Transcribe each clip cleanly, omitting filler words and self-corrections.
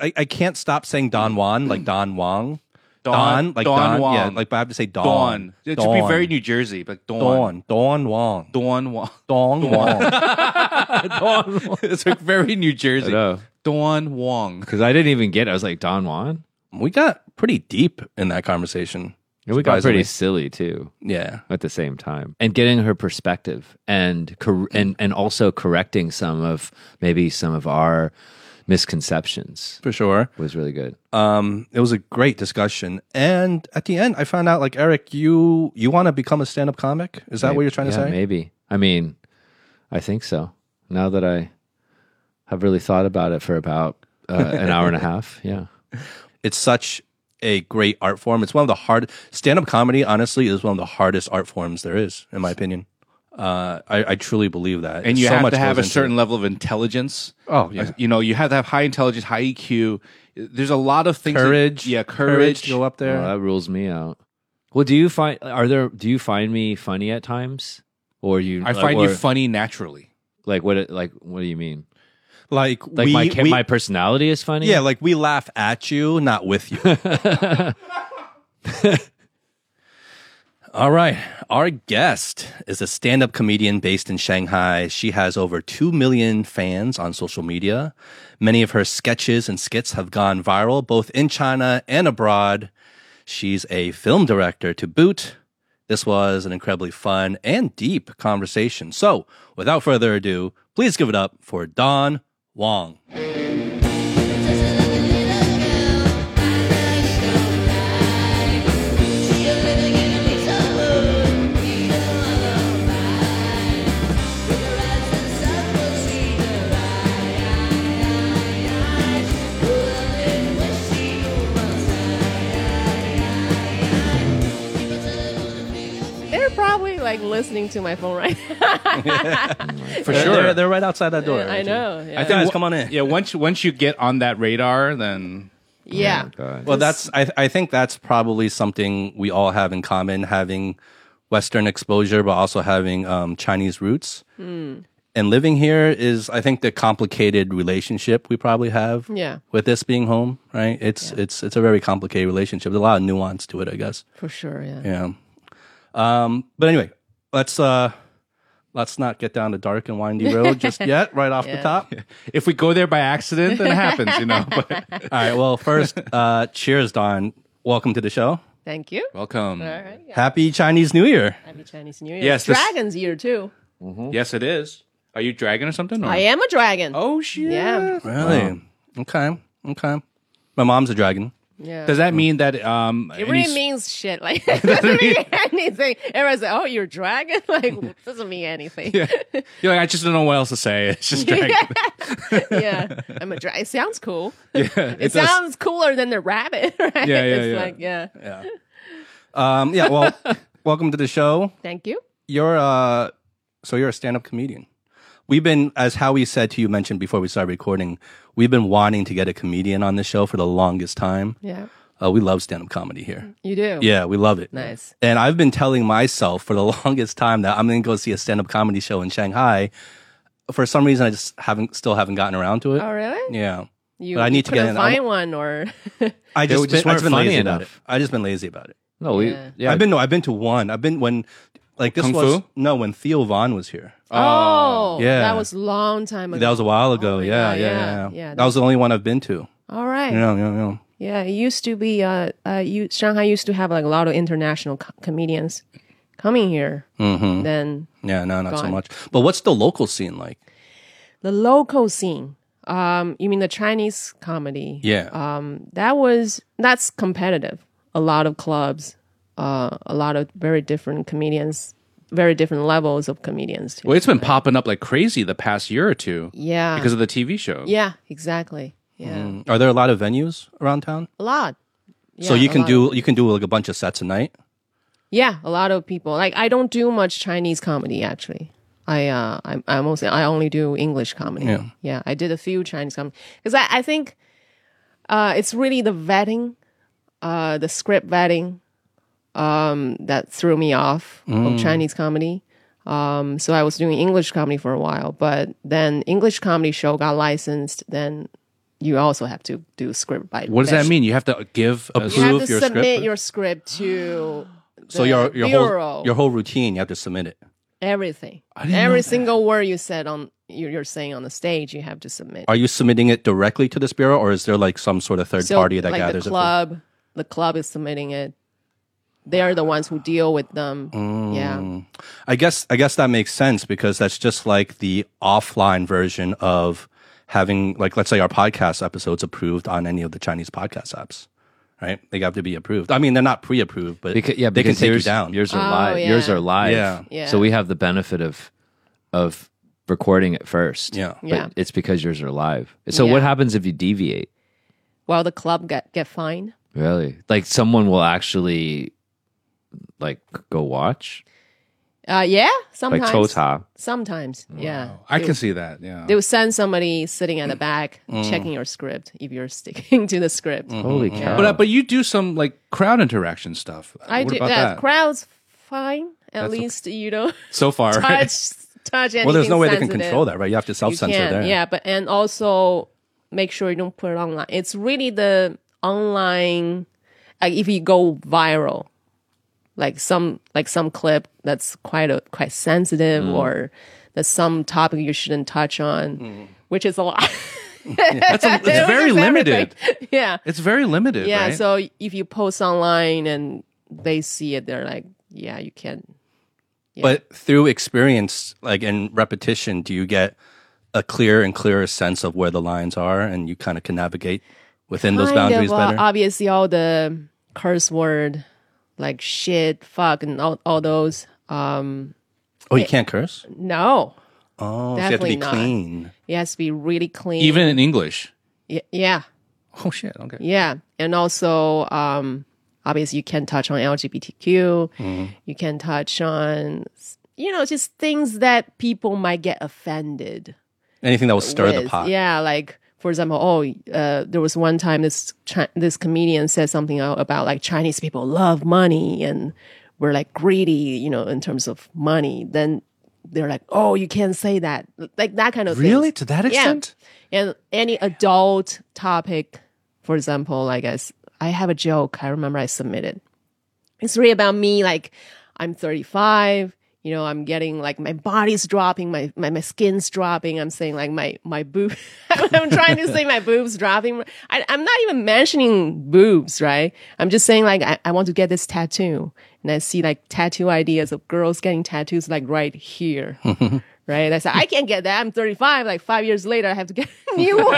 I can't stop saying Don Juan, like Don Wong. Don Wong. Yeah, like, but I have to say Don. Dawn. It should be very New Jersey, like Dawn. Don Wong. Dawn Wong. Don Wong. It's like very New I Jersey. know. Dawn Wong. Because I didn't even get it. I was like, Don Juan? We got pretty deep in that conversation. And we got surprisingly. pretty silly, too, Yeah. at the same time. And getting her perspective and also correcting some of our misconceptions For sure. was really good. It was a great discussion. And at the end, I found out, like, Eric, you want to become a stand-up comic? Is that what you're trying to say? Maybe. I mean, I think so. Now that I have really thought about it for about an hour and a half. Yeah. It's such a great art form. It's one of the stand-up comedy, honestly, is one of the hardest art forms there is, in my opinion. I truly believe that. And you So have much to have goes a into certain it. level of intelligence. Oh, yeah. You know, you have to have high intelligence, high EQ. There's a lot of things. Courage. Courage. to go up there. Well, that rules me out. Well, do you find me funny at times? Or I find you funny naturally. Like what do you mean? Like My personality is funny? yeah, like we laugh at you, not with you. All right. Our guest is a stand-up comedian based in Shanghai. She has over 2 million fans on social media. Many of her sketches and skits have gone viral, both in China and abroad. She's a film director to boot. This was an incredibly fun and deep conversation. So, without further ado, please give it up for Don Wong. They're probably like listening to my phone right now. For sure. They're right outside that door. I know. Yeah. Guys, come on in. Yeah, once you get on that radar, then yeah. God. Well, I think that's probably something we all have in common, having Western exposure, but also having Chinese roots. And living here is, I think, the complicated relationship we probably have Yeah. with this being home, right? It's a very complicated relationship. There's a lot of nuance to it, I guess. For sure. Yeah. Yeah. But anyway, let's not get down the dark and windy road just yet, right off the Yeah. top. if we go there by accident, then it happens, you know. But All right. Well, first, cheers, Don. Welcome to the show. Thank you. welcome. All right. Yeah. Happy Chinese New Year. Happy Chinese New Year. Yes, It's this- Dragon's Year too. Yes, it is. Are you dragon or something? Or? I am a dragon. Oh shit! Yeah. Really? Okay. My mom's a dragon. Yeah. Does that mean that it really means shit. Like it doesn't mean anything. Everyone's like, "Oh, you're a dragon." Like doesn't mean anything. Yeah. You're like, I just don't know what else to say. It's just dragon. Yeah. I'm a dragon. It sounds cool. Yeah, It sounds cooler than the rabbit, right? Yeah, yeah, It's yeah. like, yeah. Yeah. Well, welcome to the show. Thank you. You're a stand-up comedian. We've been, as Howie said to you, mentioned before we started recording, we've been wanting to get a comedian on the show for the longest time. Yeah. We love stand-up comedy here. You do. Yeah, we love it. Nice. And I've been telling myself for the longest time that I'm going to go see a stand-up comedy show in Shanghai. For some reason, I just still haven't gotten around to it. Oh, really? Yeah. You, But I need to get couldn't in. find one or I They just just been, I've weren't been funny lazy about it. enough. I just been lazy about it. No, Yeah. I've been to one. I've been when like this Kung was Fu? no when Theo Vaughn was here. Oh, Yeah. that was a long time ago. That was a while ago. Oh my Yeah, God, yeah. yeah. That was the only one I've been to. All right. Yeah. Yeah, it used to be. Shanghai used to have like a lot of international comedians coming here. Mm-hmm. Then Yeah, no, not so Gone. much. But what's the local scene like? the local scene. You mean the Chinese comedy? Yeah. That's competitive. A lot of clubs, a lot of very different comedians, very different levels of comedians too. Well, it's been popping up like crazy the past year or two. Yeah. Because of the TV show. Yeah, exactly. Yeah, Are there a lot of venues around town? a lot. So Yeah, you a can lot of- do like a bunch of sets a night. Yeah, a lot of people. Like I don't do much Chinese comedy actually. I only do English comedy. Yeah. I did a few Chinese comedy because I think it's really the vetting, the script vetting, that threw me off of Chinese comedy. So I was doing English comedy for a while, but then English comedy show got licensed. Then you also have to do script by. What does that mean? You have to give Approve You have to your submit script? your script to So the your bureau. whole routine, you have to submit it. Everything. didn't know Every that. single word you said you're saying on the stage, you have to submit. Are you submitting it directly to this bureau, or is there like some sort of third party that like gathers the club is submitting it. They are the ones who deal with them. Yeah. it? I guess that makes sense because that's just like the offline version of having, like, let's say our podcast episodes approved on any of the Chinese podcast apps, right? They have to be approved. I mean, they're not pre-approved, but they can because take you yours, down. Yours are Oh, live. yeah. Yours are live. Yeah. Yeah. So we have the benefit of recording it first. Yeah. But Yeah. it's because yours are live. So Yeah. what happens if you deviate? Well, the club get fined. Really? Like someone will actually like go watch? Yeah, sometimes. Like Tota. Sometimes, yeah. I can see that. Yeah. They will send somebody sitting at the back checking your script if you're sticking to the script. Holy cow. But you do some like crowd interaction stuff. I what do about that. that? Crowd's fine. At least you don't So far, right? touch anything Well, there's no way they can sensitive. control that, right? You have to You self-censor can, there. yeah, but and also make sure you don't put it online. It's really the online. Like if you go viral, like some clip that's quite sensitive, or there's some topic you shouldn't touch on, which is a lot. It's very limited. Yeah, It's very limited. yeah. Right? So if you post online and they see it, they're like, yeah, you can. But through experience, like in repetition, do you get a clearer and clearer sense of where the lines are, and you kind of can navigate within those boundaries better? Obviously, all the curse word like shit, fuck, and all those. Oh, you can't curse? No, Oh, so you have to Definitely be not. clean. it has to be really clean. Even in English. Yeah, Oh shit. Okay. yeah, and also obviously you can touch on LGBTQ. You can touch on just things that people might get offended. Anything that will stir the with. pot. Yeah, like for example, there was one time this comedian said something about like Chinese people love money and we're like greedy, in terms of money. Then they're like, oh, you can't say that, like that kind of Really? things. To that extent? And any adult topic, for example, I guess I have a joke. I remember I submitted. It's really about me. Like I'm 35. I'm getting like my body's dropping, my skin's dropping. I'm saying like my boob. I'm trying to say my boobs dropping. I'm not even mentioning boobs, right? I'm just saying like I want to get this tattoo, and I see like tattoo ideas of girls getting tattoos like right here, right? I said I can't get that. I'm 35. Like 5 years later, I have to get a new one,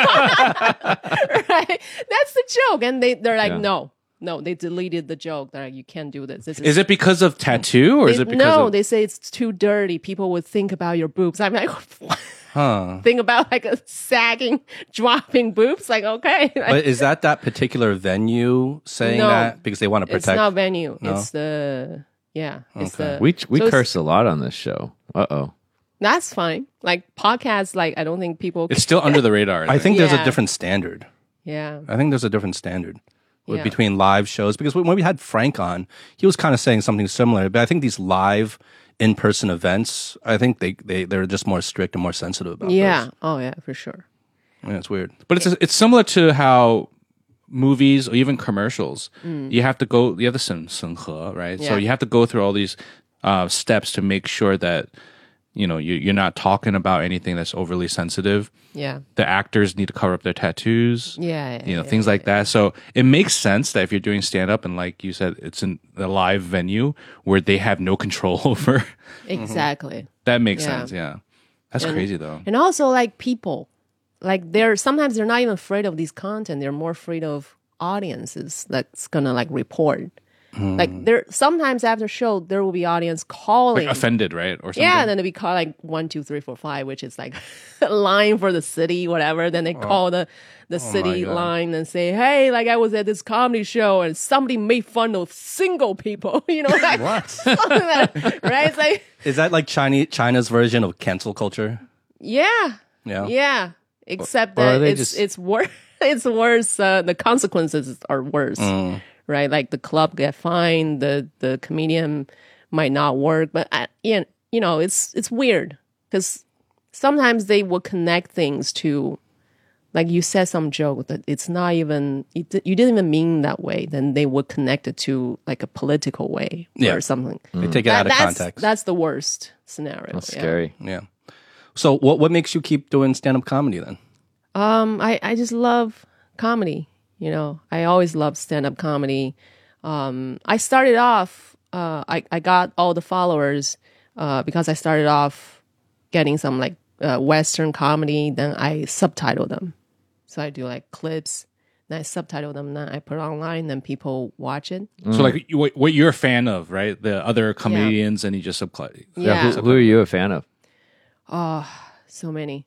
right? That's the joke, and they're like no. No, they deleted the joke. They're like, you can't do this. Is it because of tattoo or is it because no, of they say it's too dirty. People would think about your boobs. I'm like, what? Huh. Think about like a sagging, dropping boobs. Like, okay. Like, But is that particular venue saying No. that because they want to it's protect? not venue. No? It's the, it's the. We so it's- curse a lot on this show. Uh-oh. That's fine. Like podcasts, like I don't think people. it's still under the radar? I think there's a Yeah. different standard. Yeah. I think there's a different standard Yeah. between live shows, because when we had Frank on, he was kind of saying something similar. But I think these live in-person events, I think they're just more strict and more sensitive about Yeah. those. Oh, yeah, for sure. Yeah, it's weird. But it's similar to how movies or even commercials, you have the 审核, right? So Yeah. you have to go through all these steps to make sure that you're not talking about anything that's overly sensitive. Yeah. The actors need to cover up their tattoos. Yeah. Things like that. So it makes sense that if you're doing stand up and like you said, it's in a live venue where they have no control over, Exactly. that makes Yeah. sense. Yeah. That's crazy though. And also like people, like sometimes they're not even afraid of these content. They're more afraid of audiences that's gonna like report. Like there sometimes after show there will be audience calling. Offended, right? Or something. Yeah, and then it'll be called like 1, 2, 3, 4, 5, which is like a line for the city, whatever. Then they call the city God. line and say, hey, like I was at this comedy show and somebody made fun of single people, like What? something like that, right? It's like, Is that like China's version of cancel culture? yeah. Yeah. Yeah. Except Or are that they it's just- it's worse. It's worse. The consequences are worse, right? Like the club get fined, the comedian might not work. But it's weird because sometimes they will connect things to like you said some joke that it's not even you didn't even mean that way, then they would connect it to like a political way Yeah. or something. They take it out of that's, context. That's the worst scenario. That's yeah. scary. Yeah. So what makes you keep doing stand-up comedy then? I just love comedy. You know, I always loved stand-up comedy. I started off, I got all the followers because I started off getting some like Western comedy. Then I subtitle them. So I do like clips, then I subtitle them, then I put it online, then people watch it. So like what you're a fan of, right? The other comedians, and you just subclip. Yeah. Who are you a fan of? So many.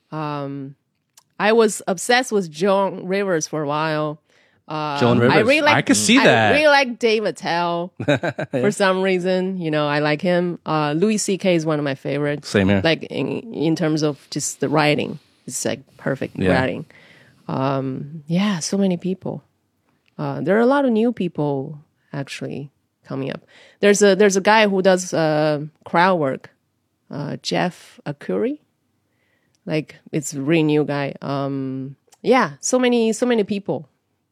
I was obsessed with Joan Rivers for a while. Joan Rivers. I really like. I could see that. I really like Dave Attell for some reason. You know, I like him. Louis C.K. is one of my favorites. Same here. Like in terms of just the writing, it's like perfect writing. Yeah, so many people. There are a lot of new people actually coming up. There's a guy who does crowd work, Jeff Akuri. Like it's a really new guy. Yeah, so many people.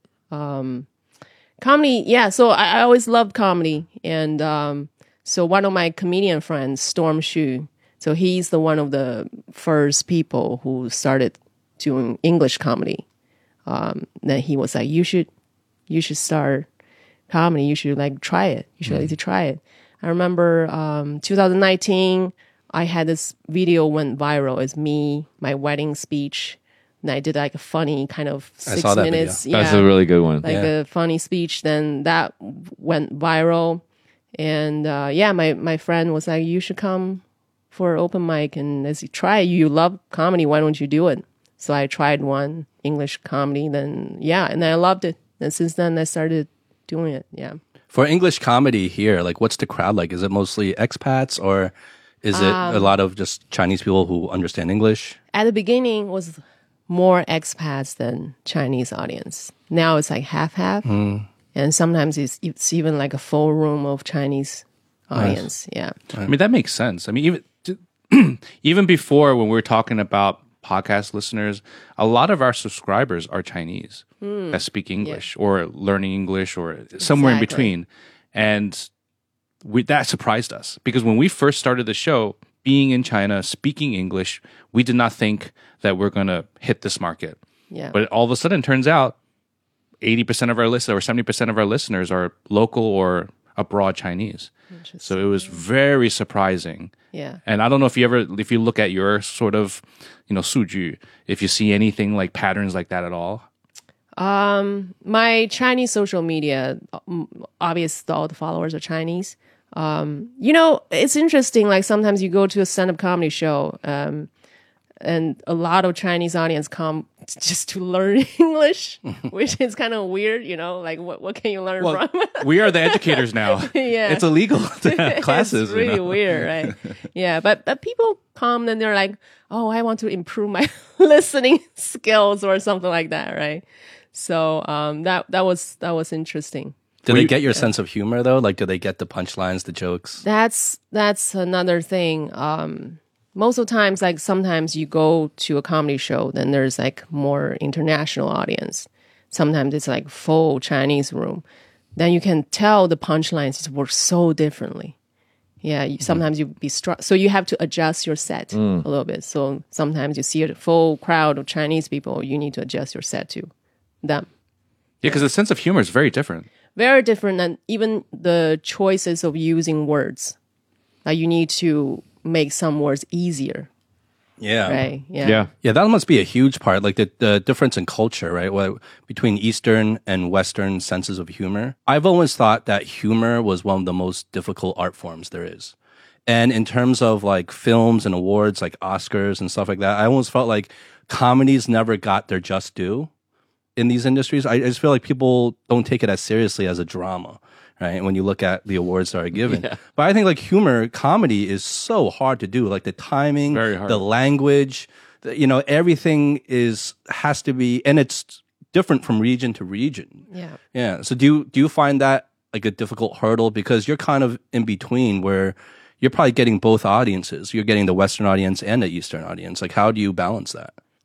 Comedy, yeah. So I always loved comedy, and so one of my comedian friends, Storm Shu. So he's the one of the first people who started doing English comedy. Then he was like, "You should start comedy. You should like try it. You should like to try it." I remember 2019. I had this video went viral. It's me, my wedding speech. And I did like a funny kind of 6 saw that minutes. video. That's a really good one. Like a funny speech. Then that went viral. And yeah, my friend was like, you should come for open mic. And as you try, you love comedy. Why don't you do it? So I tried one English comedy. Then yeah, and I loved it. And since then I started doing it. Yeah. For English comedy here, like what's the crowd like? Is it mostly expats or is it a lot of just Chinese people who understand English? At the beginning was more expats than Chinese audience. Now it's like half-half. And sometimes it's even like a full room of Chinese audience. Yeah. I mean, that makes sense. I mean, even before when we were talking about podcast listeners, a lot of our subscribers are Chinese that speak English or learning English or somewhere in Exactly. between. And that surprised us because when we first started the show, being in China, speaking English, we did not think that we're going to hit this market. Yeah. But all of a sudden, it turns out 80% of our listeners or 70% of our listeners are local or abroad Chinese. So it was very surprising. Yeah. And I don't know if you look at your sort of, suju, if you see anything like patterns like that at all. My Chinese social media, obviously all the followers are Chinese. It's interesting. Like sometimes you go to a stand-up comedy show, and a lot of Chinese audience come just to learn English, which is kind of weird. Like what can you learn from? We are the educators now. Yeah, It's illegal to have classes. It's really weird, right? Yeah, but people come and they're like, "Oh, I want to improve my listening skills" or something like that, right? So that was interesting. Do they get your sense of humor though? Like, do they get the punchlines, the jokes? That's another thing. Most of the times, like sometimes you go to a comedy show, then there's like more international audience. Sometimes it's like full Chinese room. Then you can tell the punchlines just work so differently. Yeah, sometimes you be struck. So you have to adjust your set a little bit. So sometimes you see a full crowd of Chinese people, you need to adjust your set to them. Yeah, because the sense of humor is very different. Very different than even the choices of using words. Like you need to make some words easier, Yeah. right? Yeah. Yeah, that must be a huge part, like the difference in culture, right? Between Eastern and Western senses of humor. I've always thought that humor was one of the most difficult art forms there is. And in terms of like films and awards like Oscars and stuff like that, I almost felt like comedies never got their just due in these industries. I just feel like people don't take it as seriously as a drama, right? When you look at the awards that are given. Yeah. But I think like humor, comedy is so hard to do. Like the timing, Very hard. the language, everything has to be, and it's different from region to region. Yeah. Yeah. So do you find that like a difficult hurdle because you're kind of in between where you're probably getting both audiences. You're getting the Western audience and the Eastern audience. Like how do you balance that?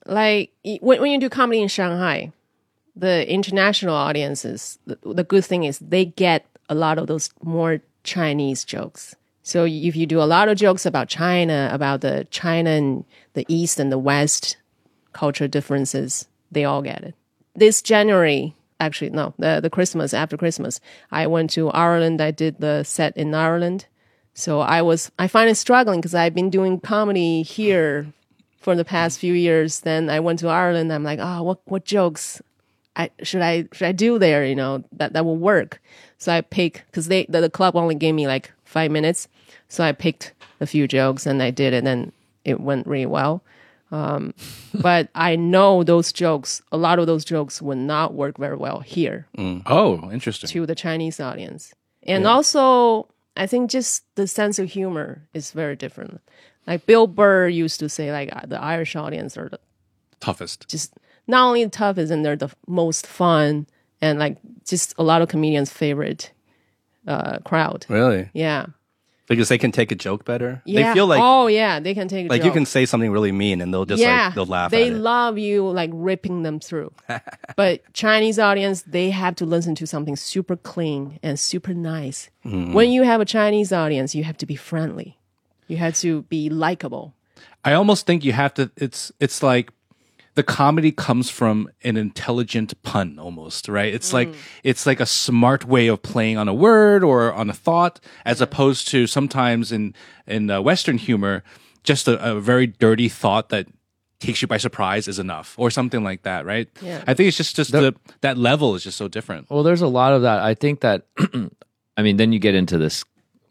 like when you do comedy in Shanghai, the international audiences, the good thing is they get a lot of those more Chinese jokes. So if you do a lot of jokes about China, about the China and the East and the West culture differences, they all get it. This January, actually, no, the Christmas, after Christmas, I went to Ireland. I did the set in Ireland. So I find it struggling because I've been doing comedy here for the past few years. Then I went to Ireland. I'm like, what jokes should I do there? You know, that will work. So I pick, because the club only gave me like 5 minutes. So I picked a few jokes and I did it, and it went really well. But I know those jokes, a lot of those jokes would not work very well here Oh, interesting. to the Chinese audience. And also, I think just the sense of humor is very different. Like Bill Burr used to say, like the Irish audience are Toughest. just not only the toughest, and they're the most fun, and like just a lot of comedians' favorite crowd. Really? Yeah. Because they can take a joke better. Yeah. They feel like they can take a like joke. you can say something really mean and they'll just like they'll laugh They at it. love you like ripping them through. But Chinese audience, they have to listen to something super clean and super nice. When you have a Chinese audience, you have to be friendly. You have to be likable. I almost think you have to. It's like the comedy comes from an intelligent pun, almost, right? It's like a smart way of playing on a word or on a thought, as opposed to sometimes in Western humor, just a very dirty thought that takes you by surprise is enough, or something like that, right? Yeah. I think it's just that level is just so different. Well, there's a lot of that. I think that, I mean, then you get into this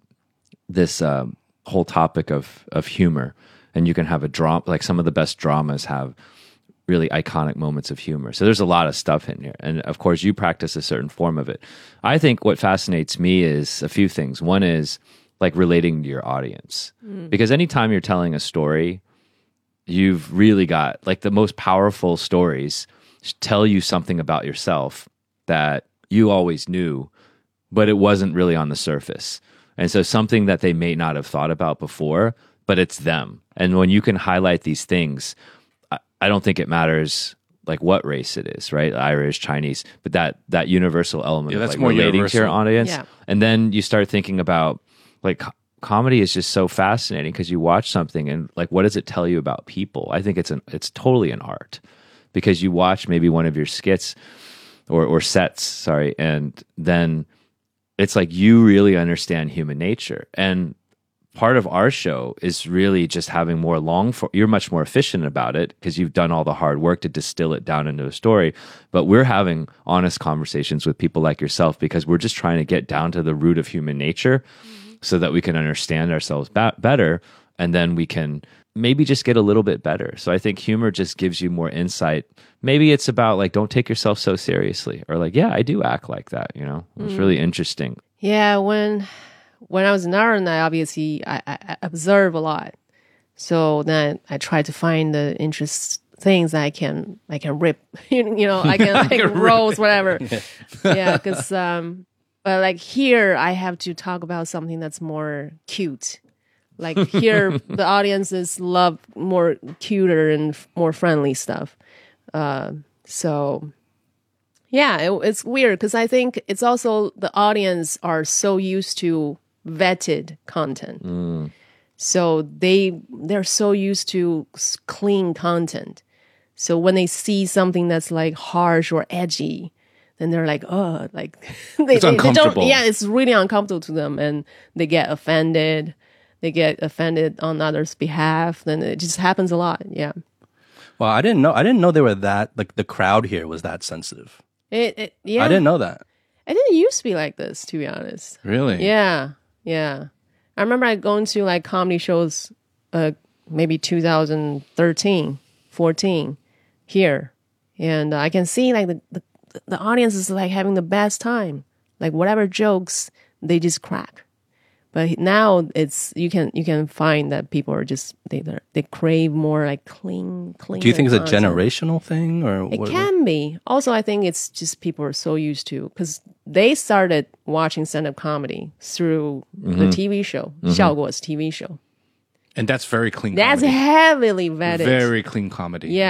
whole topic of humor, and you can have a drama, like some of the best dramas have really iconic moments of humor. So there's a lot of stuff in here. And of course, you practice a certain form of it. I think what fascinates me is a few things. One is like relating to your audience. Because anytime you're telling a story, you've really got like the most powerful stories tell you something about yourself that you always knew, but it wasn't really on the surface. And so something that they may not have thought about before, but it's them. And when you can highlight these things, I don't think it matters like what race it is, right? Irish, Chinese, but that universal element of that's like more relating to your universal. audience. Yeah. And then you start thinking about like comedy is just so fascinating because you watch something and like what does it tell you about people? I think it's totally an art because you watch maybe one of your skits or sets, sorry, and then it's like you really understand human nature. And part of our show is really just having more you're much more efficient about it because you've done all the hard work to distill it down into a story. But we're having honest conversations with people like yourself because we're just trying to get down to the root of human nature so that we can understand ourselves better. And then we can maybe just get a little bit better. So I think humor just gives you more insight. Maybe it's about like, don't take yourself so seriously, or like, yeah, I do act like that. You know, it's really interesting. Yeah, when I was in Ireland, I observe a lot. So then I try to find the interest things that I can rip, you know, I can like roast whatever. Yeah, because but like here I have to talk about something that's more cute. Like here, the audiences love more cuter and more friendly stuff. So yeah, it's weird because I think it's also the audience are so used to vetted content. So they're so used to clean content. So when they see something that's like harsh or edgy, then they're like, oh, like It's uncomfortable. Yeah, it's really uncomfortable to them, and they get offended. They get offended on others' behalf. Then it just happens a lot. Yeah. Well, I didn't know they were that like the crowd here was that sensitive. Yeah. I didn't know that. I didn't used to be like this, to be honest. Really? Yeah. I remember I going to like comedy shows, maybe 2013, 14 here. And I can see like the audience is like having the best time. Like whatever jokes, they just crack. But now it's you can find that people are just they crave more like clean. Do you think it's a content. generational thing or It what? can be. Also, I think it's just people are so used to because they started watching stand-up comedy through the TV show, 效果 TV show. And that's very clean That's comedy. heavily vetted. Very clean comedy. Yeah.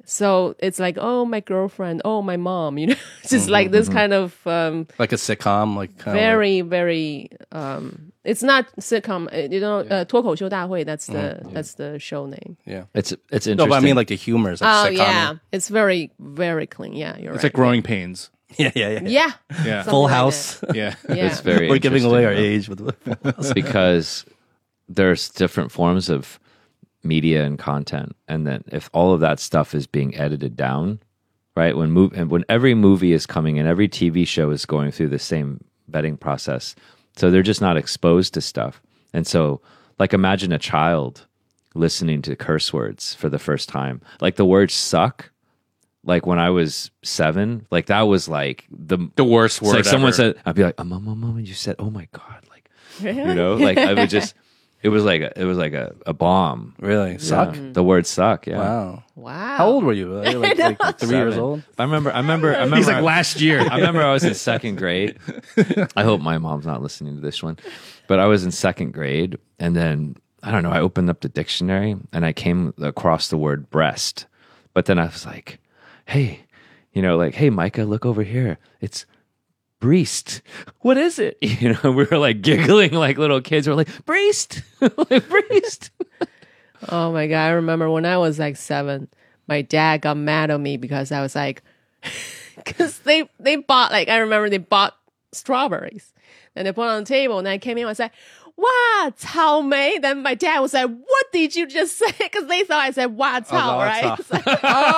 So it's like, oh, my girlfriend, oh, my mom, you know, just like this kind of Like a sitcom, like kind very, very. It's not sitcom, you know. 脱口秀大会. That's the show name. yeah. It's interesting. No, but I mean like the humor is like Oh sitcom. yeah, it's very, very clean. Yeah, you're It's right. like Growing Pains. Yeah, yeah, yeah. Yeah, Yeah. something Full like House. Yeah. that. Yeah. It's very We're giving away our interesting, age with Full House. because there's different forms of media and content, and then if all of that stuff is being edited down, right? When every movie is coming and every TV show is going through the same vetting process, so they're just not exposed to stuff. And so, like, imagine a child listening to curse words for the first time, like the word "suck." Like when I was 7, like that was like the worst it's word like someone ever. said, I'd be like, mom, you said, oh my God. Like, you know, like I would just, it was like a bomb. Really? Suck? The word suck. Yeah. Wow. Wow. How old were you? Like 3 years 7. old? I remember. He's like last year. I remember I was in 2nd grade. I hope my mom's not listening to this one, but I was in 2nd grade, and then I don't know. I opened up the dictionary and I came across the word breast, but then I was like, hey, you know, like, hey, Micah, look over here. It's breast. What is it? You know, we were like giggling like little kids. We're like, breast, like breast. Oh my God. I remember when I was like 7, my dad got mad at me because I was like, because they bought, like, I remember they bought strawberries and they put it on the table, and I came in and I was like, wow, 草莓. Then my dad was like, what did you just say? Because they thought I said, wow, 草, right? It's like,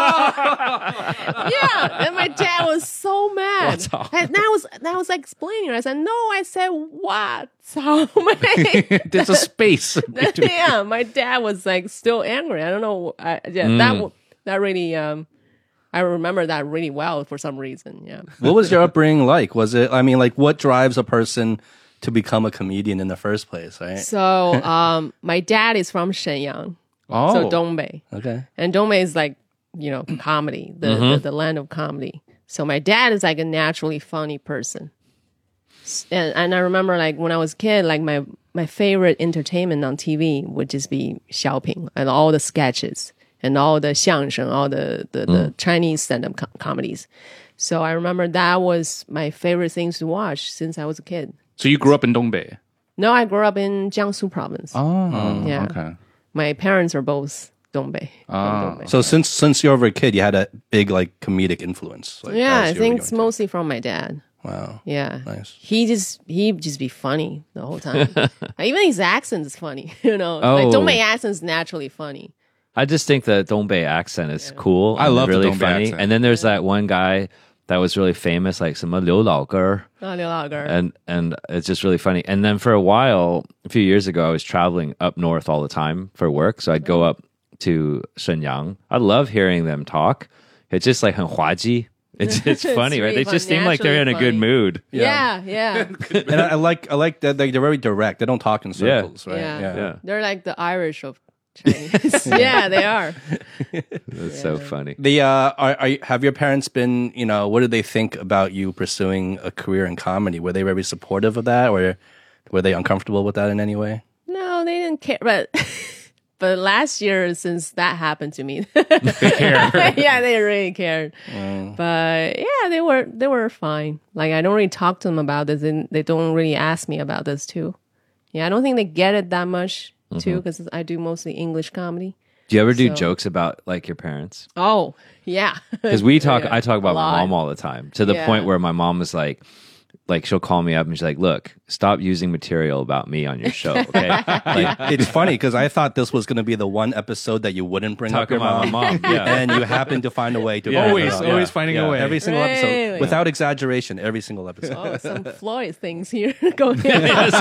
oh. Yeah. And my dad was so mad. And I was like explaining. I said, no, I said, wow, 草莓. There's a space. Yeah, my dad was like still angry. I don't know. That really. I remember that really well for some reason. Yeah. What was your upbringing like? Was it, I mean, like, what drives a person to become a comedian in the first place, right? So, my dad is from Shenyang, Oh. so Dongbei, Okay. and Dongbei is like, you know, comedy, the land of comedy. So my dad is like a naturally funny person, and I remember like when I was a kid, like my favorite entertainment on TV would just be Xiaoping and all the sketches and all the xiangsheng, all the Chinese stand-up comedies. So I remember that was my favorite things to watch since I was a kid. So you grew up in Dongbei? No, I grew up in Jiangsu province. Oh, Yeah. okay. My parents are both Dongbei. from Dongbei. So since you were a kid, you had a big like comedic influence. Like, Yeah, as I you were think it's young. mostly from my dad. Wow. Yeah. Nice. He just be funny the whole time. Even his accent is funny, you know. Oh. Like Dongbei accent is naturally funny. I just think the Dongbei accent is cool. I and love the really Dongbei funny. accent. And then there's that one guy that was really famous, like some Liu Laoger, Oh, Liu Laoger. and it's just really funny. And then for a while, a few years ago, I was traveling up north all the time for work, so I'd go up to Shenyang. I love hearing them talk. It's just like 很滑稽. It's funny, right? really They just fun, seem like they're in a naturally good funny. mood. Yeah. And I like that they're very direct. They don't talk in circles, right? Yeah. Yeah. They're like the Irish of Chinese. Yeah, they are. It's so funny. The have your parents been, you know, what did they think about you pursuing a career in comedy? Were they very supportive of that, or were they uncomfortable with that in any way? No, they didn't care. But last year, since that happened to me, yeah, they really cared. But yeah, they were fine. Like I don't really talk to them about this, and they don't really ask me about this too. Yeah, I don't think they get it that much too, because I do mostly English comedy. Do you ever do So- jokes about like your parents? Oh, yeah. Because I talk about my mom all the time, to the Yeah. point where my mom was like she'll call me up and she's like, "Look, stop using material about me on your show." Okay, like, It's funny because I thought this was going to be the one episode that you wouldn't bring talk up your about my mom. Yeah. and you happen to find a way to Yeah. bring it up. Always finding a way. Every single episode, Really? without exaggeration, every single episode. Oh, some Floyd things here going on.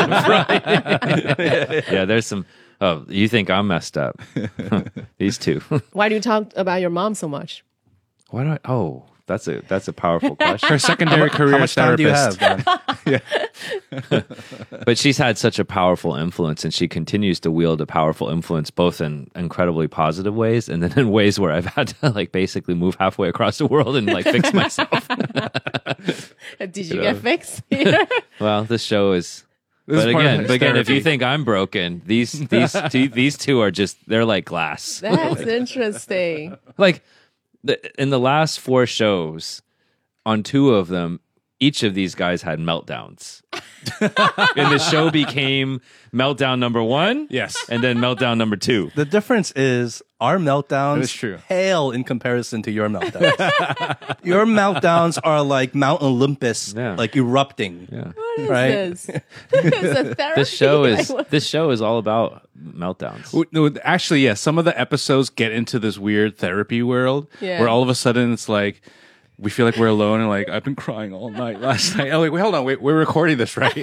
yeah, there's some. Oh, you think I'm messed up? These two. Why do you talk about your mom so much? Why do I? Oh, that's a powerful question. Her secondary career How much time do you therapist. have, Dan? But she's had such a powerful influence, and she continues to wield a powerful influence, both in incredibly positive ways, and then in ways where I've had to like basically move halfway across the world and like fix myself. Did you get fixed here? Well, this show is. This is But part of again, his if you therapy. think I'm broken, these two are just they're like glass. That's interesting. Like in the last 4 shows, on 2 of them, each of these guys had meltdowns. And the show became meltdown number 1. Yes. And then meltdown number 2. The difference is our meltdowns That is true. pale in comparison to your meltdowns. Your meltdowns are like Mount Olympus, Yeah. like erupting. Yeah. What is Right. this? It's a therapy. This show is all about meltdowns. No, actually, yeah. Some of the episodes get into this weird therapy world Yeah. where all of a sudden it's like we feel like we're alone and like I've been crying all night last night. I'm like, wait, hold on, wait, we're recording this, right?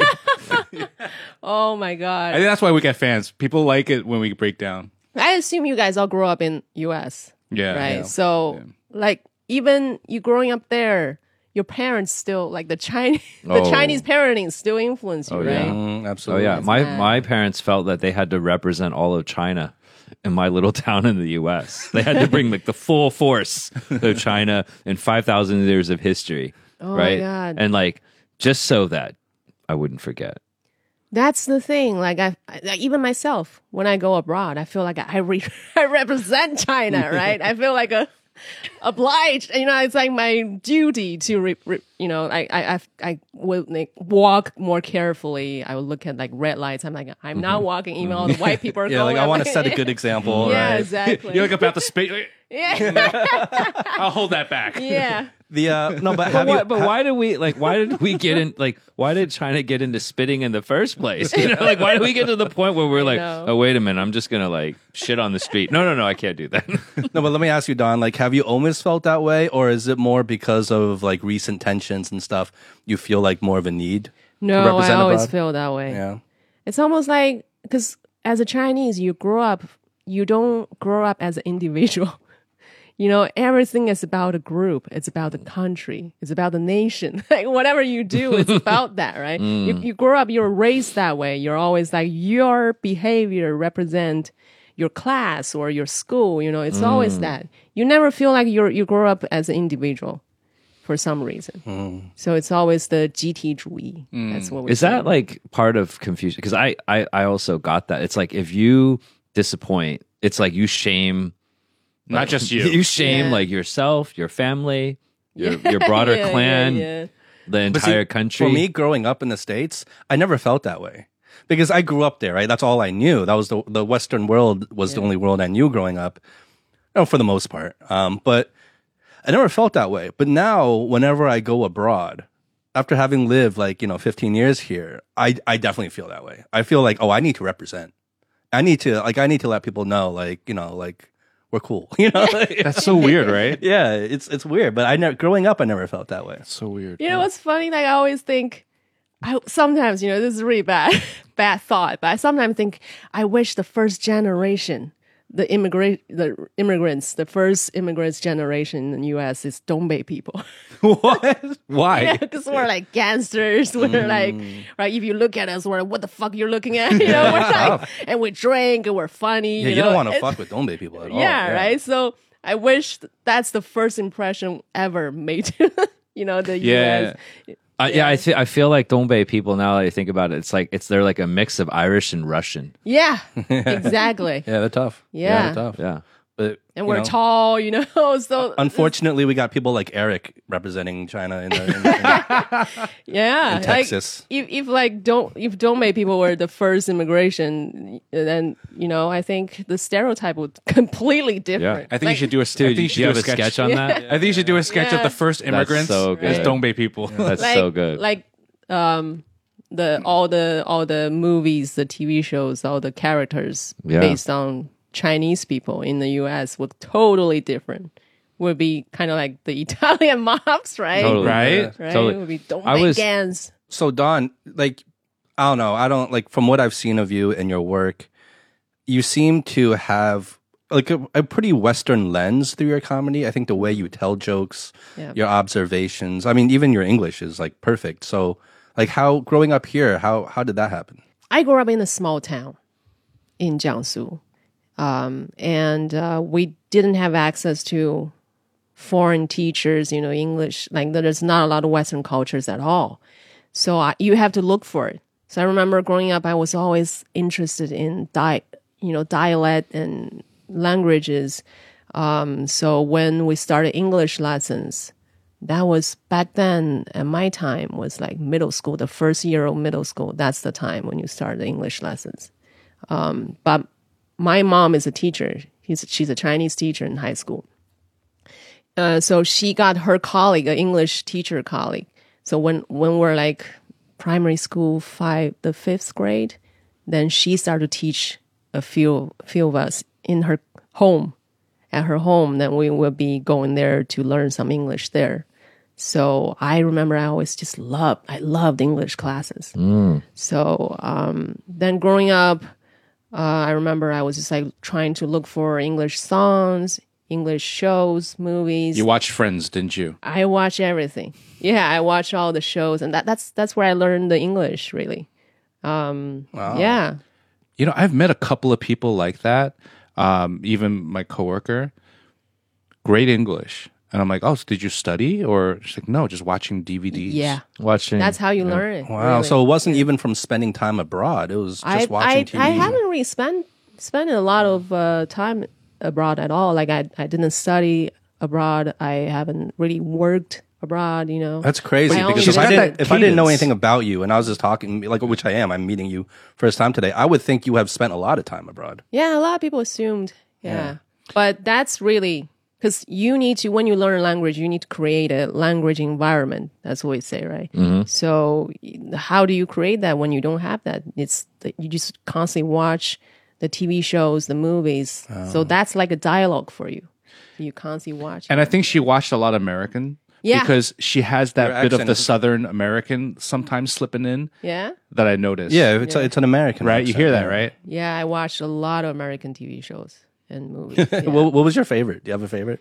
Oh my god! I think that's why we get fans. People like it when we break down. I assume you guys all grew up in U.S. Yeah, right? yeah. So, like, even you growing up there, your parents still like the Chinese, the Oh. Chinese parenting still influence you, Oh, right? yeah. Mm, Oh absolutely. yeah, my mad. my parents felt that they had to represent all of China in my little town in the U.S. They had to bring like the full force of China and 5,000 years of history, Oh, right? my God. And like just so that I wouldn't forget. That's the thing. Like, like, even myself, when I go abroad, I feel like I represent China, right? I feel like obliged. You know, it's like my duty to, I will like, walk more carefully. I will look at like red lights. I'm like, I'm not walking. Even all the white people are Yeah, going. like I I'm want to set a good example, Yeah, right? exactly. You're like about to spit. yeah, I'll hold that back. yeah. The no, but have you? Why did we get in why did China get into spitting in the first place? You know, like why did we get to the point where we're like, know. oh wait a minute, I'm just gonna like shit on the street. No, I can't do that. No, but let me ask you, Don. Like, have you always felt that way, or is it more because of like recent tensions and stuff? You feel like more of a need? to No, I represent always abroad? feel that way. Yeah. It's almost like because as a Chinese, you don't grow up as an individual. You know, everything is about a group. It's about the country. It's about the nation. Like whatever you do, it's about that, right? You grow up, you're raised that way. You're always like your behavior represent your class or your school. You know, it's always that. You never feel like you grow up as an individual for some reason. So it's always the GT 主义. That's what we're Is that like part of confusion? Because I also got that. It's like if you disappoint, it's like you shame. Not just you. You shame Yeah. like yourself, your family, your broader Yeah, clan, yeah. the But see, entire country. For me, growing up in the States, I never felt that way because I grew up there, right? That's all I knew. That was the Western world was the only world I knew growing up, for the most part. But I never felt that way. But now, whenever I go abroad, after having lived 15 years here, I definitely feel that way. I feel like, oh, I need to represent. I need to let people know, we're cool. That's so weird, right? Yeah, it's weird. But growing up, I never felt that way. So weird. You know what's funny? Like I always think, sometimes this is really bad thought, but I sometimes think I wish the first generation, the immigrants, the first immigrants generation in the U.S. is Dongbei people. What? Why? Yeah, because we're like gangsters. We're like, right? If you look at us, we're like, what the fuck you're looking at? You know, we're like, and we drink and we're funny. Yeah, you know? don't want to It's- fuck with Dongbei people at all. Yeah, right. So I wish that's the first impression ever made to the Yeah. U.S. I feel like Dongbei people, now that I think about it, they're like a mix of Irish and Russian. Yeah, exactly. Yeah, they're tough. Yeah. they're tough. Yeah. But And we're tall, so unfortunately, we got people like Eric representing China in yeah, in Texas. Like, if Dongbei people were the first immigration, then I think the stereotype would completely different. I think you should do a. I think you should Do you do have a sketch on that? I think you should do a sketch of Yeah. the first immigrants so as good. Dongbei people. That's like, so good. Like all the movies, the TV shows, all the characters Yeah. based on Chinese people in the U.S. would totally different. Would be kind of like the Italian mobs, right? Totally. Right? Right? Totally. It would be I was- Dongbei gangs. So Don, I don't know. I don't from what I've seen of you and your work, you seem to have a pretty Western lens through your comedy. I think the way you tell jokes, Yeah. your observations. I mean, even your English is perfect. So how growing up here, how did that happen? I grew up in a small town in Jiangsu. And we didn't have access to foreign teachers, English. Like there's not a lot of Western cultures at all. So you have to look for it. So I remember growing up, I was always interested in dialect and languages. So when we started English lessons, that was back then at my time was like middle school, the first year of middle school. That's the time when you start the English lessons. But my mom is a teacher. She's a Chinese teacher in high school. So she got her colleague, an English teacher colleague. So when we're like primary school, the fifth grade, then she started to teach a few of us in her home. At her home, then we will be going there to learn some English there. So I remember I always just loved English classes. So then growing up, I remember I was just like trying to look for English songs, English shows, movies. You watched Friends, didn't you? I watch everything. Yeah, I watch all the shows, and that's where I learned the English really. Wow. Yeah. You know, I've met a couple of people like that. Even my coworker, great English. And I'm like, oh, so did you study? Or she's like, no, just watching DVDs. Yeah. Watching. That's how you learn it. Wow. really. So it wasn't even from spending time abroad. It was just watching TV. I haven't really spent a lot of time abroad at all. Like I didn't study abroad. I haven't really worked abroad, you know. That's crazy I only because visited. if I didn't know cadence. anything about you and I was just talking, like, which I am, I'm meeting you first time today, I would think you have spent a lot of time abroad. Yeah, a lot of people assumed. Yeah. But that's really because you need to, when you learn a language, you need to create a language environment. That's what we say, right? So how do you create that when you don't have that? You just constantly watch the TV shows, the movies. So that's like a dialogue for you. You constantly watch. And I think she watched a lot of American. Yeah. Because she has that Your bit of accent the is- Southern American sometimes slipping in Yeah? that I noticed. Yeah, it's an American. Right? You accent, hear that, yeah. right? Yeah, I watched a lot of American TV shows and movies. Yeah. What was your favorite? Do you have a favorite?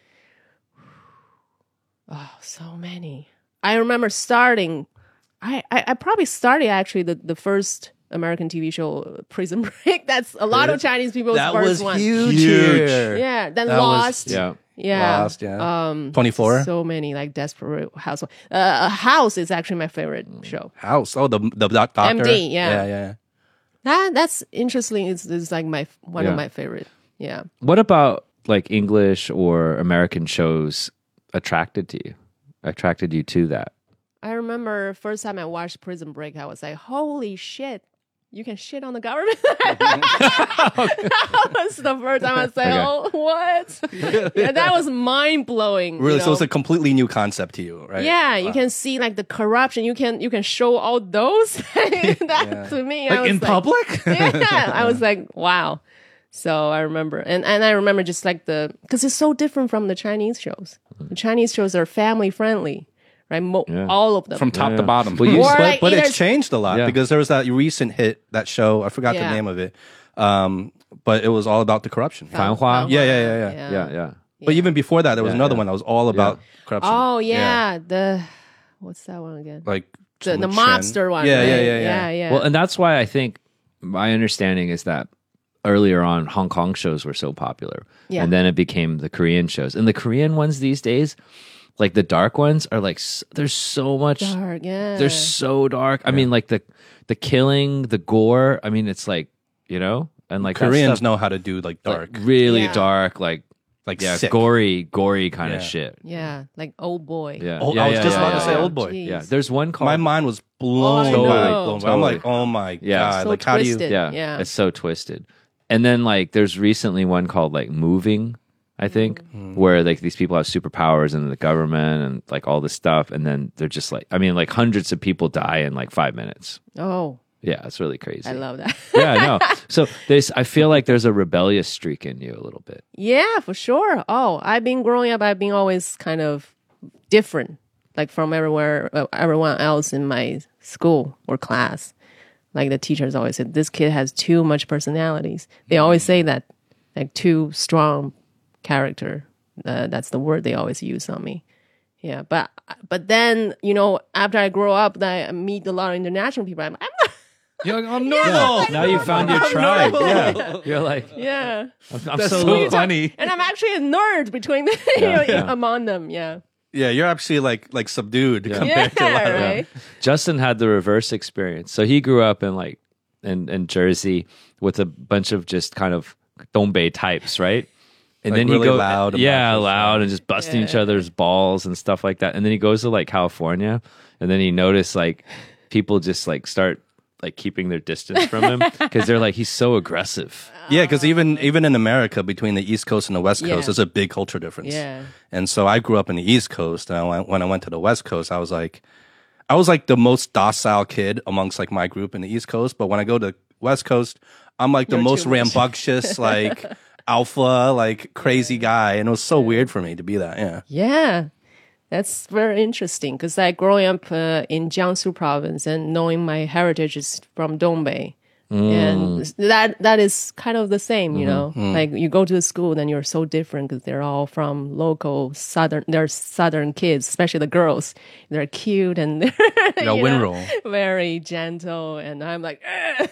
Oh, so many. I remember starting. I probably started actually the first American TV show, Prison Break. That's a lot of Chinese people's That first was one. huge. here. Yeah. Then That was- Lost. Yeah. Yeah. Lost, yeah. 24? So many like Desperate Housewives. House is actually my favorite show. House. Oh, the doctor. MD, yeah. Yeah. That's interesting. It's like one Yeah. of my favorite. Yeah. What about like English or American shows attracted you to that? I remember first time I watched Prison Break, I was like, holy shit, you can shit on the government? That was the first time I was like, Okay. oh, what? Yeah, that was mind-blowing. Really? you So it's know? a completely new concept to you, right? Yeah, you can see like the corruption. You can show all those things. That to me, I Like was in public? yeah, I was like, wow. So I remember, and I remember just like because it's so different from the Chinese shows. The Chinese shows are family friendly, right? All of them. From top to bottom. Well, you- Or But, like but either- it's changed a lot Yeah. because there was that recent hit, that show, I forgot the Yeah. name of it, but it was all about the corruption. Fanhua? Yeah. Yeah. But even before that, there was Yeah, another yeah. one that was all about corruption. Oh yeah, what's that one again? Like The some mobster one. Yeah, right? yeah. Well, and that's why I think my understanding is that earlier on Hong Kong shows were so popular. Yeah. And then it became the Korean shows. And the Korean ones these days, like the dark ones are like there's so much Dark, yeah. they're so dark. I mean like the killing, the gore, I mean it's like, you know, and like that Koreans stuff, know how to do like dark, like, really Yeah. dark, like sick. gory kind of Yeah. shit. Yeah, like Old Boy. Yeah. Oh, yeah, I was yeah, just yeah, about to yeah, say yeah. Old Boy. Jeez. Yeah, there's one called My mind was blown I away. know. Blown away. I'm like, oh my Yeah. god! So Like, how do you? twisted. Yeah. It's so twisted. And then like there's recently one called like Moving, I think, where like these people have superpowers and the government and like all this stuff, and then they're just like, I mean, like hundreds of people die in like 5 minutes. Oh, Yeah, it's really crazy. I love that. Yeah, I know. So I feel like there's a rebellious streak in you a little bit. Yeah, for sure. Oh, I've been growing up. I've been always kind of different, like from everyone else in my school or class. Like the teachers always said, this kid has too much personalities. They always say that, like too strong character. That's the word they always use on me. Yeah, but then after I grow up, then I meet a lot of international people. I'm You're like, I'm normal. Now you found your tribe. Yeah, you're like, yeah. I'm That's so so little. funny. And I'm actually a nerd between among them. Yeah. Yeah, you're actually like subdued Yeah, compared to a lot of right. Justin had the reverse experience. So he grew up in Jersey with a bunch of just kind of Dongbei types, right? And Like then really he goes loud, yeah, obnoxious. loud and just busting each other's balls and stuff like that. And then he goes to like California, and then he noticed like people just like start like keeping their distance from him because they're like he's so aggressive. Yeah, because even in America, between the East Coast and the West Coast, Yeah. there's a big culture difference. Yeah. And so I grew up in the East Coast, and when I went to the West Coast, I was like the most docile kid amongst like my group in the East Coast. But when I go to West Coast, I'm like the You're most too much. rambunctious, like alpha, like crazy guy, and it was so weird for me to be that. Yeah. Yeah, that's very interesting because I growing up in Jiangsu province and knowing my heritage is from Dongbei. And that is kind of the same, you know. Like you go to the school, then you're so different because they're all from local they're southern kids, especially the girls. They're cute and they're you know, Winroll. very gentle, and I'm like,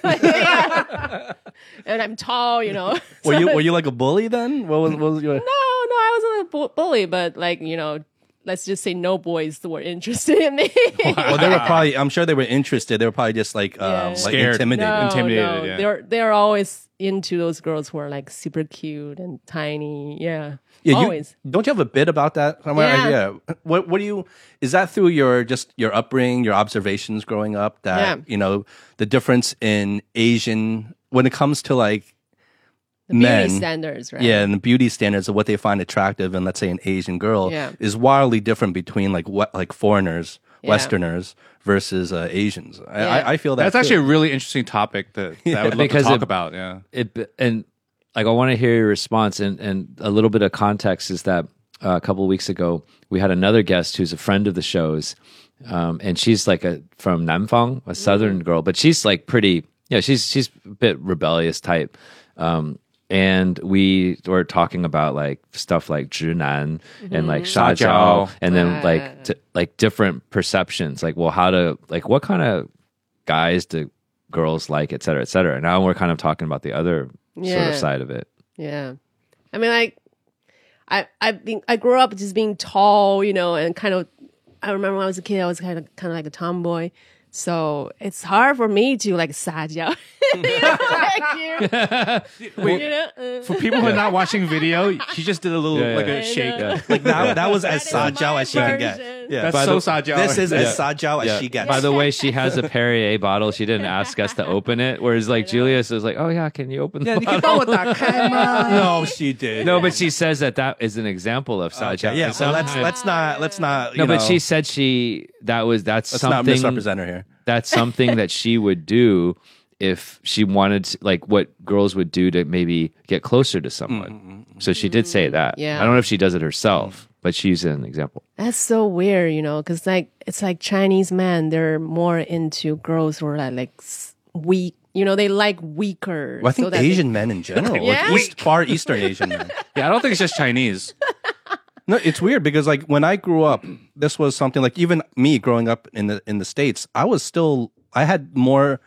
yeah. And I'm tall, you know. Were you like a bully then? What was your? No, I wasn't a bully, but like, you know, let's just say no boys were interested in me. Well, they were probably. I'm sure they were interested. They were probably just like Scared. intimidated. No, Intimidated, yeah. They're always into those girls who are like super cute and tiny. Yeah, Yeah, always. Don't you have a bit about that somewhere? Yeah. What do you? Is that through your upbringing, your observations growing up? That Yeah. you know the difference in Asian when it comes to like The beauty men. standards, right? Yeah, and the beauty standards of what they find attractive in, let's say, an Asian girl Yeah. is wildly different between like foreigners, Yeah. Westerners versus Asians. Yeah. I feel that That's too. actually a really interesting topic that I would love Because to talk it- about. Yeah. And like I want to hear your response and a little bit of context is that a couple of weeks ago we had another guest who's a friend of the show's and she's like from Nanfang, a southern girl, but she's like pretty she's a bit rebellious type and we were talking about like stuff like 直男 and like 撒娇撒娇 and then like different perceptions like well how to like what kind of guys do girls like et cetera et cetera and now we're kind of talking about the other sort Yeah. of side of it. Yeah. I mean, like, I grew up just being tall, you know, and kind of. I remember when I was a kid, I was kind of like a tomboy, so it's hard for me to like 撒娇. You know, Wait, you know, for people who are not watching video, she just did a little Yeah, like yeah. a shake. like that was as That is sajao my as she can get. version. Yeah, That's so sajao. This is as Yeah. sajao as she gets. By the way, she has a Perrier bottle. She didn't ask us to open it. Whereas like Julius is like, oh yeah, can you open the bottle? no, she did. No, but she says that is an example of Sajao. Okay, yeah. So let's not. No, but know, she said that's let's not something misrepresent her here. that's something that she would do if she wanted to, like what girls would do to maybe get closer to someone. So she did say that. Yeah. I don't know if she does it herself, but she's an example. That's so weird, you know, because like it's like Chinese men, they're more into girls who are like weak. You know, they like weaker. Well, I think so that they- Asian men in general, Yeah? like far Eastern Asian men. Yeah, I don't think it's just Chinese. No, it's weird because like when I grew up, this was something like even me growing up in the States, I had more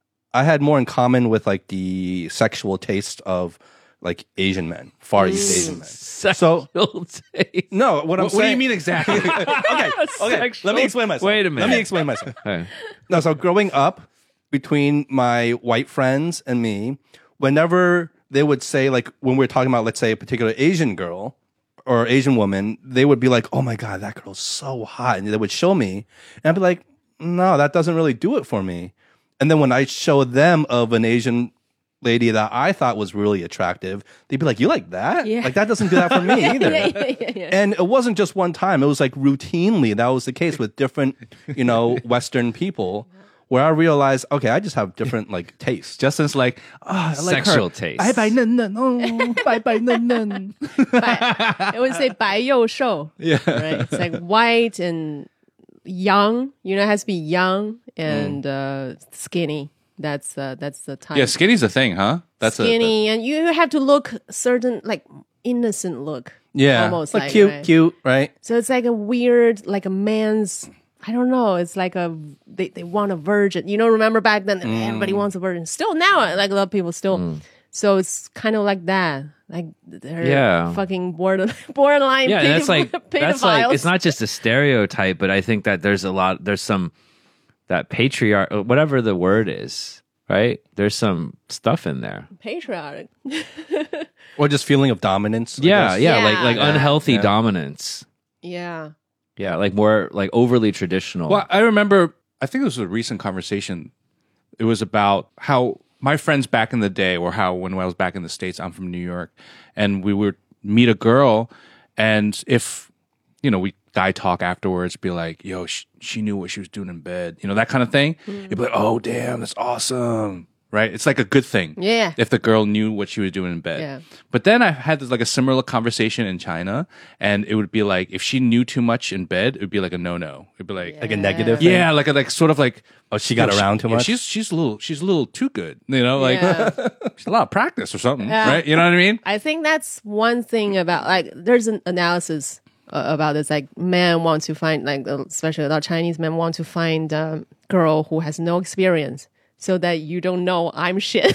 in common with like the sexual taste of like Asian men, Far East Asian men. So taste. no, what I'm What do saying. you mean exactly? Okay. Let me explain myself. Wait a minute. Let me explain myself. Hey. No, so growing up between my white friends and me, whenever they would say like when we were talking about let's say a particular Asian girl or Asian woman, they would be like, "Oh my god, that girl's so hot," and they would show me, and I'd be like, "No, that doesn't really do it for me." And then when I show them of an Asian lady that I thought was really attractive, they'd be like, "You like that? Yeah. Like that doesn't do that for me either." yeah. And it wasn't just one time; it was like routinely that was the case with different, Western people. Where I realized, okay, I just have different like tastes. Justin's like, I like Sexual her. taste. 白白嫩嫩, oh, 白白嫩嫩. It would say 白幼瘦. Yeah. Right. It's like white and young. You know, it has to be young and skinny. That's the type. yeah, skinny's a thing, huh? That's skinny, and you have to look certain, like innocent look. Yeah, Almost like like, cute, right? cute, right? So it's like a weird, like a man's. I don't know. It's like they want a virgin. You know, remember back then everybody wants a virgin. Still now, like a lot of people still. So it's kind of like that. Like they're Yeah. fucking borderline. Yeah, and that's like pedophiles. it's not just a stereotype, but I think that there's some that patriarch, whatever the word is, right? There's some stuff in there. Patriotic. Or just feeling of dominance. I Yeah, guess. yeah, Yeah. like unhealthy Yeah. dominance. Yeah. Yeah, like more like overly traditional. Well, I remember, I think it was a recent conversation. It was about how my friends back in the day, or how when I was back in the States, I'm from New York, and we would meet a girl, and if, we guy talk afterwards, be like, yo, she knew what she was doing in bed, that kind of thing. You'd be like, oh, damn, that's awesome. Right? It's like a good thing. Yeah. If the girl knew what she was doing in bed. Yeah. But then I had this, like a similar conversation in China, and it would be like, if she knew too much in bed, it would be like a no-no. It'd be like, Like a negative thing? yeah, like sort of like, Oh, she got around too yeah, much? she's a little too good. Like Yeah. she's a lot of practice or something, Yeah. right? You know what I mean? I think that's one thing about, like, there's an analysis about this. Like, men want to find, like, especially a lot of Chinese men want to find a girl who has no experience, so that you don't know I'm shit.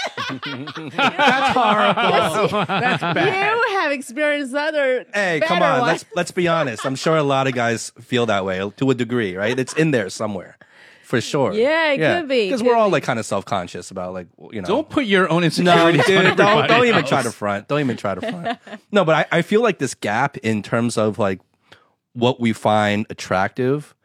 That's horrible. That's bad. You have experienced other. Hey, better come on. ones. Let's be honest. I'm sure a lot of guys feel that way to a degree, right? It's in there somewhere, for sure. Yeah, it could be, Because could we're all be. like kind of self-conscious about like Don't put your own No, insecurities on dude, don't everybody even else. try to front. Don't even try to front. No, but I feel like this gap in terms of like what we find attractive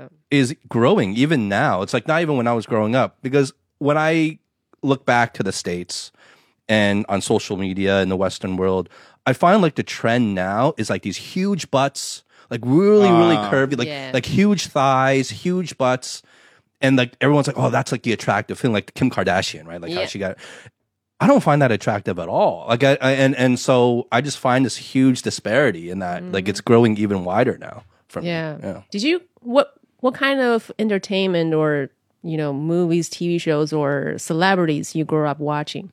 is growing even now. It's like not even when I was growing up, because when I look back to the States and on social media in the Western world, I find like the trend now is like these huge butts, like really curvy, like Yeah. like huge thighs, huge butts. And like everyone's like, oh, that's like the attractive thing, like Kim Kardashian, right? Like how Yeah. she got. I don't find that attractive at all. Like and so I just find this huge disparity in that, like it's growing even wider now. From Yeah. yeah. Did you what kind of entertainment or movies, TV shows, or celebrities you grew up watching?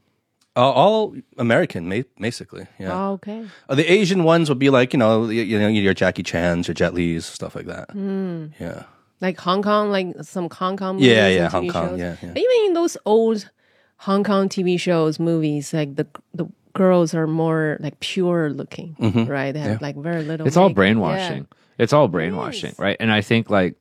All American, basically. Yeah. Oh, okay. The Asian ones would be like your Jackie Chan's, your Jet Li's, stuff like that. Yeah. Like Hong Kong, like some Hong Kong movies. Yeah, and Hong TV Kong, shows. yeah. But even in those old Hong Kong TV shows, movies, like the girls are more like pure looking, right? They have like very little. it's all makeup. brainwashing. It's all brainwashing, right? And I think like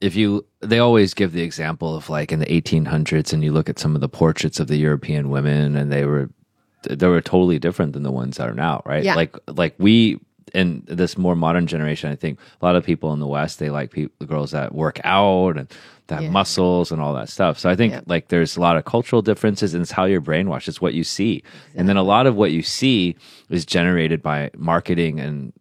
they always give the example of like in the 1800s, and you look at some of the portraits of the European women, and they were totally different than the ones that are now, right? Yeah. Like we in this more modern generation, I think a lot of people in the West, they like the girls that work out and that have Yeah. muscles and all that stuff. So I think Yeah. like there's a lot of cultural differences, and it's how you're brainwashed. It's what you see, and then a lot of what you see is generated by marketing and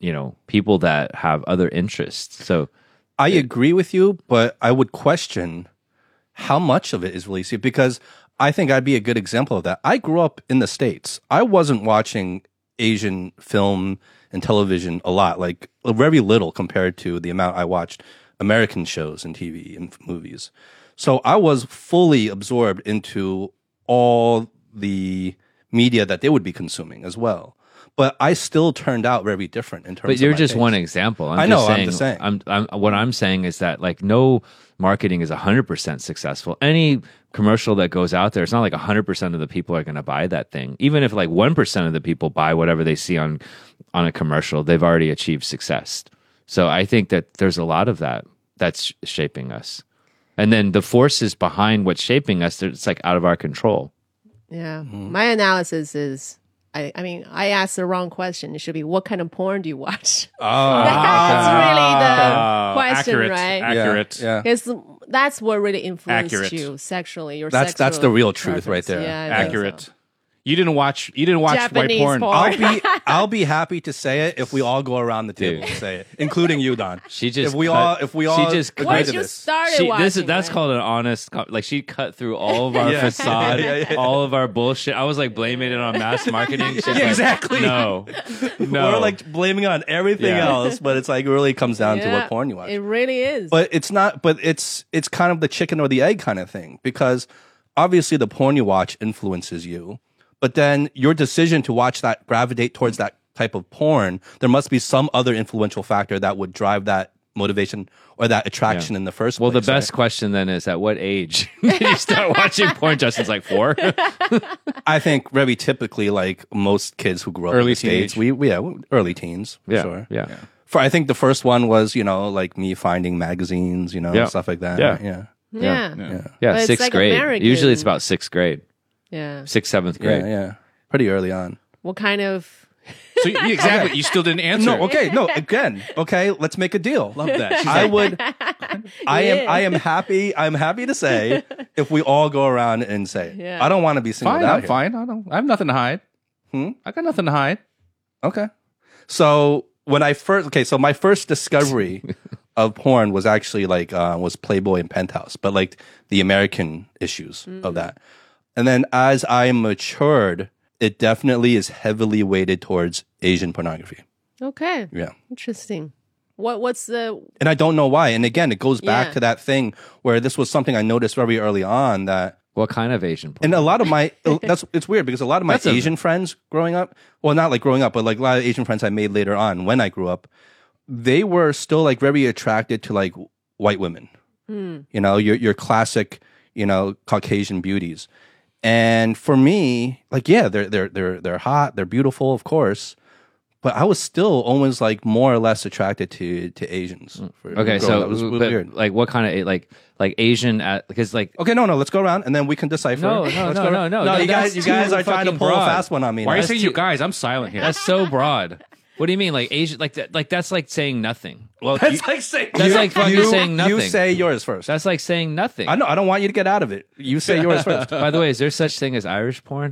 people that have other interests. So I agree with you, but I would question how much of it is really serious, because I think I'd be a good example of that. I grew up in the States. I wasn't watching Asian film and television a lot, like very little compared to the amount I watched American shows and TV and movies. So I was fully absorbed into all the media that they would be consuming as well. But I still turned out very different in terms but of you're my just taste. one example. I know, I'm just saying. What I'm saying is that like no marketing is 100% successful. Any commercial that goes out there, it's not like 100% of the people are going to buy that thing. Even if like 1% of the people buy whatever they see on a commercial, they've already achieved success. So I think that there's a lot of that's shaping us. And then the forces behind what's shaping us, it's like out of our control. Yeah. My analysis is, I mean, I asked the wrong question. It should be, what kind of porn do you watch? That's really the question, accurate, right? Accurate. Yeah. Because that's what really influenced Accurate. you sexually. Your That's sexual the real truth right preference. there. Yeah, I think Accurate. so. You didn't watch Japanese white porn. porn. I'll be happy to say it if we all go around the table and say it, including you, Don. She just if we cut- all she just agree cut- to Once you this. started watching, That's right? called an honest. Like she cut through all of our Yeah. facade, Yeah. all of our bullshit. I was like blaming it on mass marketing. She's like, exactly. No. We're like blaming it on everything Yeah. else, but it's like it really comes down to Yeah, what porn you watch. It really is. But it's not. But it's kind of the chicken or the egg kind of thing, because obviously the porn you watch influences you, but then your decision to watch that, gravitate towards that type of porn, there must be some other influential factor that would drive that motivation or that attraction in the first Well, place. the best question then is, at what age did you start watching porn? Justin's like 4. I think very typically, like most kids who grew up in Early the States, early teens, for Yeah, sure. yeah. For I think the first one was, like me finding magazines, Yeah. stuff like that. Yeah. Yeah. Yeah. Yeah, But it's sixth like grade. American. Usually it's about sixth grade, Yeah. sixth, seventh Yeah, grade. yeah. Pretty early on. What kind of? So exactly, you still didn't answer. No, okay, no, again, okay, let's make a deal. Love that. She's I like, would I am happy to say if we all go around and say Yeah. I don't want to be singled fine, out I'm here. fine. I have nothing to hide. I got nothing to hide. Okay. So when I first so my first discovery of porn was actually like was Playboy and Penthouse, but like the American issues of that. And then as I matured, it definitely is heavily weighted towards Asian pornography. Okay. Yeah. Interesting. What's the? And I don't know why. And again, it goes back Yeah. to that thing where this was something I noticed very early on that What kind of Asian porn? and a lot of my it's weird because a lot of my Asian friends growing up, well, not like growing up, but like a lot of Asian friends I made later on when I grew up, they were still like very attracted to like white women. You know, your classic, you know, Caucasian beauties. And for me, like yeah, they're hot, they're beautiful, of course, but I was still always like more or less attracted to Asians. Okay, so it was but, weird. like what kind of like Asian because like Okay, no, let's go around and then we can decipher. No, Let's no, go around. no. No, you That's guys too are trying to fucking pull a broad. fast one on me. Why are you now. saying you guys? I'm silent here. that's so broad. What do you mean, like Asian? Like that's like saying nothing. Well, That's like saying That's like fucking saying nothing. You say yours first. That's like saying nothing. I know. I don't want you to get out of it. You say yours first. By the way, is there such thing as Irish porn?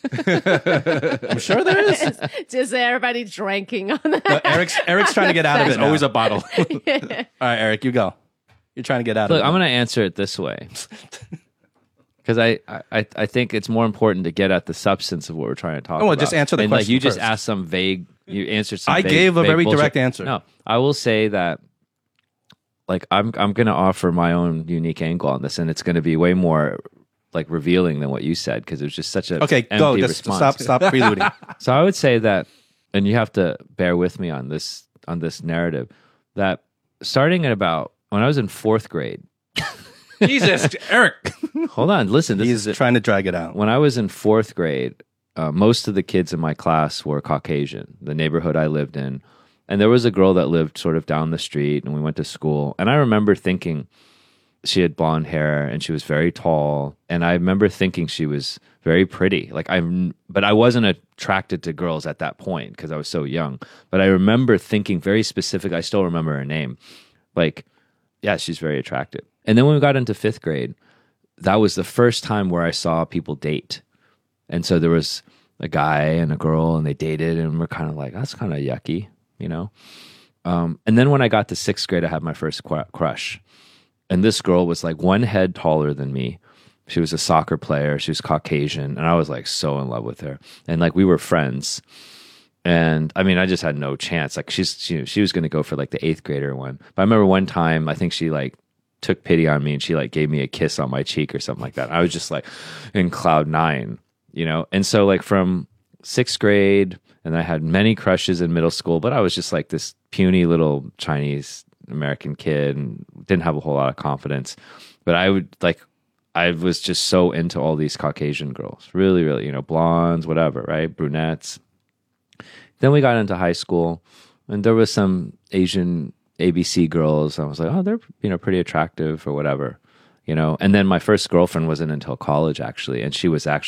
I'm sure there is. Just everybody drinking on that. But Eric's trying to get out of it. There's now. always a bottle. All right, Eric, you go. You're trying to get out Look, of it. I'm going to answer it this way. Because I think it's more important to get at the substance of what we're trying to talk well, about. just answer the and like question you just first. asked some vague. You answered some. I vague, gave a vague very bullshit. direct answer. No, I will say that. Like I'm going to offer my own unique angle on this, and it's going to be way more like revealing than what you said because it was just such a Okay, empty go. Just response. stop preluding. So I would say that, and you have to bear with me on this narrative, that starting at about when I was in fourth grade. Jesus, Eric. Hold on, listen. This He's is trying to drag it out. when I was in fourth grade. Most of the kids in my class were Caucasian. The neighborhood I lived in, and there was a girl that lived sort of down the street, and we went to school. And I remember thinking she had blonde hair and she was very tall, and I remember thinking she was very pretty. But I wasn't attracted to girls at that point because I was so young. But I remember thinking very specific. I still remember her name. Like, yeah, she's very attractive. And then when we got into fifth grade, that was the first time where I saw people date. And so there was a guy and a girl, and they dated, and we're kind of like, that's kind of yucky, you know? And then when I got to sixth grade, I had my first crush. And this girl was like one head taller than me. She was a soccer player. She was Caucasian. And I was like so in love with her. And like we were friends. And I mean, I just had no chance. Like she was going to go for like the eighth grader one. But I remember one time, I think she like took pity on me and she like gave me a kiss on my cheek or something like that. I was just like in cloud nine, you know? And so like from sixth grade, and I had many crushes in middle school, but I was just like this puny little Chinese American kid and didn't have a whole lot of confidence. But I was just so into all these Caucasian girls, really, really, you know, blondes, whatever, right? Brunettes. Then we got into high school, and there was some Asian ABC girls. I was like, oh, they're, you know, pretty attractive or whatever, you know. And then my first girlfriend wasn't until college, actually. And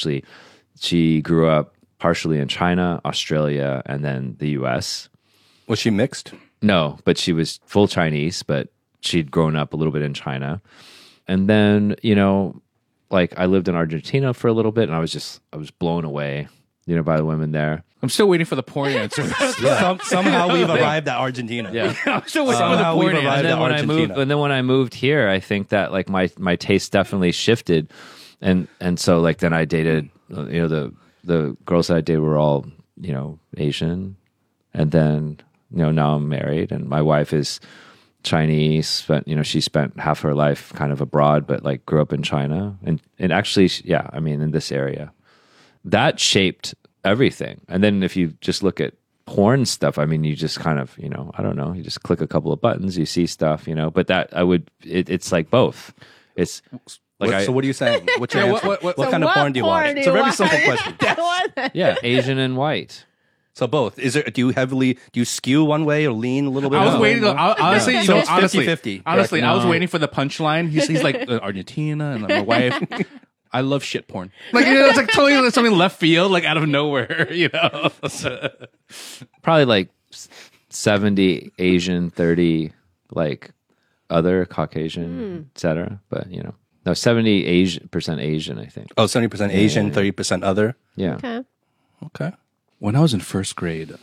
she grew up partially in China, Australia, and then the US. Was she mixed? No, but she was full Chinese, but she'd grown up a little bit in China. And then, you know, like I lived in Argentina for a little bit, and I was blown away, you know, by the women there. I'm still waiting for the porn answer. Somehow we've arrived at Argentina. Yeah. I'm still waiting for the Somehow we've porn arrived answer. at Argentina. And then when I moved here, I think that like my taste definitely shifted, and so like then I dated, you know, the girls that I dated were all, you know, Asian, and then, you know, now I'm married and my wife is Chinese, but you know, she spent half her life kind of abroad, but like grew up in China, and actually, yeah, I mean, in this area, that shaped everything. And then if you just look at porn stuff, I mean, you just kind of, you know, I don't know, you just click a couple of buttons, you see stuff, you know. But that it's like both. It's like So what are you saying? What's your Yeah, what what kind of porn do you watch? It's a very simple question. yeah, Asian and white. So both. Do you skew one way or lean a little bit? I was one way? waiting. Honestly, So it's 50-50. Honestly, I was No. waiting for the punchline. He's like Argentina and my wife. I love shit porn. Like it's like totally something left field, like out of nowhere. Probably like 70 Asian, 30 like other Caucasian, etc. But no, 70% Asian, I think. Oh, 70% Asian, 30% other. Yeah. Okay. Okay. When I was in first grade,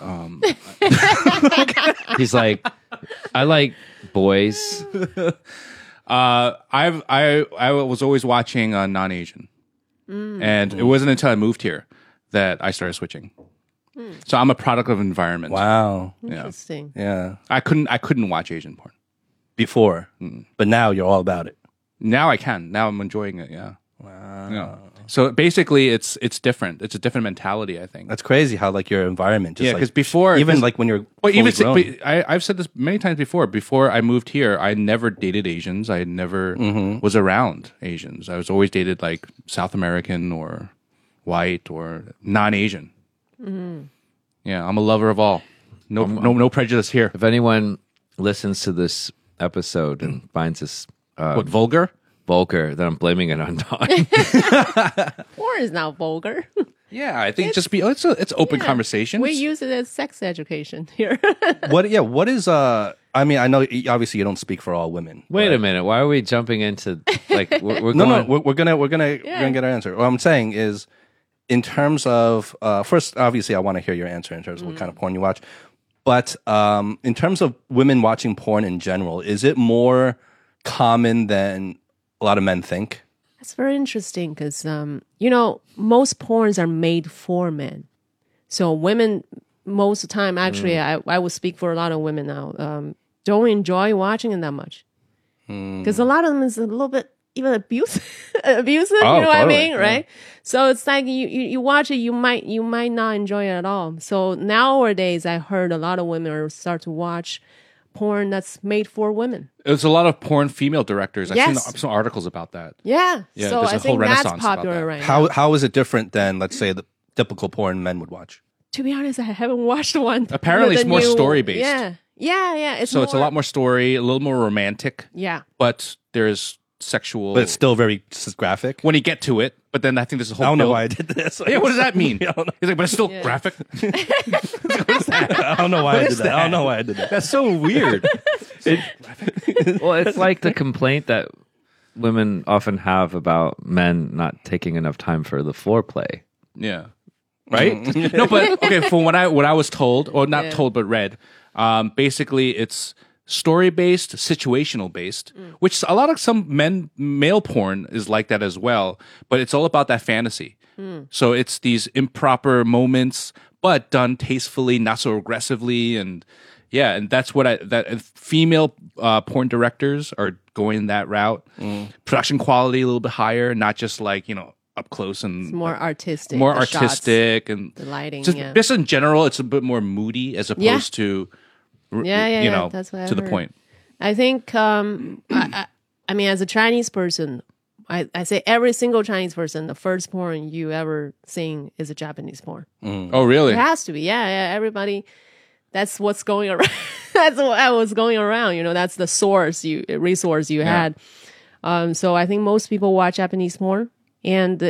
He's like, I like boys. I was always watching non-Asian, and it wasn't until I moved here that I started switching. So I'm a product of environment. Wow. Interesting. Yeah. I couldn't watch Asian porn. Before, but now you're all about it. Now I can. Now I'm enjoying it. Yeah. Wow. Yeah. So basically, it's different. It's a different mentality, I think. That's crazy how like your environment just Yeah, like, because before, even like when you're well, fully even grown. I've said this many times before. Before I moved here, I never dated Asians. I never was around Asians. I was always dated like South American or white or non-Asian. Yeah, I'm a lover of all. No prejudice here. If anyone listens to this episode and finds this What, vulgar? vulgar, then I'm blaming it on Don. Porn is not vulgar. Yeah, I think just be. It's open conversation. We use it as sex education here. What is I mean, I know obviously you don't speak for all women. Wait a minute. Why are we jumping into like we're No, going, we're gonna get our answer. What I'm saying is, in terms of first, obviously, I want to hear your answer in terms of what kind of porn you watch. But in terms of women watching porn in general, is it more common than a lot of men think? That's very interesting because, most porns are made for men. So women, most of the time, actually, I will speak for a lot of women now, don't enjoy watching it that much. Because a lot of them is a little bit even abusive, you know what I mean, right? So it's like you watch it, you might not enjoy it at all. So nowadays, I heard a lot of women are start to watch porn that's made for women. There's a lot of porn female directors. I've Yes. seen some articles about that. Yeah. Yeah, So there's a I whole think that's renaissance about popular that. right now. How is it different than, let's say, the typical porn men would watch? To be honest, I haven't watched one. Apparently with it's the more new- story-based. Yeah. It's So it's a lot more story, a little more romantic, Yeah. but there's sexual. But it's still very graphic. when you get to it. But then I think there's a whole. I don't know build- why I did this. Yeah, what does that mean? I don't know. He's like, but it's still graphic. I don't know why I did that. I don't know why I did that. That's so weird. well, it's like the complaint that women often have about men not taking enough time for the foreplay. Yeah. Right? No, but okay, from what I was told, or not told but read, basically it's story based, situational based, which a lot of some male porn is like that as well, but it's all about that fantasy. So it's these improper moments, but done tastefully, not so aggressively, and yeah, and that's what female porn directors are going that route. Production quality a little bit higher, not just like up close and More artistic. more the shots, artistic and the lighting. just in general, it's a bit more moody as opposed to Yeah, that's what I to the heard. point. I think, I mean, as a Chinese person, I say every single Chinese person, the first porn you ever seen is a Japanese porn. Oh, really? It has to be. Yeah. Everybody, that's what's going around. That's what was going around. That's the resource you had. So I think most people watch Japanese porn. And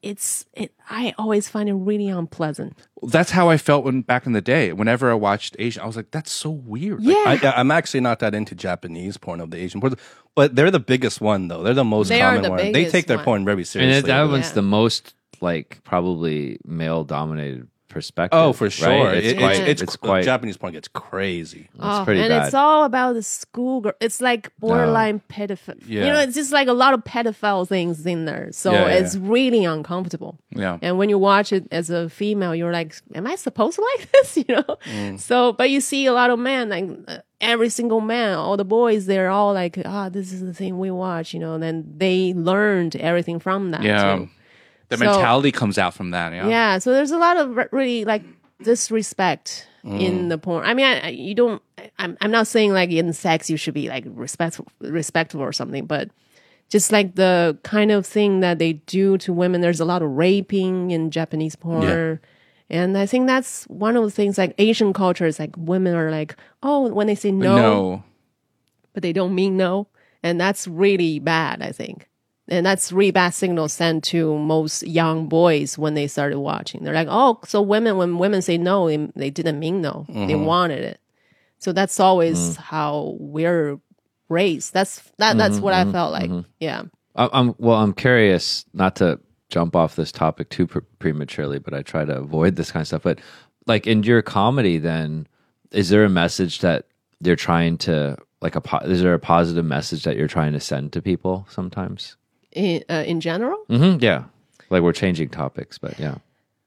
I always find it really unpleasant. That's how I felt back in the day. Whenever I watched Asian, I was like, "That's so weird." Like, I'm actually not that into Japanese porn of the Asian porn, but they're the biggest one though. They're the most They are common the one. They biggest take their one. porn very And seriously. that one's Yeah. the most like probably male dominated perspective. Oh, for sure. Right? It's quite Japanese porn gets crazy. it's pretty and bad. it's all about the schoolgirl. It's like borderline pedophile. Yeah. It's just like a lot of pedophile things in there. So Yeah, yeah. it's really uncomfortable. Yeah. And when you watch it as a female, you're like, am I supposed to like this? So, but you see a lot of men, like every single man, all the boys, they're all like, this is the thing we watch, and then they learned everything from that. yeah, too. the So- mentality comes out from that. Yeah, Yeah, so there's a lot of really like disrespect in the porn. I mean, you don't. I'm not saying like in sex you should be like respectful or something, but just like the kind of thing that they do to women. There's a lot of raping in Japanese porn, And I think that's one of the things, like Asian cultures, like women are like, oh, when they say no, but they don't mean no. And that's really bad, I think. And that's really bad signal sent to most young boys when they started watching. They're like, oh, so when women say no, they didn't mean no. They wanted it. So that's always how we're raised. That's what I felt like. Yeah. I'm curious, not to jump off this topic too prematurely, but I try to avoid this kind of stuff. But like in your comedy, then is there a message that you're trying to is there a positive message that you're trying to send to people sometimes? In general? Mm-hmm, yeah, like we're changing topics, but yeah.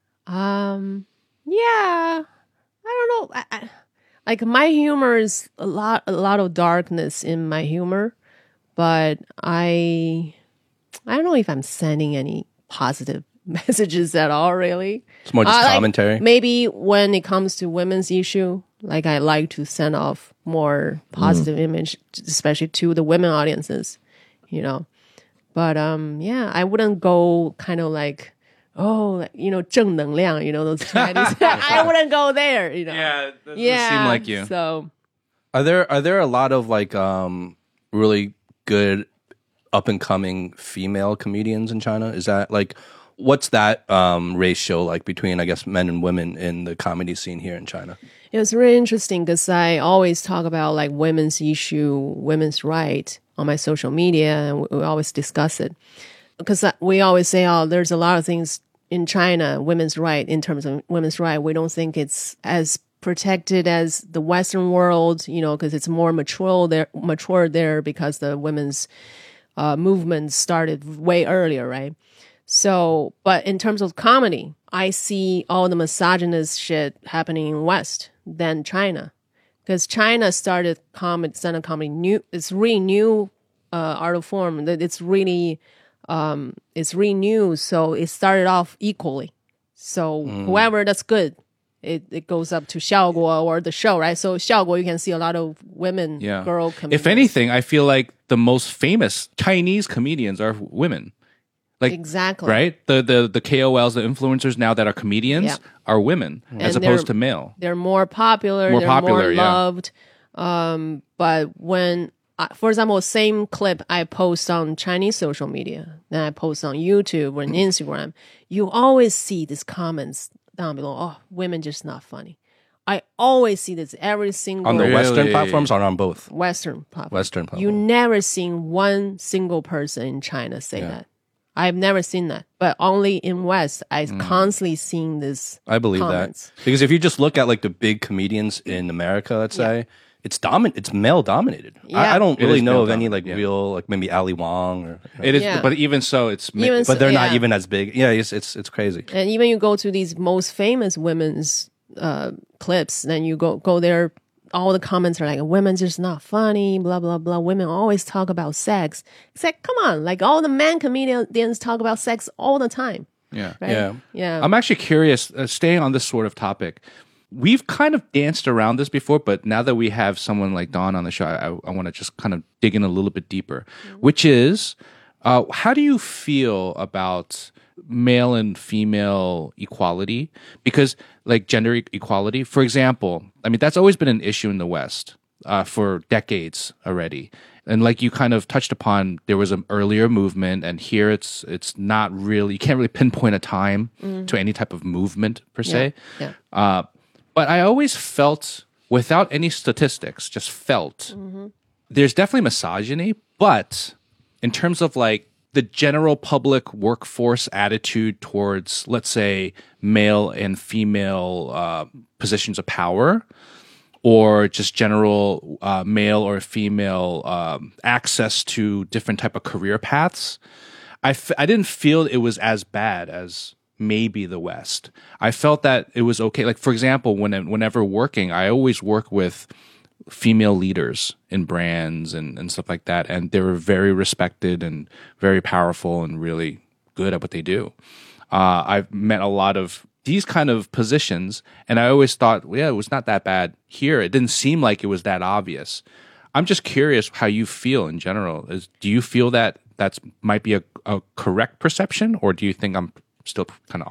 Yeah, I don't know. Like my humor is a lot of darkness in my humor, but I don't know if I'm sending any positive messages at all, really. It's more just commentary. Like maybe when it comes to women's issue, like I like to send off more positive image, especially to the women audiences, you know. But yeah, I wouldn't go kind of like, oh, you know, 正能量, you know, those Chinese. I wouldn't go there, you know. Yeah, that doesn't seem like you. So Are there a lot of like really good up and coming female comedians in China? Is that like what's that ratio like between, I guess, men and women in the comedy scene here in China? it was really interesting because I always talk about like women's issue, women's right on my social media, and we always discuss it because we always say, oh, there's a lot of things in China, women's right, in terms of women's right. We don't think it's as protected as the Western world, you know, because it's more mature there because the women's movement started way earlier, right? So, but in terms of comedy, I see all the misogynist shit happening in West than China. Because China started stand-up comedy new. It's really new art of form. It's really new. So it started off equally. So whoever that's good, it goes up to Xiaoguo or the show, right? So Xiaoguo, you can see a lot of women, girl comedians. If anything, I feel like the most famous Chinese comedians are women. Like, exactly. Right? The KOLs, the influencers now that are comedians are women as opposed to male. They're more popular. They're more loved. But when, for example, same clip I post on Chinese social media, then I post on YouTube or on Instagram, you always see these comments down below. Oh, women just not funny. I always see this every single on the Western platforms or on both? Western platforms. Western platforms. You never seen one single person in China say that. I've never seen that, but only in West, I constantly seeing this. I believe comments. that because if you just look at like the big comedians in America, let's say it's male dominated. Yeah. I don't really know of any dominated, like real like maybe Ali Wong or It is, but even so, it's but they're not even as big. Yeah, it's crazy. And even you go to these most famous women's clips, then you go there. All the comments are like, women's just not funny, blah, blah, blah. Women always talk about sex. It's like, come on. Like all the men comedians talk about sex all the time. Yeah. Right? Yeah. I'm actually curious, staying on this sort of topic. We've kind of danced around this before, but now that we have someone like Dawn on the show, I want to just kind of dig in a little bit deeper, which is, how do you feel about male and female equality? Because like gender equality, for example, I mean, that's always been an issue in the West for decades already. And like you kind of touched upon, there was an earlier movement, and here it's not really, you can't really pinpoint a time to any type of movement per se. Yeah. But I always felt, without any statistics, just felt there's definitely misogyny, but in terms of like the general public workforce attitude towards, let's say, male and female positions of power, or just general male or female access to different type of career paths, I didn't feel it was as bad as maybe the West. I felt that it was okay. Like, for example, whenever working, I always work with female leaders in brands and stuff like that. And they were very respected and very powerful and really good at what they do. I've met a lot of these kind of positions, and I always thought, well, yeah, it was not that bad here. It didn't seem like it was that obvious. I'm just curious how you feel in general. Do you feel that might be a correct perception, or do you think I'm still kind of off?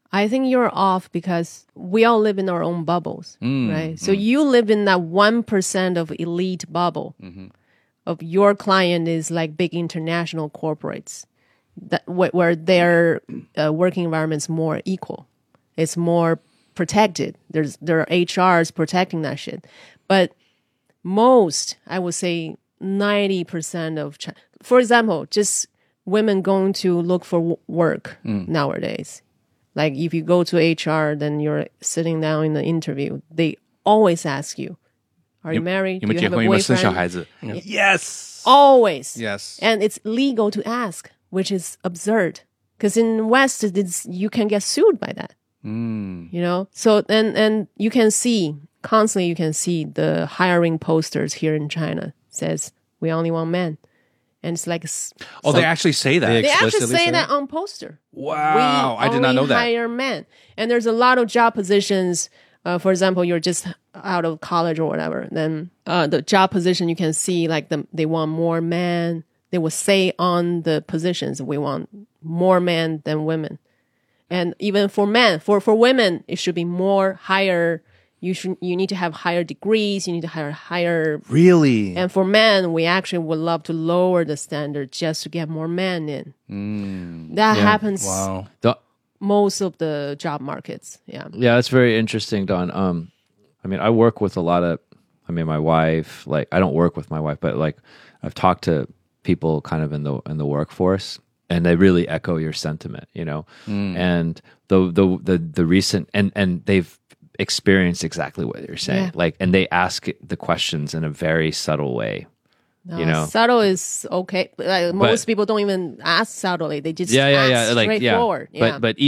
I think you're off because we all live in our own bubbles, right? So you live in that 1% of elite bubble of your client is like big international corporates that where their working environment's more equal. It's more protected. There are HRs protecting that shit. But most, I would say 90% of, for example, just women going to look for work nowadays. Like if you go to HR, then you're sitting down in the interview. They always ask you, "Are you married? Do you have a 有没有生小 boyfriend?" 孩子 Yes. Always. Yes. And it's legal to ask, which is absurd. Because in West, you can get sued by that. You know? So, and you can see, constantly you can see the hiring posters here in China says, "We only want men." And it's like... Oh, they actually say that. They They actually explicitly say say that on poster. Wow, We I did not know only that. hire men. And there's a lot of job positions. For example, you're just out of college or whatever. Then the job position, you can see like they want more men. They will say on the positions, we want more men than women. And even for men, for women, it should be more higher. You need to have higher degrees. You need to hire higher. Really? And for men, we actually would love to lower the standard just to get more men in. That happens Wow. most of the job markets. Yeah. Yeah, that's very interesting, Don. I mean, I work with a lot of. I mean, my wife. Like, I don't work with my wife, but like, I've talked to people kind of in the workforce, and they really echo your sentiment. You know, and the recent and they've experienced exactly what you're saying. Yeah. Like, and they ask the questions in a very subtle way. No, You know? subtle is okay. Like, most people don't even ask subtly. They just ask straightforward. Yeah. But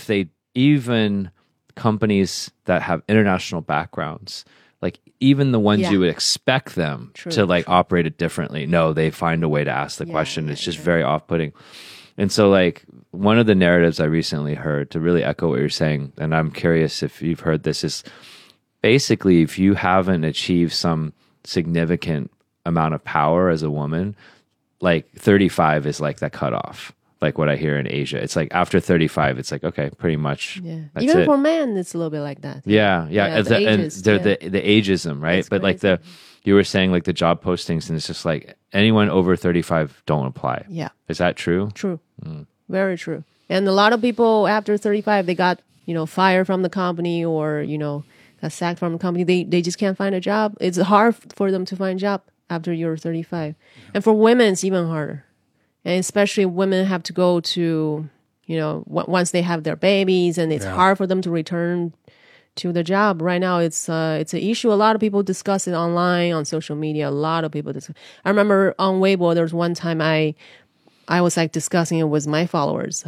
even companies that have international backgrounds, like even the ones you would expect them to like operate it differently, no, they find a way to ask the question. It's just very off-putting. And so like one of the narratives I recently heard, to really echo what you're saying, and I'm curious if you've heard this, is basically if you haven't achieved some significant amount of power as a woman, like 35 is like that cutoff. Like what I hear in Asia, it's like after 35, it's like, okay, pretty much. Yeah. That's Even it. for men, it's a little bit like that. Yeah. Yeah, the and ages, they're yeah. the ageism, right? That's but like crazy. you were saying like the job postings, and it's just like anyone over 35 don't apply. Yeah. Is that true? True. Very true. And a lot of people after 35, they got, fired from the company or, got sacked from the company. They just can't find a job. It's hard for them to find a job after you're 35. And for women, it's even harder. And especially women have to go to, once they have their babies, and it's hard for them to return to the job. Right now, it's an issue. A lot of people discuss it online, on social media. A lot of people discuss. I remember on Weibo, there was one time I was like discussing it with my followers.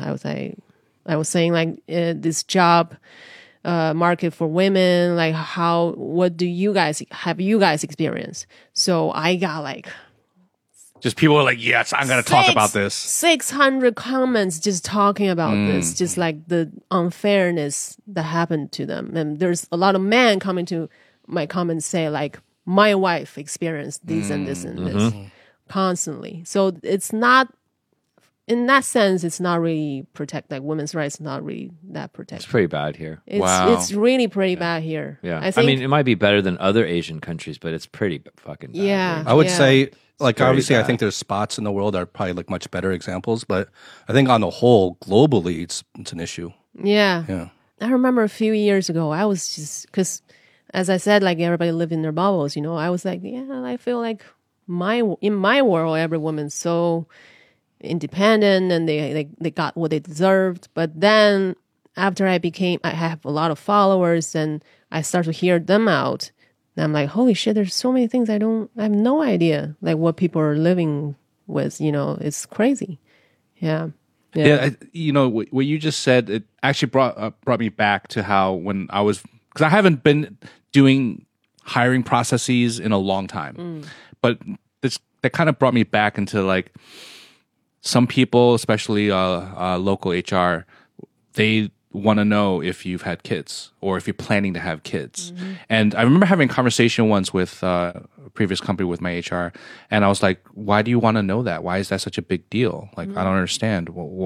I was saying like this job market for women, like what do you guys experienced? So I got like Just people are like, yes, I'm going to talk about this. 600 comments just talking about this, just like the unfairness that happened to them. And there's a lot of men coming to my comments say like, my wife experienced this and this and this constantly. So it's not, in that sense, it's not really like women's rights, not really that protected. It's pretty bad here. It's really pretty bad here. Yeah. I think, mean, it might be better than other Asian countries, but it's pretty fucking bad. Yeah. here. I would Yeah. say, like, very obviously, I bad. think there's spots in the world that are probably like much better examples, but I think on the whole, globally, it's an issue. yeah. Yeah. I remember a few years ago, I was just, because as I said, like everybody lived in their bubbles, I was like, yeah, I feel like in my world, every woman's so independent and they got what they deserved. But then after I have a lot of followers and I start to hear them out, and I'm like, holy shit, there's so many things I have no idea, like what people are living with, it's crazy. Yeah. Yeah, what you just said, it actually brought me back to how when I was, because I haven't been doing hiring processes in a long time, but that kind of brought me back into like some people, especially local HR, they want to know if you've had kids or if you're planning to have kids. And I remember having a conversation once with a previous company with my HR, and I was like, why do you want to know that? Why is that such a big deal? Like, I don't understand. Well,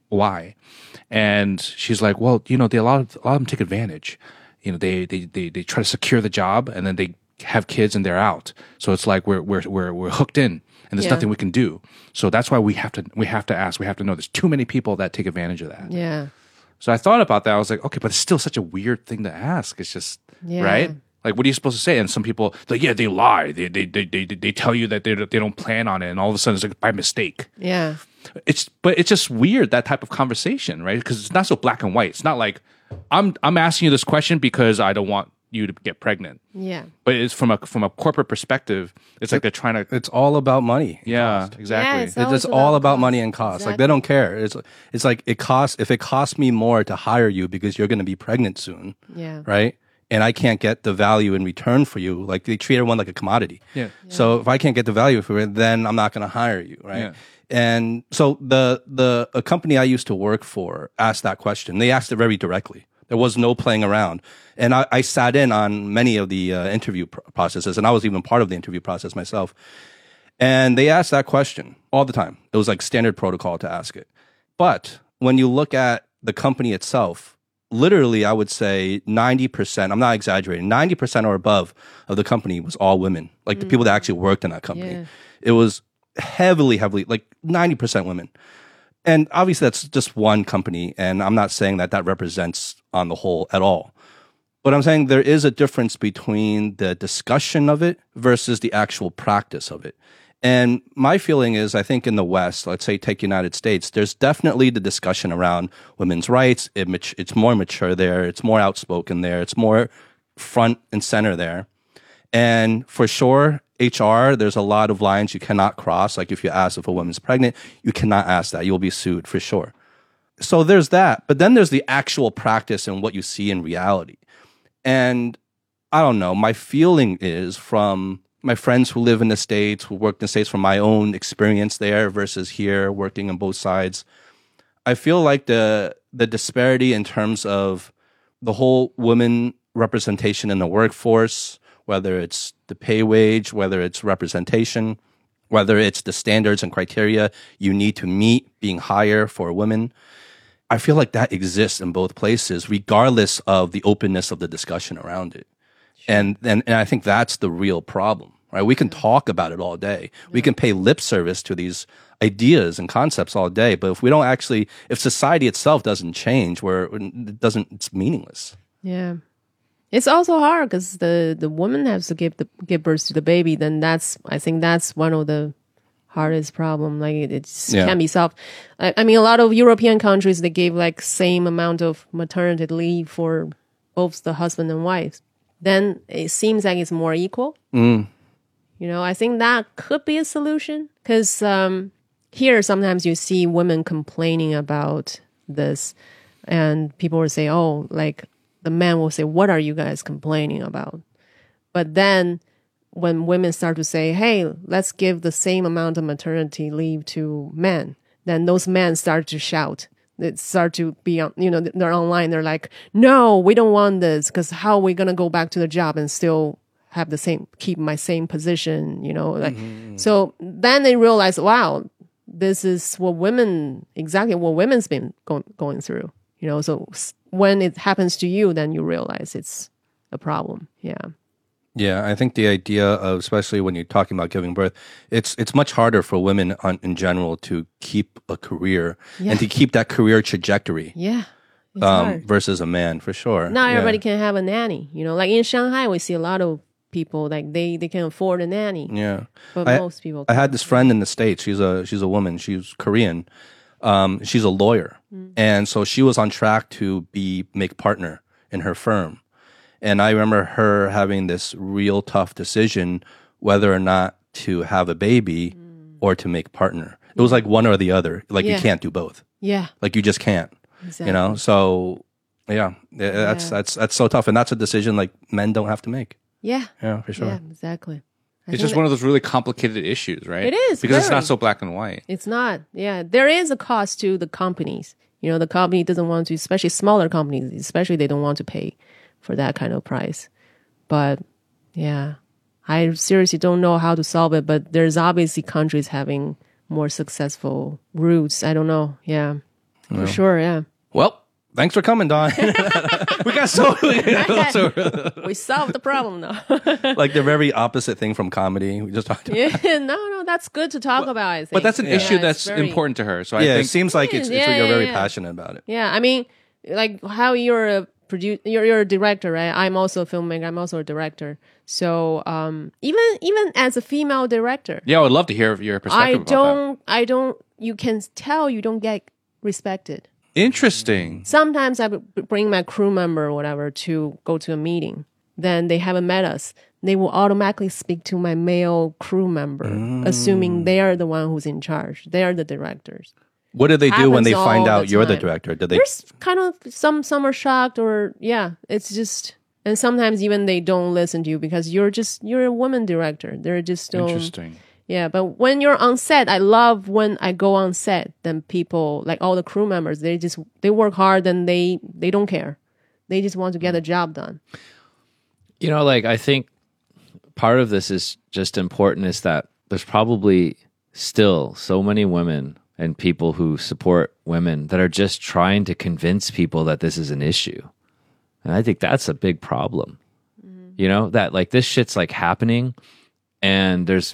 why? And she's like, well, they a lot of them take advantage. They try to secure the job, and then they have kids and they're out. So it's like we're hooked in, and there's nothing we can do. So that's why we have to ask. We have to know. There's too many people that take advantage of that. Yeah. So I thought about that. I was like, okay, but it's still such a weird thing to ask. It's just right. Like, what are you supposed to say? And some people, like, yeah, they lie. They tell you that they don't plan on it, and all of a sudden it's like by mistake. Yeah. But it's just weird, that type of conversation, right? Because it's not so black and white. It's not like I'm asking you this question because I don't want you to get pregnant. Yeah. But it's from a corporate perspective. It's like they're trying to. It's all about money. Yeah, exactly. Yeah, It's all about money and cost. Like, they don't care. It's like if it costs me more to hire you because you're going to be pregnant soon. Yeah. Right. And I can't get the value in return for you. Like, they treat everyone like a commodity. Yeah. So if I can't get the value for it, then I'm not going to hire you. Right. Yeah. And so a company I used to work for asked that question. They asked it very directly. There was no playing around. And I sat in on many of the interview processes, and I was even part of the interview process myself. And they asked that question all the time. It was like standard protocol to ask it. But when you look at the company itself, literally, I would say 90%, I'm not exaggerating, 90% or above of the company was all women, like the people that actually worked in that company. Yeah. It was heavily, like 90% women. And obviously that's just one company, and I'm not saying that represents on the whole at all. But I'm saying there is a difference between the discussion of it versus the actual practice of it. And my feeling is, I think in the West, let's say take United States, there's definitely the discussion around women's rights. It's more mature there. It's more outspoken there. It's more front and center there. And for sure, HR, there's a lot of lines you cannot cross. Like, if you ask if a woman's pregnant, you cannot ask that. You'll be sued for sure. So there's that. But then there's the actual practice and what you see in reality. And I don't know, my feeling is from my friends who live in the States, who work in the States, from my own experience there versus here, working on both sides, I feel like the disparity in terms of the whole women representation in the workforce, whether it's the pay wage, whether it's representation, whether it's the standards and criteria you need to meet being higher for women, I feel like that exists in both places, regardless of the openness of the discussion around it. And I think that's the real problem, right? We can talk about it all day. We can pay lip service to these ideas and concepts all day, but if society itself doesn't change, it's meaningless. Yeah. It's also hard because the woman has to give birth to the baby. Then I think that's one of the hardest problem. Like, it can't be solved. I mean, a lot of European countries, they gave like same amount of maternity leave for both the husband and wife. Then it seems like it's more equal. I think that could be a solution, because here sometimes you see women complaining about this, and people will say, oh, like, the man will say, what are you guys complaining about? But then when women start to say, hey, let's give the same amount of maternity leave to men, then those men start to shout. They start to be, they're online. They're like, no, we don't want this, because how are we going to go back to the job and still have keep my same position, So then they realize, wow, this is exactly what women's been going through, so when it happens to you, then you realize it's a problem. Yeah. Yeah, I think the idea of, especially when you're talking about giving birth, it's much harder for women in general to keep a career and to keep that career trajectory. Yeah. It's hard. Versus a man, for sure. Not everybody can have a nanny. Like in Shanghai, we see a lot of people, like they can afford a nanny. Yeah. But most people can't. I had this friend in the States. She's a woman. She's Korean. She's a lawyer. And so she was on track to make partner in her firm. And I remember her having this real tough decision whether or not to have a baby or to make partner. It was like one or the other. Like, you can't do both. Yeah. Like, you just can't. Exactly. So that's so tough. And that's a decision like men don't have to make. Yeah. Yeah, for sure. Yeah, exactly. It's just one of those really complicated issues, right? It is. Because it's not so black and white. It's not. Yeah. There is a cost to the companies. The company doesn't want to, especially smaller companies, especially they don't want to pay for that kind of price. But yeah, I seriously don't know how to solve it, but there's obviously countries having more successful routes. I don't know. Yeah. For sure, yeah. Well, thanks for coming, Don. We got so We solved the problem though. Like the very opposite thing from comedy. We just talked about. Yeah, no, that's good to talk about. I think, but that's an issue it's that's very- important to her. So I Yeah, it think seems like it's Yeah, you're very yeah. passionate about it. Yeah, I mean, like how you're a you're a director, right? I'm also a filmmaker. I'm also a director. So even as a female director, yeah, I would love to hear your perspective about I don't. You can tell you don't get respected. that. Interesting. Sometimes I would bring my crew member or whatever to go to a meeting. Then they haven't met us. They will automatically speak to my male crew member, assuming they are the one who's in charge. They are the directors. What do they do when they Happens find all out the you're the time. director? Do they? There's kind of some are shocked or it's just, and sometimes even they don't listen to you because you're a woman director. They're just don't. Interesting. Yeah, but when you're on set, I love when I go on set. Then people, like all the crew members, they work hard and they don't care. They just want to get the job done. You know, like I think part of this is just important is that there's probably still so many women and people who support women that are just trying to convince people that this is an issue. And I think that's a big problem. You know, that like this shit's like happening and there's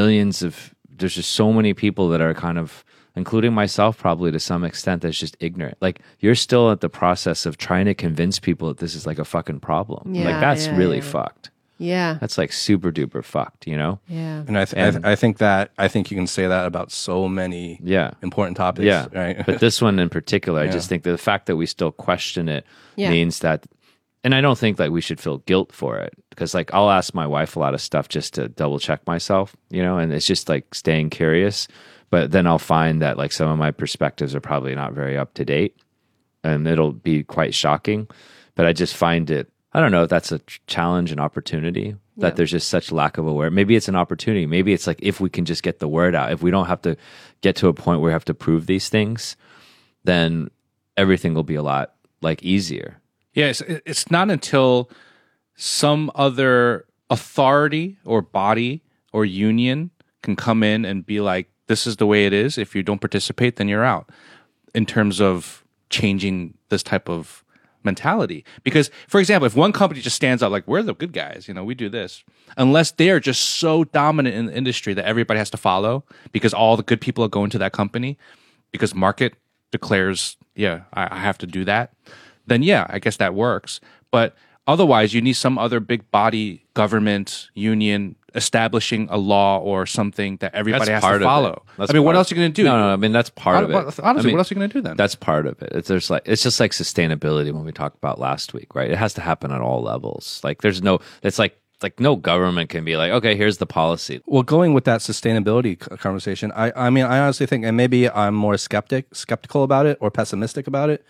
just so many people that are kind of, including myself probably to some extent, that's just ignorant. Like you're still at the process of trying to convince people that this is like a fucking problem. Yeah, like that's yeah, really yeah. fucked. Yeah, That's like super duper fucked, you know? yeah. And I think you can say that about so many Yeah. important topics. Yeah. Right. But this one in particular, I just think that the fact that we still question it Yeah. means that, and I don't think that we should feel guilt for it because like I'll ask my wife a lot of stuff just to double check myself, you know, and it's just like staying curious. But then I'll find that like some of my perspectives are probably not very up to date and it'll be quite shocking. But I just find it, I don't know if that's a challenge and opportunity that there's just such lack of awareness. Maybe it's an opportunity. Maybe it's like if we can just get the word out, if we don't have to get to a point where we have to prove these things, then everything will be a lot like easier. Yeah, it's not until some other authority or body or union can come in and be like, this is the way it is. If you don't participate, then you're out in terms of changing this type of mentality. Because, for example, if one company just stands out like, we're the good guys, you know, we do this, unless they are just so dominant in the industry that everybody has to follow because all the good people are going to that company because market declares, yeah, I have to do that, then yeah, I guess that works. But otherwise, you need some other big body, government, union establishing a law or something that everybody has to follow. I mean, what else are you going to do? No, I mean, that's part of it. Honestly, I mean, what else are you going to do then? That's part of it. It's just like sustainability when we talked about last week, right? It has to happen at all levels. Like it's like no government can be like, okay, here's the policy. Well, going with that sustainability conversation, I mean, I honestly think, and maybe I'm more skeptical about it or pessimistic about it.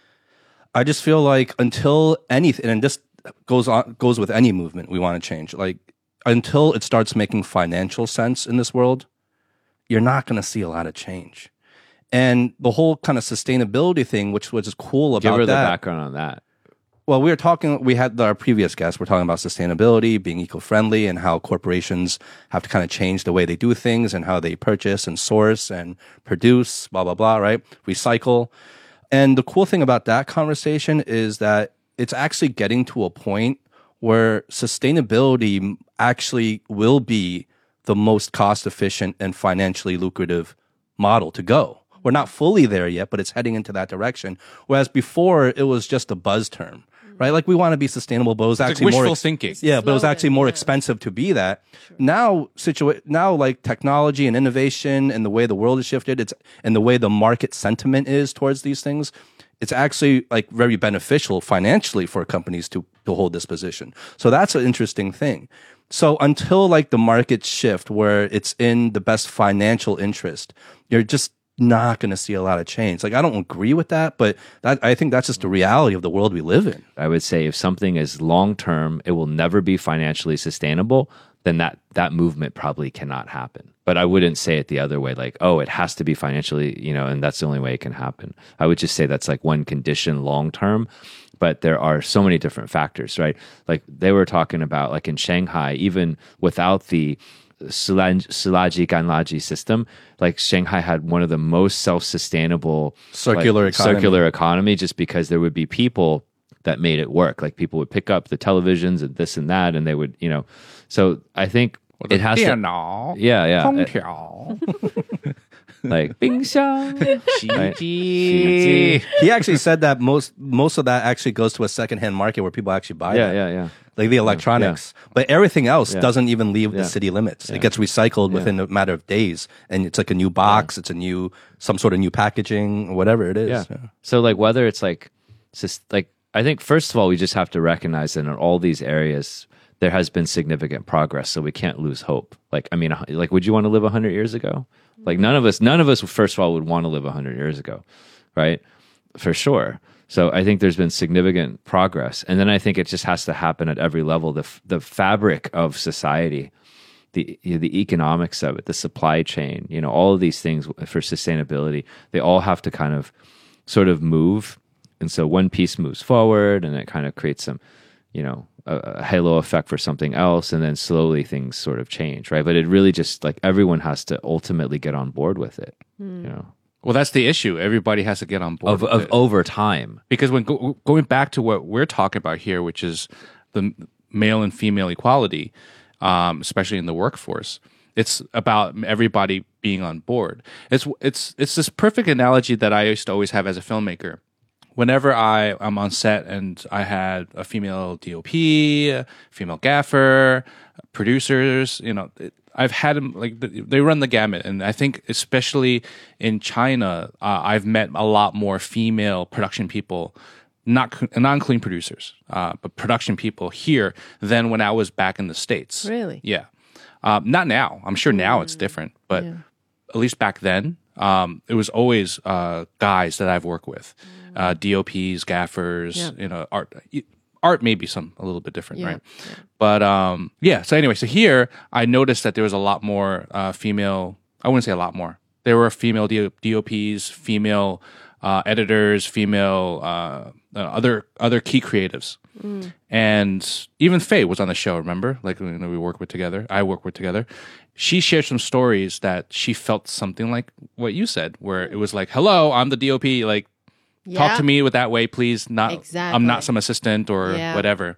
I just feel like until anything, and this goes with any movement we want to change, like until it starts making financial sense in this world, you're not going to see a lot of change. And the whole kind of sustainability thing, which was cool about Give her the that. background on that. Well, we had our previous guest, we're talking about sustainability, being eco-friendly, and how corporations have to kind of change the way they do things and how they purchase and source and produce, blah, blah, blah, right? Recycle. And the cool thing about that conversation is that it's actually getting to a point where sustainability actually will be the most cost-efficient and financially lucrative model to go. We're not fully there yet, but it's heading into that direction. Whereas before, it was just a buzz term, right? Like we want to be sustainable, but it was actually wishful more thinking. Yeah, but it was Slogan, actually more yeah. expensive to be that. Now, like technology and innovation and the way the world has shifted, and the way the market sentiment is towards these things, it's actually like very beneficial financially for companies to hold this position. So that's an interesting thing. So until like the markets shift where it's in the best financial interest, you're just not going to see a lot of change. Like I don't agree with that, but I think that's just the reality of the world we live in. I would say if something is long term, it will never be financially sustainable, then that movement probably cannot happen. But I wouldn't say it the other way, like, oh, it has to be financially, you know, and that's the only way it can happen. I would just say that's like one condition long term. But there are so many different factors, right? Like they were talking about, like in Shanghai, even without the Silaji Ganlaji system, like Shanghai had one of the most self-sustainable Circular economy. circular economy, just because there would be people that made it work. Like people would pick up the televisions and this and that, and they would, so I think it has to, 电脑 yeah. 空调 like 冰箱洗衣机 He actually said that most of that actually goes to a secondhand market where people actually buy that. yeah. Like the electronics. But everything else Yeah. doesn't even leave the Yeah. city limits. It gets recycled within a matter of days. And it's like a new box, it's some sort of new packaging, whatever it is. Yeah. So like whether it's like, I think first of all, we just have to recognize that in all these areas, there has been significant progress. So we can't lose hope. Like, I mean, like, would you want to live 100 years ago? Like none of us, first of all, would want to live 100 years ago. Right. For sure. So I think there's been significant progress. And then I think it just has to happen at every level. The fabric of society, the economics of it, the supply chain, all of these things for sustainability, they all have to kind of sort of move. And so one piece moves forward and it kind of creates some, a halo effect for something else. And then slowly things sort of change, right? But it really just like everyone has to ultimately get on board with it, Well, that's the issue. Everybody has to get on board with it. over time. Because when going back to what we're talking about here, which is the male and female equality, especially in the workforce, it's about everybody being on board. It's this perfect analogy that I used to always have as a filmmaker. Whenever I'm on set and I had a female DOP, a female gaffer, producers, I've had them, like, they run the gamut. And I think especially in China, I've met a lot more female production people, not including producers, but production people here than when I was back in the States. Really? Yeah. Not now. I'm sure now it's different, but at least back then, it was always guys that I've worked with, DOPs, gaffers, art may be a little bit different, right? Yeah. But so anyway, so here I noticed that there was a lot more female, I wouldn't say a lot more. There were female DOPs, female editors, female other key creatives. And even Faye was on the show, remember? Like we work with together. I work with together. She shared some stories that she felt something like what you said, where it was like, "Hello, I'm the DOP. Like, talk to me with that way, please. Not, exactly. I'm not some assistant or whatever."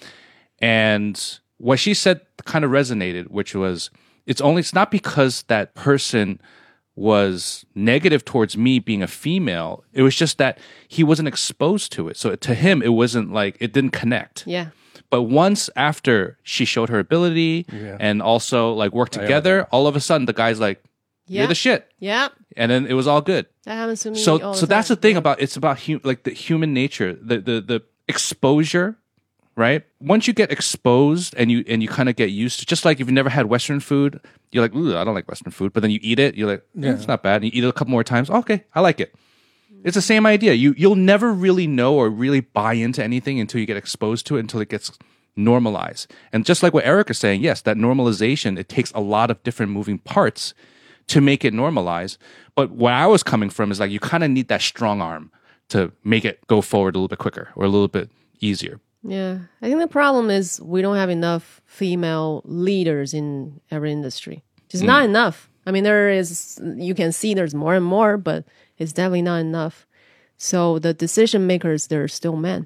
And what she said kind of resonated, which was, it's not because that person was negative towards me being a female. It was just that he wasn't exposed to it. So to him, it wasn't like, it didn't connect. Yeah. But once after she showed her ability and also like worked together, all of a sudden the guy's like, "You're the shit." Yeah. And then it was all good. That happens to me. So all the that's the time. thing about, it's about like the human nature, the exposure, right? Once you get exposed and you kind of get used to, just like if you've never had Western food, you're like, "Ooh, I don't like Western food." But then you eat it, you're like, "It's not bad." And you eat it a couple more times. Okay, I like it. It's the same idea. You'll never really know or really buy into anything until you get exposed to it, until it gets normalized. And just like what Eric is saying, yes, that normalization, it takes a lot of different moving parts to make it normalize. But where I was coming from is like, you kind of need that strong arm to make it go forward a little bit quicker or a little bit easier. Yeah. I think the problem is we don't have enough female leaders in every industry. Just not enough. I mean, you can see there's more and more, but it's definitely not enough. So the decision makers, they're still men.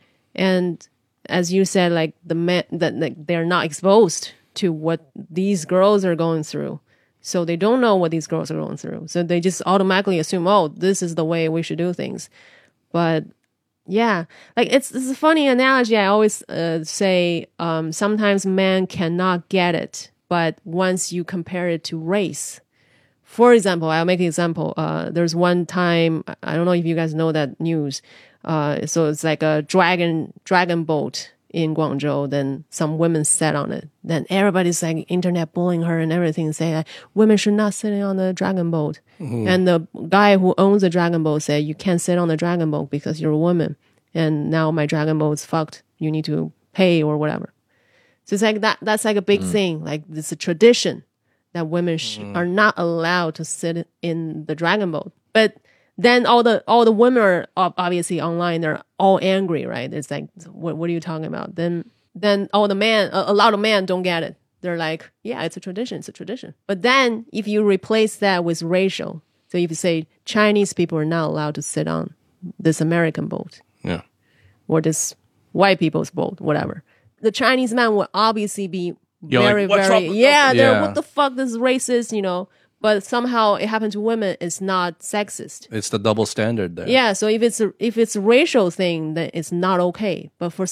And as you said, like the men, that they're not exposed to what these girls are going through. So they don't know what these girls are going through. So they just automatically assume, "Oh, this is the way we should do things." But yeah, like it's a funny analogy. I always say sometimes men cannot get it, but once you compare it to race, for example, I'll make an example. There's one time, I don't know if you guys know that news. So it's like a dragon boat in Guangzhou. Then some women sat on it. Then everybody's like internet bullying her and everything, saying that women should not sit on the dragon boat. And the guy who owns the dragon boat said, "You can't sit on the dragon boat because you're a woman. And now my dragon boat's fucked. You need to pay or whatever." So it's like that's like a big thing. Like it's a tradition that women are not allowed to sit in the dragon boat. But then all the women are obviously online. They're all angry, right? It's like, what are you talking about? Then all the men, a lot of men don't get it. they're like, yeah, it's a tradition. It's a tradition. But then if you replace that with racial, so if you say Chinese people are not allowed to sit on this American boat Yeah. or this white people's boat, whatever, the Chinese man will obviously be You're like, very, "What's very, wrong with yeah, they're, Yeah. what the fuck, this is racist, you know. But somehow it happened to women. It's not sexist. It's the double standard there. Yeah, so if it's a racial thing, then it's not okay. But for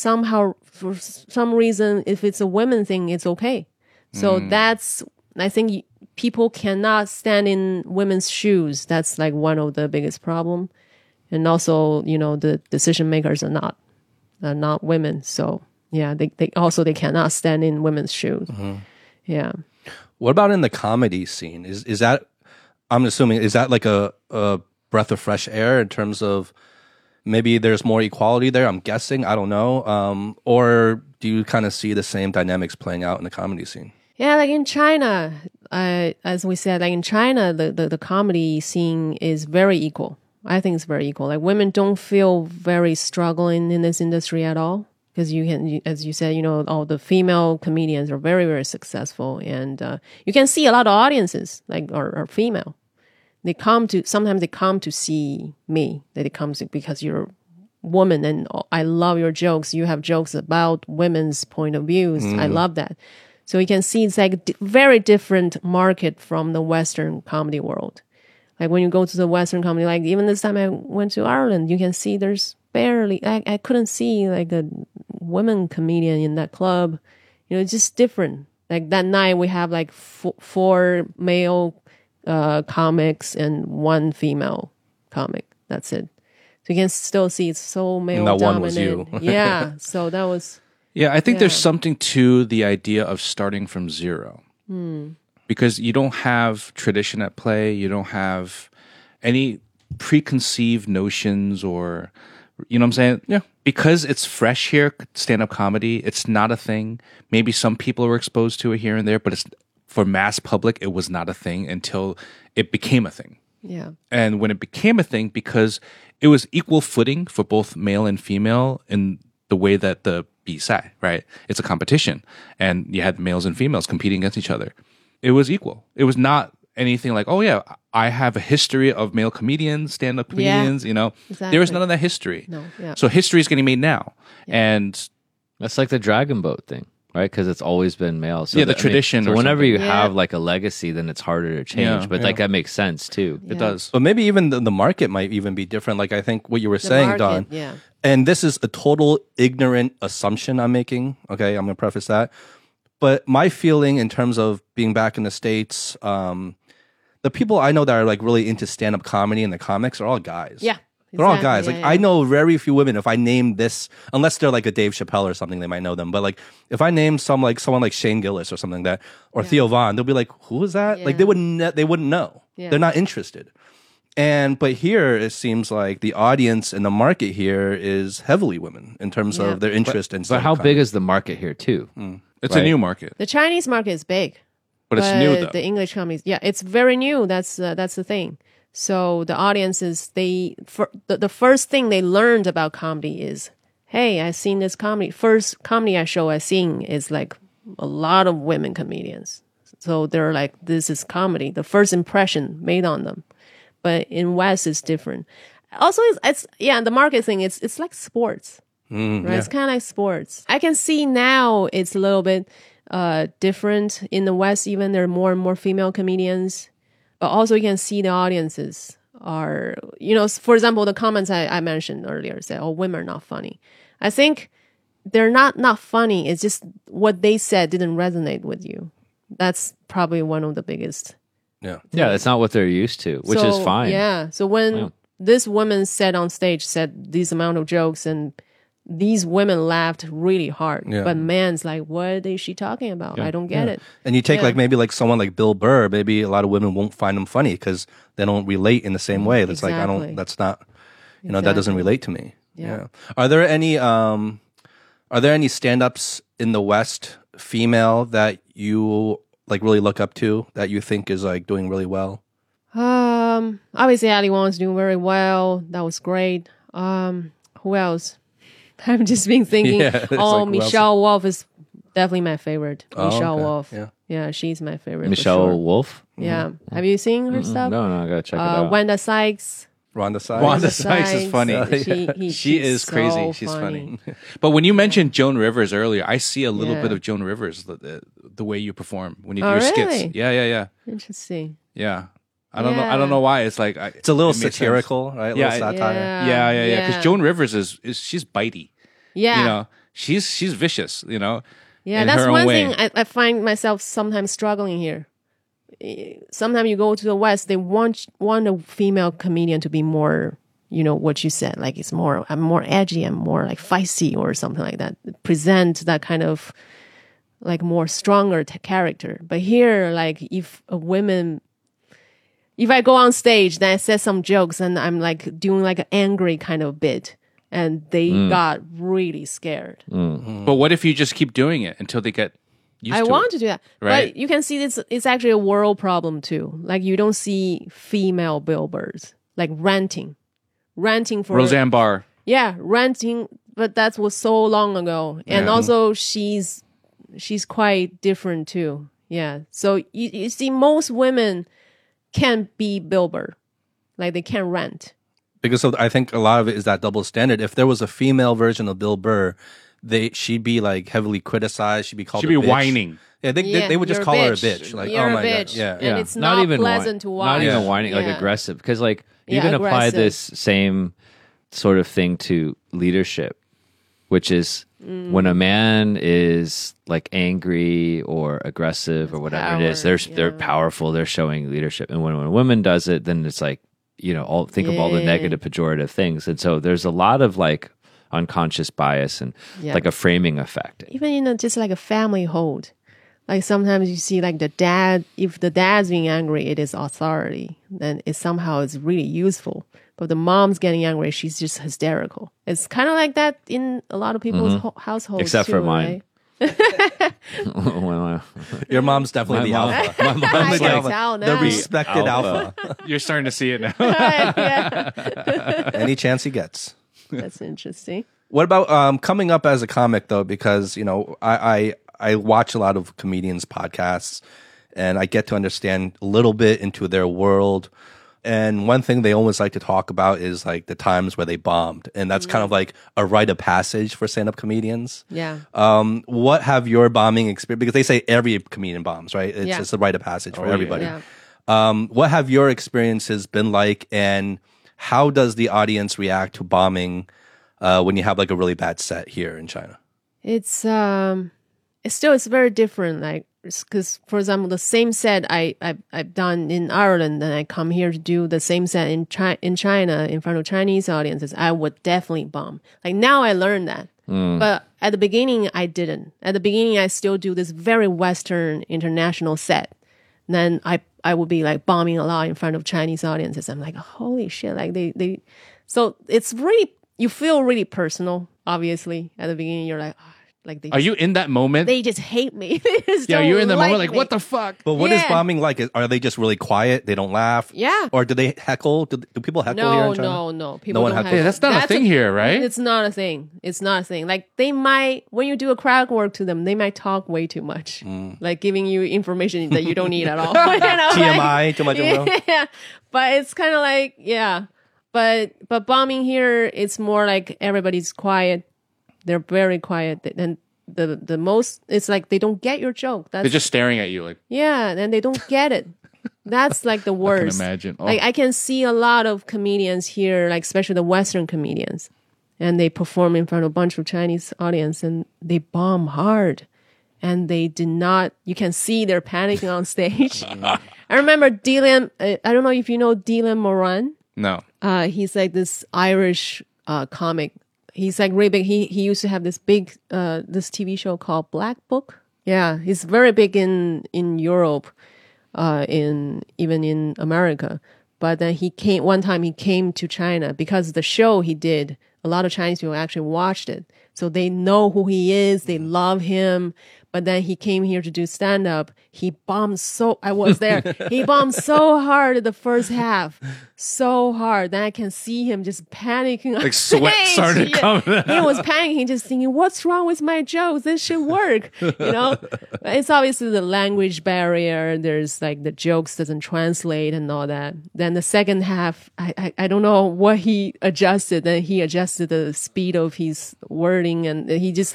some reason, if it's a women thing, it's okay. So that's, I think people cannot stand in women's shoes. That's like one of the biggest problem. And also, you know, the decision makers are not women. So yeah, they cannot stand in women's shoes. Yeah. What about in the comedy scene? Is that, I'm assuming, is that like a breath of fresh air in terms of maybe there's more equality there? I'm guessing. I don't know. Or do you kind of see the same dynamics playing out in the comedy scene? Yeah, like in China, as we said, like in China, the comedy scene is very equal. I think it's very equal. Like women don't feel very struggling in this industry at all. Because as you said, you know, all the female comedians are very, very successful. And you can see a lot of audiences like are female. Sometimes they come to see me. They come to, because you're a woman and I love your jokes. You have jokes about women's point of views. I love that. So you can see it's like very different market from the Western comedy world. Like when you go to the Western comedy, like even this time I went to Ireland, you can see there's barely, I couldn't see like a women comedian in that club. You know, it's just different. Like that night we have like four male comics and one female comic. That's it. So you can still see it's so male And that dominant. one was you. Yeah. So that was, Yeah, I think Yeah. there's something to the idea of starting from zero. Because you don't have tradition at play, you don't have any preconceived notions or, you know what I'm saying? Yeah. Because it's fresh here, stand-up comedy, it's not a thing. Maybe some people were exposed to it here and there, but it's for mass public, it was not a thing until it became a thing. yeah. And when it became a thing, because it was equal footing for both male and female in the way that the BSI, right? It's a competition. And you had males and females competing against each other. It was equal. It was not anything like, oh yeah, I have a history of male comedians, stand-up comedians, you know. There was Exactly. none of that history. No, yeah. So history is getting made now. And That's like the Dragon Boat thing, right? Because it's always been male. So Yeah, the tradition So or whenever something. you Yeah. have like a legacy, then it's harder to change. Yeah, But like that makes sense too. it does. But maybe even the market might even be different. Like I think what you were saying, market, Don. yeah. And this is a total ignorant assumption I'm making. Okay, I'm going to preface that. But my feeling in terms of being back in the States, the people I know that are like really into stand-up comedy and the comics are all guys. Yeah. They're all exactly, guys. yeah, Like yeah. I know very few women. If I name this, unless they're like a Dave Chappelle or something, they might know them. But like if I name someone like Shane Gillis or something like that, or Theo Vaughn, they'll be like, "Who is that?" Like Yeah. they wouldn't know. Yeah. They're not interested. But here it seems like the audience and the market here is heavily women in terms Yeah. of their interest in. But how big is the market here too? It's a Right. new market. The Chinese market is big. But it's new though. The English comedies, yeah, it's very new. That's the thing. So the audiences, the first thing they learned about comedy is, hey, I've seen this comedy. First comedy I seen is like a lot of women comedians. So they're like, this is comedy. The first impression made on them. But in West, it's different. Also, it's the market thing. It's like sports, right? It's kind of like sports. I can see now it's a little bit different in the West. Even there are more and more female comedians, but also you can see the audiences are, you know, for example, the comments I mentioned earlier said, "Oh, women are not funny." I think they're not funny. It's just what they said didn't resonate with you. That's probably one of the biggest. Yeah. Yeah, that's not what they're used to, which is So, fine. Yeah. So when Yeah. this woman said on stage, said this amount of jokes, and these women laughed really hard. Yeah. But man's like, what is she talking about? I don't get it. And you take Yeah. like maybe like someone like Bill Burr, maybe a lot of women won't find him funny because they don't relate in the same way. That's like Exactly. that's not, you know, that doesn't Exactly. relate to me. Yeah. Are there any stand-ups in the West, female, that you like really look up to, that you think is like doing really well? Obviously Ali Wong's doing very well. That was great. Who else? I've just been thinking, Yeah, it's like, who else? Michelle Wolf is definitely my favorite. Oh, Michelle okay. Wolf. Yeah. Yeah, she's my favorite. Michelle for sure. Wolf. Yeah. Have you seen her stuff? No, I gotta check it out. Wanda Sykes. Rhonda Sykes. Wanda Sykes is funny. She She she's is crazy. so She's funny. But when you mentioned Joan Rivers earlier, I see a little Yeah. bit of Joan Rivers, the way you perform when you do Oh, your really? skits. Yeah. Interesting. I don't know. I don't know why. It's like It's a little it makes sense. satirical, right? A Yeah, little satire. Yeah. Because Joan Rivers is she's bitey. Yeah. You know, she's vicious. You know. Yeah, in that's her own one way. thing I find myself sometimes struggling here. Sometimes you go to the West, they want a female comedian to be more, what you said, like I'm more edgy, I'm more like feisty or something like that. Present that kind of like more stronger character. But here, like if I go on stage, then I say some jokes and I'm like doing like an angry kind of bit. And they got really scared. But what if you just keep doing it until they get used I to want it? to do that. Right. But you can see it's actually a world problem too. Like you don't see female billboards like ranting for Roseanne Barr. Yeah, ranting, but that was so long ago. And Yeah. also she's quite different too. Yeah. So you see most women can't be billboard. Like they can't rant. Because I think a lot of it is that double standard. If there was a female version of Bill Burr, she'd be like heavily criticized. She'd be called She'd a be bitch. whining. Yeah, they would just you're call her a bitch. bitch. Like, You're oh a my bitch. god, yeah. And it's not pleasant to watch. Not even Yeah. whining, like Yeah. aggressive. Because like you Yeah, can apply aggressive. this same sort of thing to leadership, which is when a man is like angry or aggressive or whatever it is, power, they're yeah. powerful. They're showing leadership. And when a woman does it, then it's like think of all the Yeah. negative, pejorative things. And so there's a lot of like unconscious bias and Yeah. like a framing effect. Even in just like a family hold. Like sometimes you see like the dad, if the dad's being angry, it is authority. Then it somehow is really useful. But the mom's getting angry, she's just hysterical. It's kind of like that in a lot of people's households. Except too, for mine. right? Well, Your mom's definitely the My mom- alpha. my mom's I The can alpha. tell The now. respected Alpha. alpha. You're starting to see it now. Yeah. Any chance he gets. That's interesting. What about coming up as a comic though? Because I watch a lot of comedians' podcasts, and I get to understand a little bit into their world. And one thing they always like to talk about is like the times where they bombed, and that's kind of like a rite of passage for stand-up comedians. Yeah. What have your bombing experience? Because they say every comedian bombs, right? It's Yeah. just a rite of passage for yeah. everybody. Yeah. What have your experiences been like, and how does the audience react to bombing when you have like a really bad set here in China? It's very different. Like, because for example, the same set I've done in Ireland, and I come here to do the same set in China in front of Chinese audiences, I would definitely bomb. Like now I learned that, but at the beginning I didn't. At the beginning I still do this very Western international set. Then I would be like bombing a lot in front of Chinese audiences. I'm like, holy shit! Like they. So it's really, you feel really personal. Obviously, at the beginning you're like. Like they Are you in that moment? They just hate me. They just Yeah, don't you're in the like moment like, me. what the fuck? But what is Yeah. bombing like? Are they just really quiet? They don't laugh? Yeah. Or do they heckle? Do people heckle here in China? No. People one don't heckles? have. Yeah, that's not a thing here, right? It's not a thing. It's not a thing. Like they might, when you do a crowd work to them, they might talk way too much, like giving you information that you don't need at all. You know, TMI, too much info? Yeah, but it's kind of like But bombing here, it's more like everybody's quiet. They're very quiet, and the most, it's like they don't get your joke. That's They're just staring at you like, yeah, and they don't get it. That's like the worst. imagine. Oh. Like I can see a lot of comedians here, like especially the Western comedians, and they perform in front of a bunch of Chinese audience, and they bomb hard, and they did not. You can see they're panicking on stage. I remember Dylan. I don't know if you know Dylan Moran. no. He's like this Irish comic. He's like really big. He used to have this big this TV show called Black Book. Yeah, he's very big in Europe, even in America. But then he came to China because the show he did a lot of Chinese people actually watched it. So they know who he is. They love him. But then he came here to do stand up. He bombed I was there. He bombed so hard at the first half. So hard. Then I can see him just panicking. Like sweat started coming out. He was panicking, just thinking, what's wrong with my jokes? This should work. It's obviously the language barrier. There's like the jokes doesn't translate and all that. Then the second half, I don't know what he adjusted. Then he adjusted the speed of his wording and he just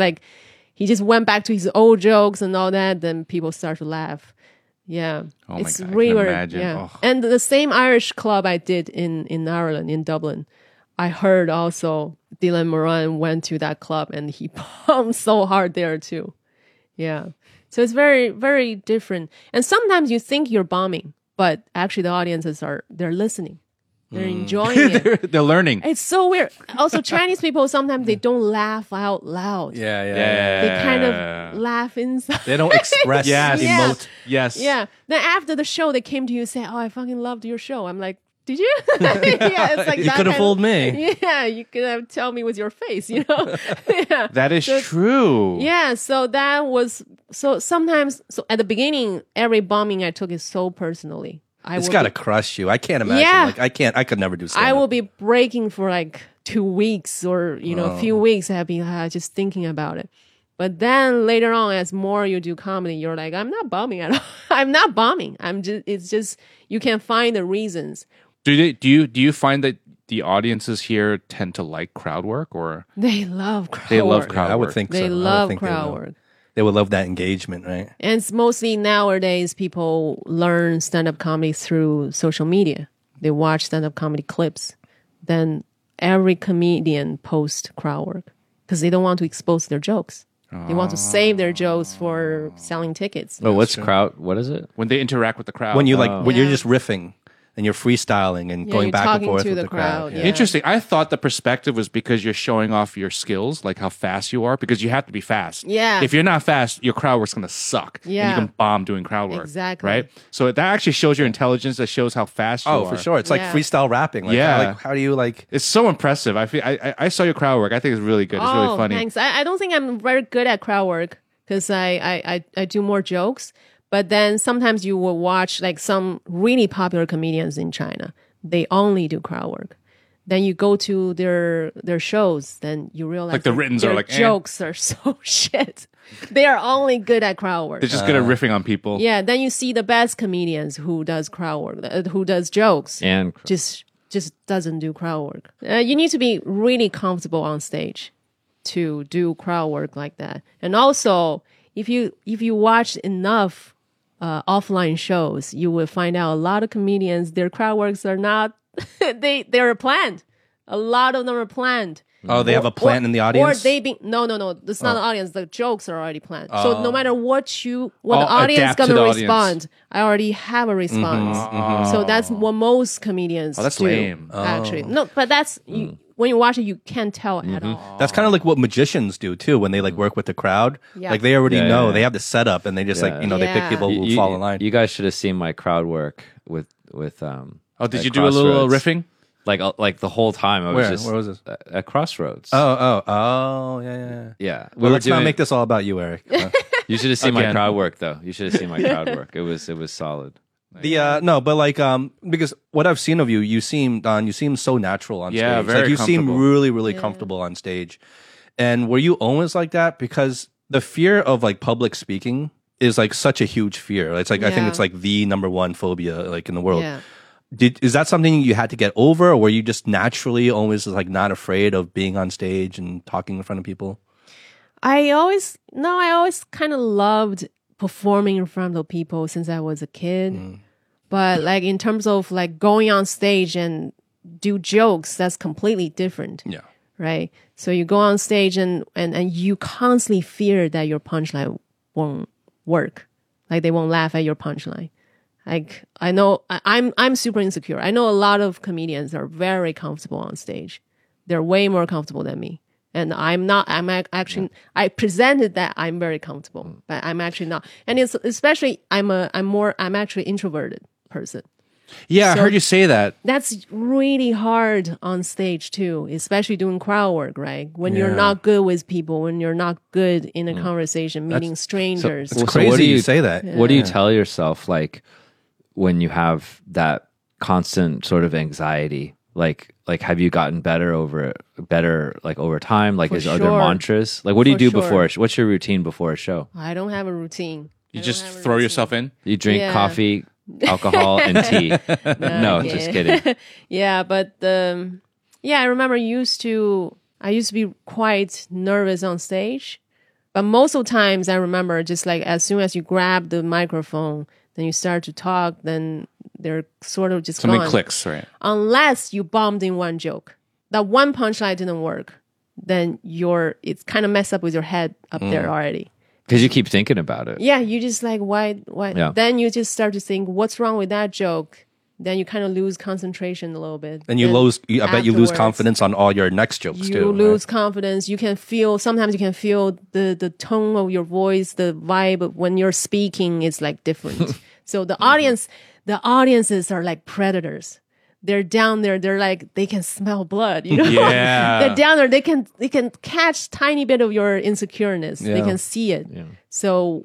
went back to his old jokes and all that. Then people start to laugh. Yeah. Oh my It's God, I really can weird. imagine. Yeah. Oh. And the same Irish club I did in Ireland, in Dublin, I heard also Dylan Moran went to that club and he bombed so hard there too. Yeah. So it's very, very different. And sometimes you think you're bombing, but actually the audiences they're listening. They're enjoying it. They're learning. It's so weird. Also, Chinese people, sometimes they don't laugh out loud. Yeah. They kind of laugh inside. They don't express, Yes. Yeah. emote. Yes. Yeah. Then after the show, they came to you and said, "Oh, I fucking loved your show." I'm like, "Did you?" Yeah, it's like You that could have kind fooled of- me. Yeah, you could have told me with your face, Yeah. That is true. Yeah. So that was sometimes. So at the beginning, every bombing I took is so personally. It's got to crush you. I can't imagine. Yeah. Like, I could never do stand I will be breaking for like 2 weeks or, a few Oh. weeks. I'll be just thinking about it. But then later on, as more you do comedy, you're like, I'm not bombing at all. I'm not bombing. It's just, you can find the reasons. Do you find that the audiences here tend to like crowd work or They love crowd they love work. crowd I would work? think so. They I would love think they crowd will. work. They would love that engagement, right? And it's mostly nowadays people learn stand-up comedy through social media. They watch stand-up comedy clips. Then every comedian posts crowd work because they don't want to expose their jokes. They want to save their jokes for selling tickets. Oh, what is it? When they interact with the crowd. When you when you're Yeah. just riffing and you're freestyling and Yeah, going you're back and talking forth to with the the crowd. crowd, Yeah. yeah. Interesting. I thought the perspective was because you're showing off your skills, like how fast you are, because you have to be fast. Yeah. If you're not fast, your crowd work's going to suck. And Yeah. you can bomb doing crowd work. Exactly. Right? So that actually shows your intelligence. That shows how fast you are. Oh, for sure. It's like Yeah. freestyle rapping. Like, Yeah. how do you like? It's so impressive. I saw your crowd work. I think it's really good. It's really funny. Thanks. I don't think I'm very good at crowd work because I do more jokes. But then sometimes you will watch like some really popular comedians in China. They only do crowd work. Then you go to their shows, then you realize Like the that writtens are their like, eh. jokes are so shit. They are only good at crowd work. They're just good at riffing on people. Yeah, then you see the best comedians who does crowd work, who does jokes. And just doesn't do crowd work. You need to be really comfortable on stage to do crowd work like that. And also, if you watch enough offline shows, you will find out a lot of comedians, their crowd works are not they're planned. A lot of them are planned. Oh, they have a plant in the audience. Or they be no, it's not the audience. The jokes are already planned. Oh. So no matter what the Oh, audience adapt to gonna the audience. respond, I already have a response. So that's what most comedians Oh, that's do. lame. Actually, no, but that's when you watch it, you can't tell at all. That's kind of like what magicians do too when they like work with the crowd. Yeah. Like they already Yeah, know yeah. they have the setup and they just like they Yeah. pick people who fall in line. You guys should have seen my crowd work with Oh, did at you do a little Crossroads. riffing? Like the whole time I was Where? just Where was this? at Crossroads. Oh, yeah. Yeah. Well, let's not make this all about you, Eric. You should have seen my Again. crowd work though. You should have seen my crowd work. It was solid. No, but like because what I've seen of you, you seem so natural on Yeah, stage. very like you seem comfortable. really comfortable on stage. And were you always like that? Because the fear of like public speaking is like such a huge fear. It's like I think Yeah. it's like the number one phobia like in the world. Yeah. Is that something you had to get over, or were you just naturally always like not afraid of being on stage and talking in front of people? I always kind of loved performing in front of people since I was a kid. But like in terms of like going on stage and do jokes, that's completely different. Yeah. Right? So you go on stage and you constantly fear that your punchline won't work. Like they won't laugh at your punchline. Like I know I'm super insecure. I know a lot of comedians are very comfortable on stage. They're way more comfortable than me. And I'm not, actually, I presented that I'm very comfortable, but I'm actually not. And it's especially, I'm actually introverted person. Yeah, I So- heard you say that. That's really hard on stage too, especially doing crowd work, right? When you're Yeah. not good with people, when you're not good in a conversation, meeting strangers. It's Well, so crazy what do you you- say that. What do you tell yourself like when you have that constant sort of anxiety? Like have you gotten better over time? Like For are there sure. mantras? Like what do you For do sure. before? What's your routine before a show? I don't have a routine. You I just don't have a throw routine. yourself in. You drink Yeah. coffee, alcohol, and tea. No, yeah. just kidding. Yeah, but I remember I used to be quite nervous on stage, but most of the times I remember just like as soon as you grab the microphone, then you start to talk, then they're sort of just Something gone. clicks, right? Unless you bombed in one joke, that one punchline didn't work, then it's kind of messed up with your head up there already. Because you keep thinking about it. Yeah, you just like why? Yeah. Then you just start to think, what's wrong with that joke? Then you kind of lose concentration a little bit. And I bet you lose afterwards, confidence on all your next jokes You too. lose confidence. You can feel sometimes you can feel the tone of your voice, the vibe when you're speaking is like different. So the audiences are like predators. They're down there. They're like they can smell blood. You know, Yeah. they're down there. They can catch tiny bit of your insecureness. They Yeah. can see it. So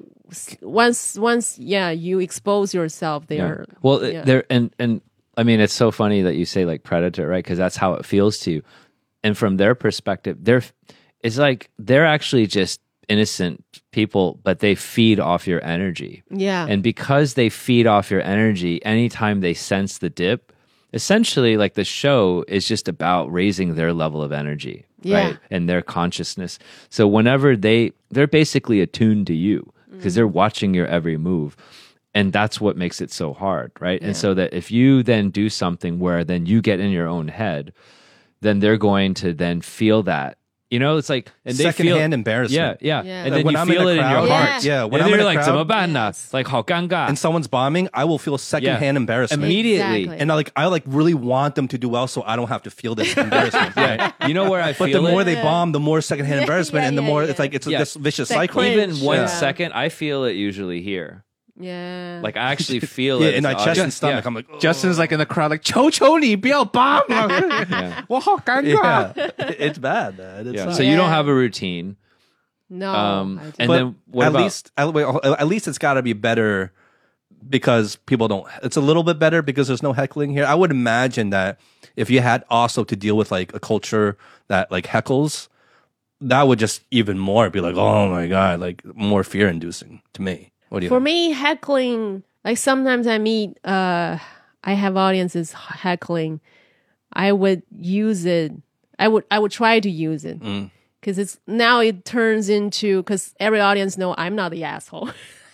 once you expose yourself, they are Well, yeah. there and I mean, it's so funny that you say like predator, right? Because that's how it feels to you. And from their perspective, it's like they're actually just innocent people, but they feed off your energy. Yeah. And because they feed off your energy, anytime they sense the dip, essentially like the show is just about raising their level of energy, Yeah. right? And their consciousness. So whenever they're basically attuned to you because they're watching your every move. And that's what makes it so hard, right? And so that if you then do something where then you get in your own head, then they're going to then feel that. You know, it's like and they feel Secondhand embarrassment. Yeah. Yeah. And Like then when you I'm in feel a it in your crowd- heart. Yeah, when and I'm then in you're a like, crowd- 怎么办呢? Yes. Like, 好尴尬. And someone's bombing, I will feel secondhand embarrassment. Immediately. Exactly. And I really want them to do well so I don't have to feel this embarrassment. Yeah. You know where I But feel the more it? they bomb, the more secondhand embarrassment, and the more yeah. it's like it's Yeah. this vicious That cycle. cringe. Even 1 Yeah. second, I feel it usually here. Yeah. Like I actually feel Yeah, it. in my as chest the and stomach, Yeah. I'm like, oh. Justin's like in the crowd, like, 求求你不要 bomb. 我好尴尬. yeah, it's bad, man. It's yeah. not- So you don't Yeah. have a routine. no. and I don't. But then what about at least it's got to be better because people don't. It's a little bit better because there's no heckling here. I would imagine that if you had also to deal with like a culture that like heckles, that would just even more be like, oh my god, like more fear inducing to me. What do you For think? me, heckling, like sometimes I meet, I have audiences heckling. I would use it. I would try to use it because it turns into, because every audience know I'm not the asshole,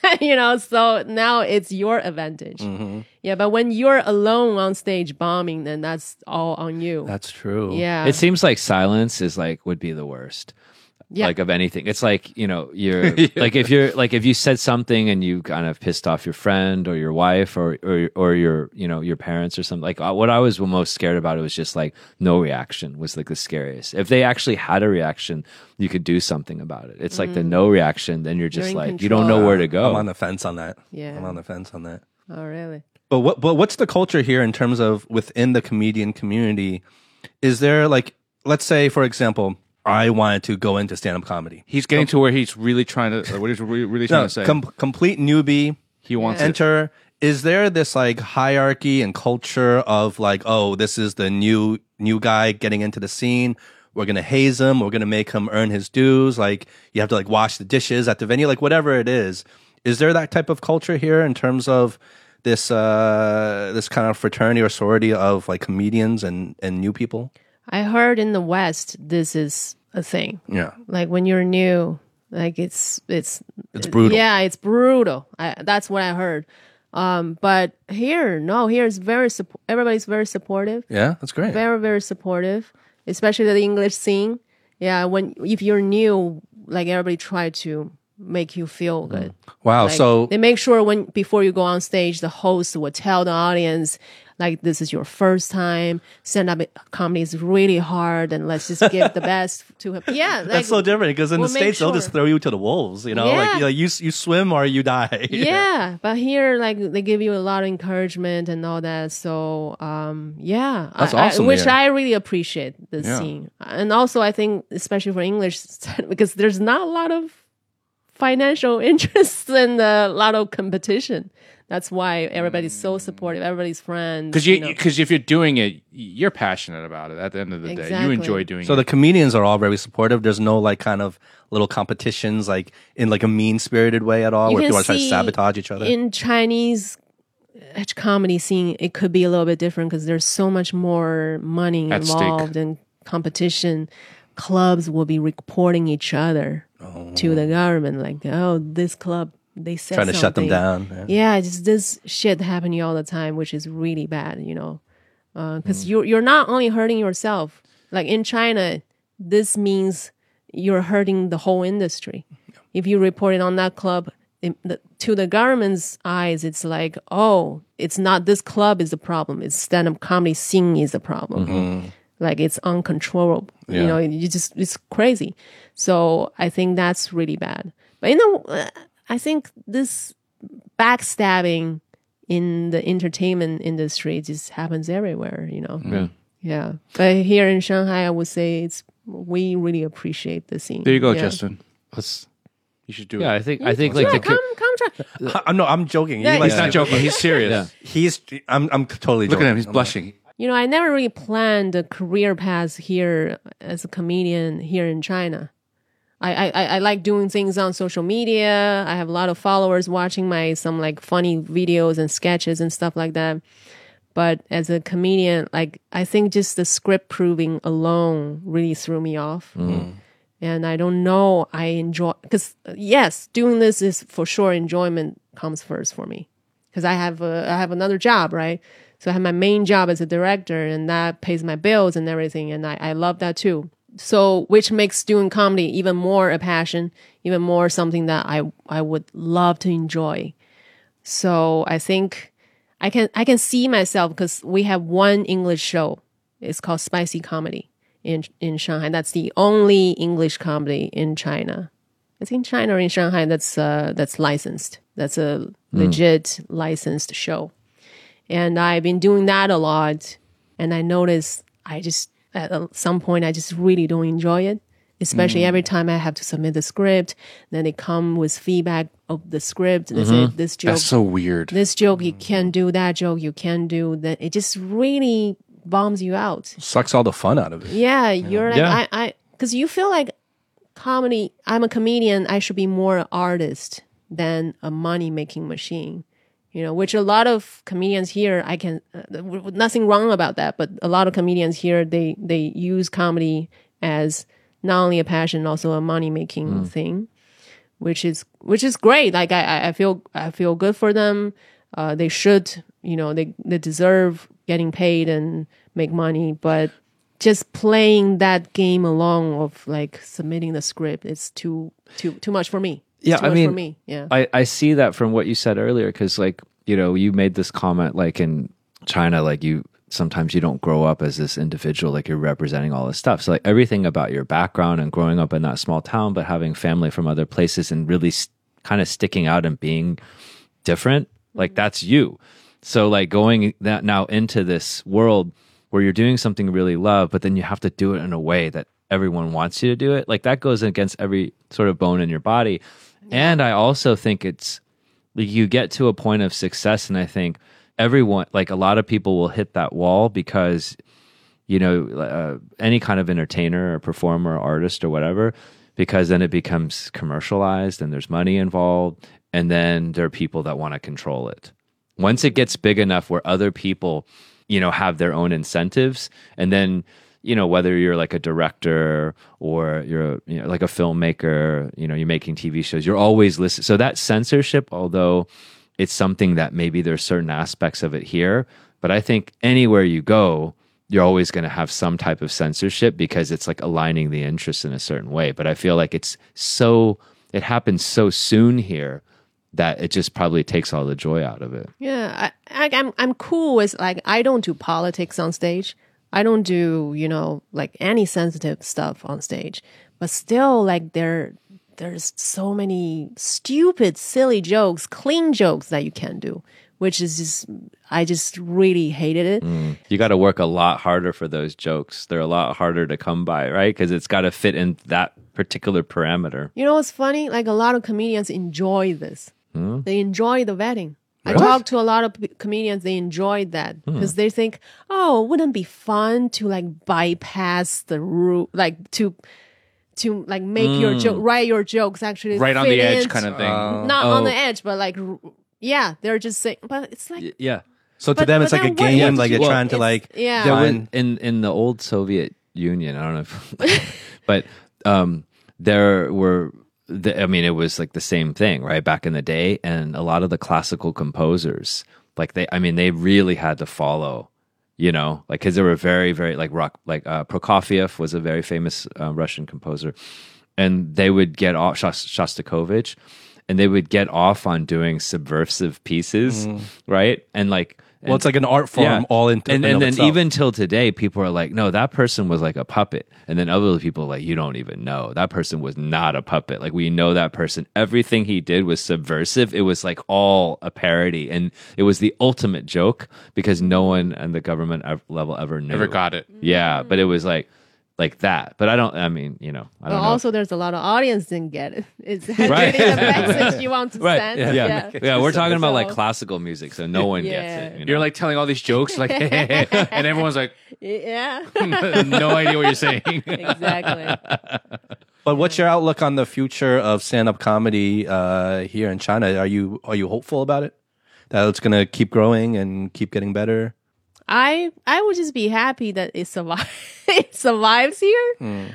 so now it's your advantage. Yeah. But when you're alone on stage bombing, then that's all on you. That's true. Yeah. it seems like silence is would be the worst. Yeah. Like of anything. It's like, you're like if you said something and you kind of pissed off your friend or your wife or your, your parents or something. Like what I was most scared about, it was just like no reaction was like the scariest. If they actually had a reaction, you could do something about it. It's like the no reaction, then you're just You're in like, you don't know where to go. I'm on the fence on that. Yeah. I'm on the fence on that. Oh, really? But what's the culture here in terms of within the comedian community? Is there like, let's say, for example, I wanted to go into stand-up comedy. He's getting to where he's really trying to, what he's really trying No, to say. complete newbie. He wants it. Enter. Is there this like hierarchy and culture of like, oh, this is the new guy getting into the scene. We're gonna haze him. We're gonna make him earn his dues. Like you have to like wash the dishes at the venue. Like whatever it is. Is there that type of culture here in terms of this this kind of fraternity or sorority of like comedians and new people? I heard in the West, this is a thing. Yeah, Like when you're new, like it's brutal. Yeah, it's brutal. That's what I heard. But here, no, here is everybody's very supportive. yeah, that's great. Very, very supportive, especially the English scene. Yeah, if you're new, like everybody try to make you feel good. Wow. Like, So they make sure before you go on stage, the host will tell the audience, like this is your first time. Stand-up comedy is really hard, and let's just give the best to him. Yeah, like, That's so different because in we'll the make States, they'll just sure. throw you to the wolves, you know? Yeah. Like you swim or you die. Yeah, but here, like, they give you a lot of encouragement and all that. So, yeah, That's awesome which here. I really appreciate this Yeah. scene. And also, I think, especially for English, because there's not a lot of financial interest and a lot of competition. That's why everybody's so supportive. Everybody's friends. Because you know. if you're doing it, you're passionate about it. At the end of the day, you Exactly. enjoy doing So it. the comedians are all very supportive. There's no like kind of little competitions like in like a mean spirited way at all You where can people are trying to see sabotage each other. In Chinese comedy scene, it could be a little bit different because there's so much more money At stake. involved and competition. Clubs will be reporting each other to the government, like, oh, this club, they said Trying to shut them something. down. Yeah, just this shit happening all the time, which is really bad, you know, because you're not only hurting yourself. Like in China, this means you're hurting the whole industry. If you report it on that club, to the government's eyes, it's like, oh, it's not this club is the problem. It's stand-up comedy scene is the problem. Like it's uncontrollable. You Yeah. know, it's crazy. So I think that's really bad. But you know, I think this backstabbing in the entertainment industry just happens everywhere. You know. Yeah. Yeah. But here in Shanghai, I would say we really appreciate the scene. There you go, Yeah. Justin. You should do Yeah, it. I think like Yeah, the come try. I'm joking. Yeah, He's not joking. He's serious. Yeah. I'm totally Look joking. at him. He's blushing. You know, I never really planned a career path here as a comedian here in China. I like doing things on social media. I have a lot of followers watching some like funny videos and sketches and stuff like that. But as a comedian, like I think just the script proving alone really threw me off. And I don't know, I enjoy, because yes, doing this is for sure enjoyment comes first for me. Because I have another job, right? So I have my main job as a director and that pays my bills and everything. And I love that too. So, which makes doing comedy even more a passion, even more something that I would love to enjoy. So I think I can see myself because we have one English show. It's called Spicy Comedy in Shanghai. That's the only English comedy in China. It's in China or in Shanghai that's licensed. That's a legit licensed show. And I've been doing that a lot. And I noticed at some point, I just really don't enjoy it. Especially every time I have to submit the script. Then they come with feedback of the script. And they say, this joke, That's so weird. this joke you can't do, that joke you can't do. That it just really bums you out. Sucks all the fun out of it. Yeah, you're like, Yeah. because you feel like comedy, I'm a comedian, I should be more an artist than a money-making machine. You know, which a lot of comedians here, nothing wrong about that, but a lot of comedians here, they use comedy as not only a passion, also a money-making thing, which is great. Like I feel good for them. They should, you know, they deserve getting paid and make money, but just playing that game along of like submitting the script, it's too much for me. It's Yeah, too I much mean, for me. Yeah. I see that from what you said earlier, because like, you know, you made this comment like in China, like sometimes you don't grow up as this individual, like you're representing all this stuff. So like everything about your background and growing up in that small town, but having family from other places and really kind of sticking out and being different, like that's you. So like going that now into this world where you're doing something you really love, but then you have to do it in a way that everyone wants you to do it. Like that goes against every sort of bone in your body. And I also think it's like you get to a point of success, and I think everyone, like a lot of people will hit that wall because, you know, any kind of entertainer or performer or artist or whatever, because then it becomes commercialized and there's money involved, and then there are people that want to control it. Once it gets big enough where other people, you know, have their own incentives, and then, you know, whether you're like a director or you're, you know, like a filmmaker, you know, you're making TV shows, you're always listening. So that censorship, although it's something that maybe there's certain aspects of it here, but I think anywhere you go, you're always going to have some type of censorship because it's like aligning the interests in a certain way. But I feel like it happens so soon here that it just probably takes all the joy out of it. Yeah, I'm cool with like I don't do politics on stage. I don't do like any sensitive stuff on stage. But still, like there's so many stupid, silly jokes, clean jokes that you can do, which is just I just really hated it. You got to work a lot harder for those jokes. They're a lot harder to come by, right? Because it's got to fit in that particular parameter. You know what's funny? Like a lot of comedians enjoy this. They enjoy the vetting. Really? I talked to a lot of comedians. They enjoyed that because they think, oh, wouldn't it be fun to like bypass the rule, like to like make your joke, write your jokes actually Right on fit the edge in. kind of thing. Not on the edge, but like, yeah, they're just saying, but it's like, Yeah. So to But- them, it's but like a then what- game. what Like did you're you- trying to it's- like yeah. There was, find. in the old Soviet Union, I don't know if, but there were, I mean, it was like the same thing, right? Back in the day. And a lot of the classical composers, like they really had to follow, like, cause they were very, very like rock, like Prokofiev was a very famous Russian composer. And they would get off, Shostakovich, and they would get off on doing subversive pieces, right? And like, Well, it's like an art form all in. and of then itself. even till today, people are like, no, that person was like a puppet. And then other people are like, you don't even know. That person was not a puppet. Like, we know that person. Everything he did was subversive. It was like all a parody. And it was the ultimate joke because no one at the government level ever knew. Never got it. Yeah, but it was like that. But I don't but know. also there's a lot of audience didn't get it. It's Right. really the message you want to Right. send. Yeah. Yeah, we're talking about like So- classical music, so no one Yeah. gets it. You're like telling all these jokes, like, and everyone's like, Yeah, no idea what you're saying. exactly. But what's your outlook on the future of stand-up comedy here in China? Are you hopeful about it? That it's going to keep growing and keep getting better? I would just be happy that it survives here.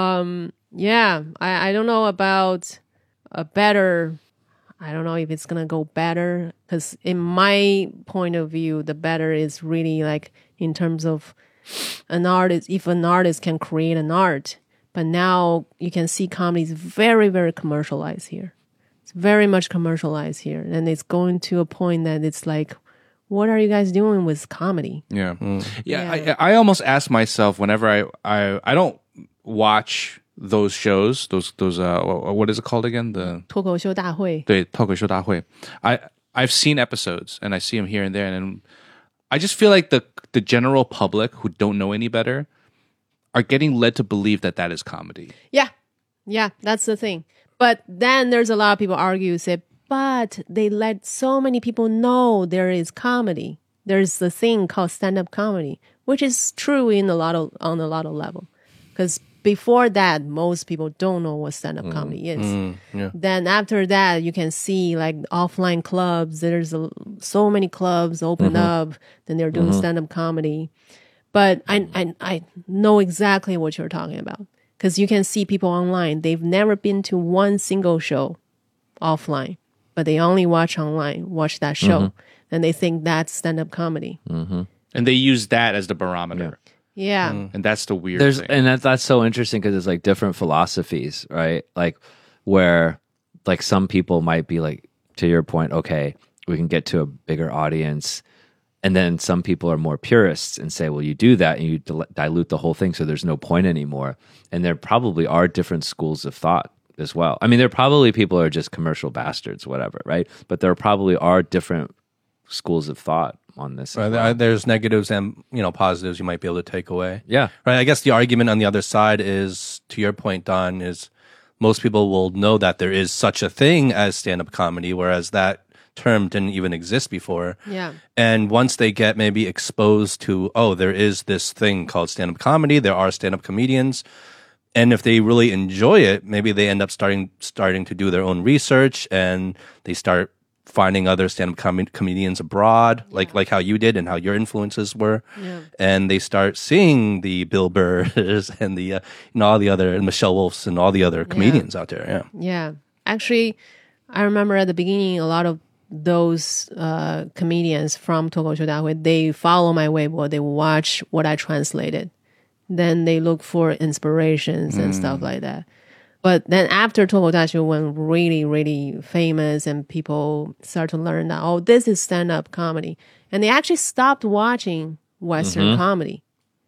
Yeah, I don't know about a better. I don't know if it's gonna go better because in my point of view, the better is really like in terms of an artist. If an artist can create an art, but now you can see comedy is very, very commercialized here. It's very much commercialized here, and it's going to a point that it's like, what are you guys doing with comedy? Yeah, yeah. Yeah. I almost ask myself whenever I don't watch those shows. Those what is it called again? The 脱口秀大会. 对脱口秀大会. I've seen episodes and I see them here and there, and then I just feel like the general public who don't know any better are getting led to believe that is comedy. Yeah, that's the thing. But then there's a lot of people argue, say, but they let so many people know there is comedy. There's the thing called stand-up comedy, which is true on a lot of level. Because before that, most people don't know what stand-up comedy is. Then after that, you can see like offline clubs. There's so many clubs open up. Then they're doing stand-up comedy. But I know exactly what you're talking about. Because you can see people online. They've never been to one single show offline, but they only watch that show. And they think that's stand-up comedy. And they use that as the barometer. Yeah. And that's the weird thing. And that's so interesting because it's like different philosophies, right? Like where like some people might be like, to your point, okay, we can get to a bigger audience. And then some people are more purists and say, well, you do that and you dilute the whole thing, so there's no point anymore. And there probably are different schools of thought as well. I mean, there probably people are just commercial bastards, whatever, right? But there probably are different schools of thought on this. Right, As well. there's negatives and positives you might be able to take away. Yeah. Right. I guess the argument on the other side is, to your point, Don, is most people will know that there is such a thing as stand-up comedy, whereas that term didn't even exist before. Yeah. And once they get maybe exposed to, oh, there is this thing called stand-up comedy, there are stand-up comedians, and if they really enjoy it, maybe they end up starting to do their own research, and they start finding other stand-up comedians abroad, like how you did and how your influences were. Yeah. And they start seeing the Bill Burrs and the all the other, and Michelle Wolfs and all the other comedians out there. Yeah. Yeah. Actually, I remember at the beginning, a lot of those comedians from 脱口秀大会, they follow my Weibo, they watch what I translated. Then they look for inspirations and stuff like that. But then after 脱口大学 went really, really famous and people start to learn that, oh, this is stand-up comedy. And they actually stopped watching Western comedy.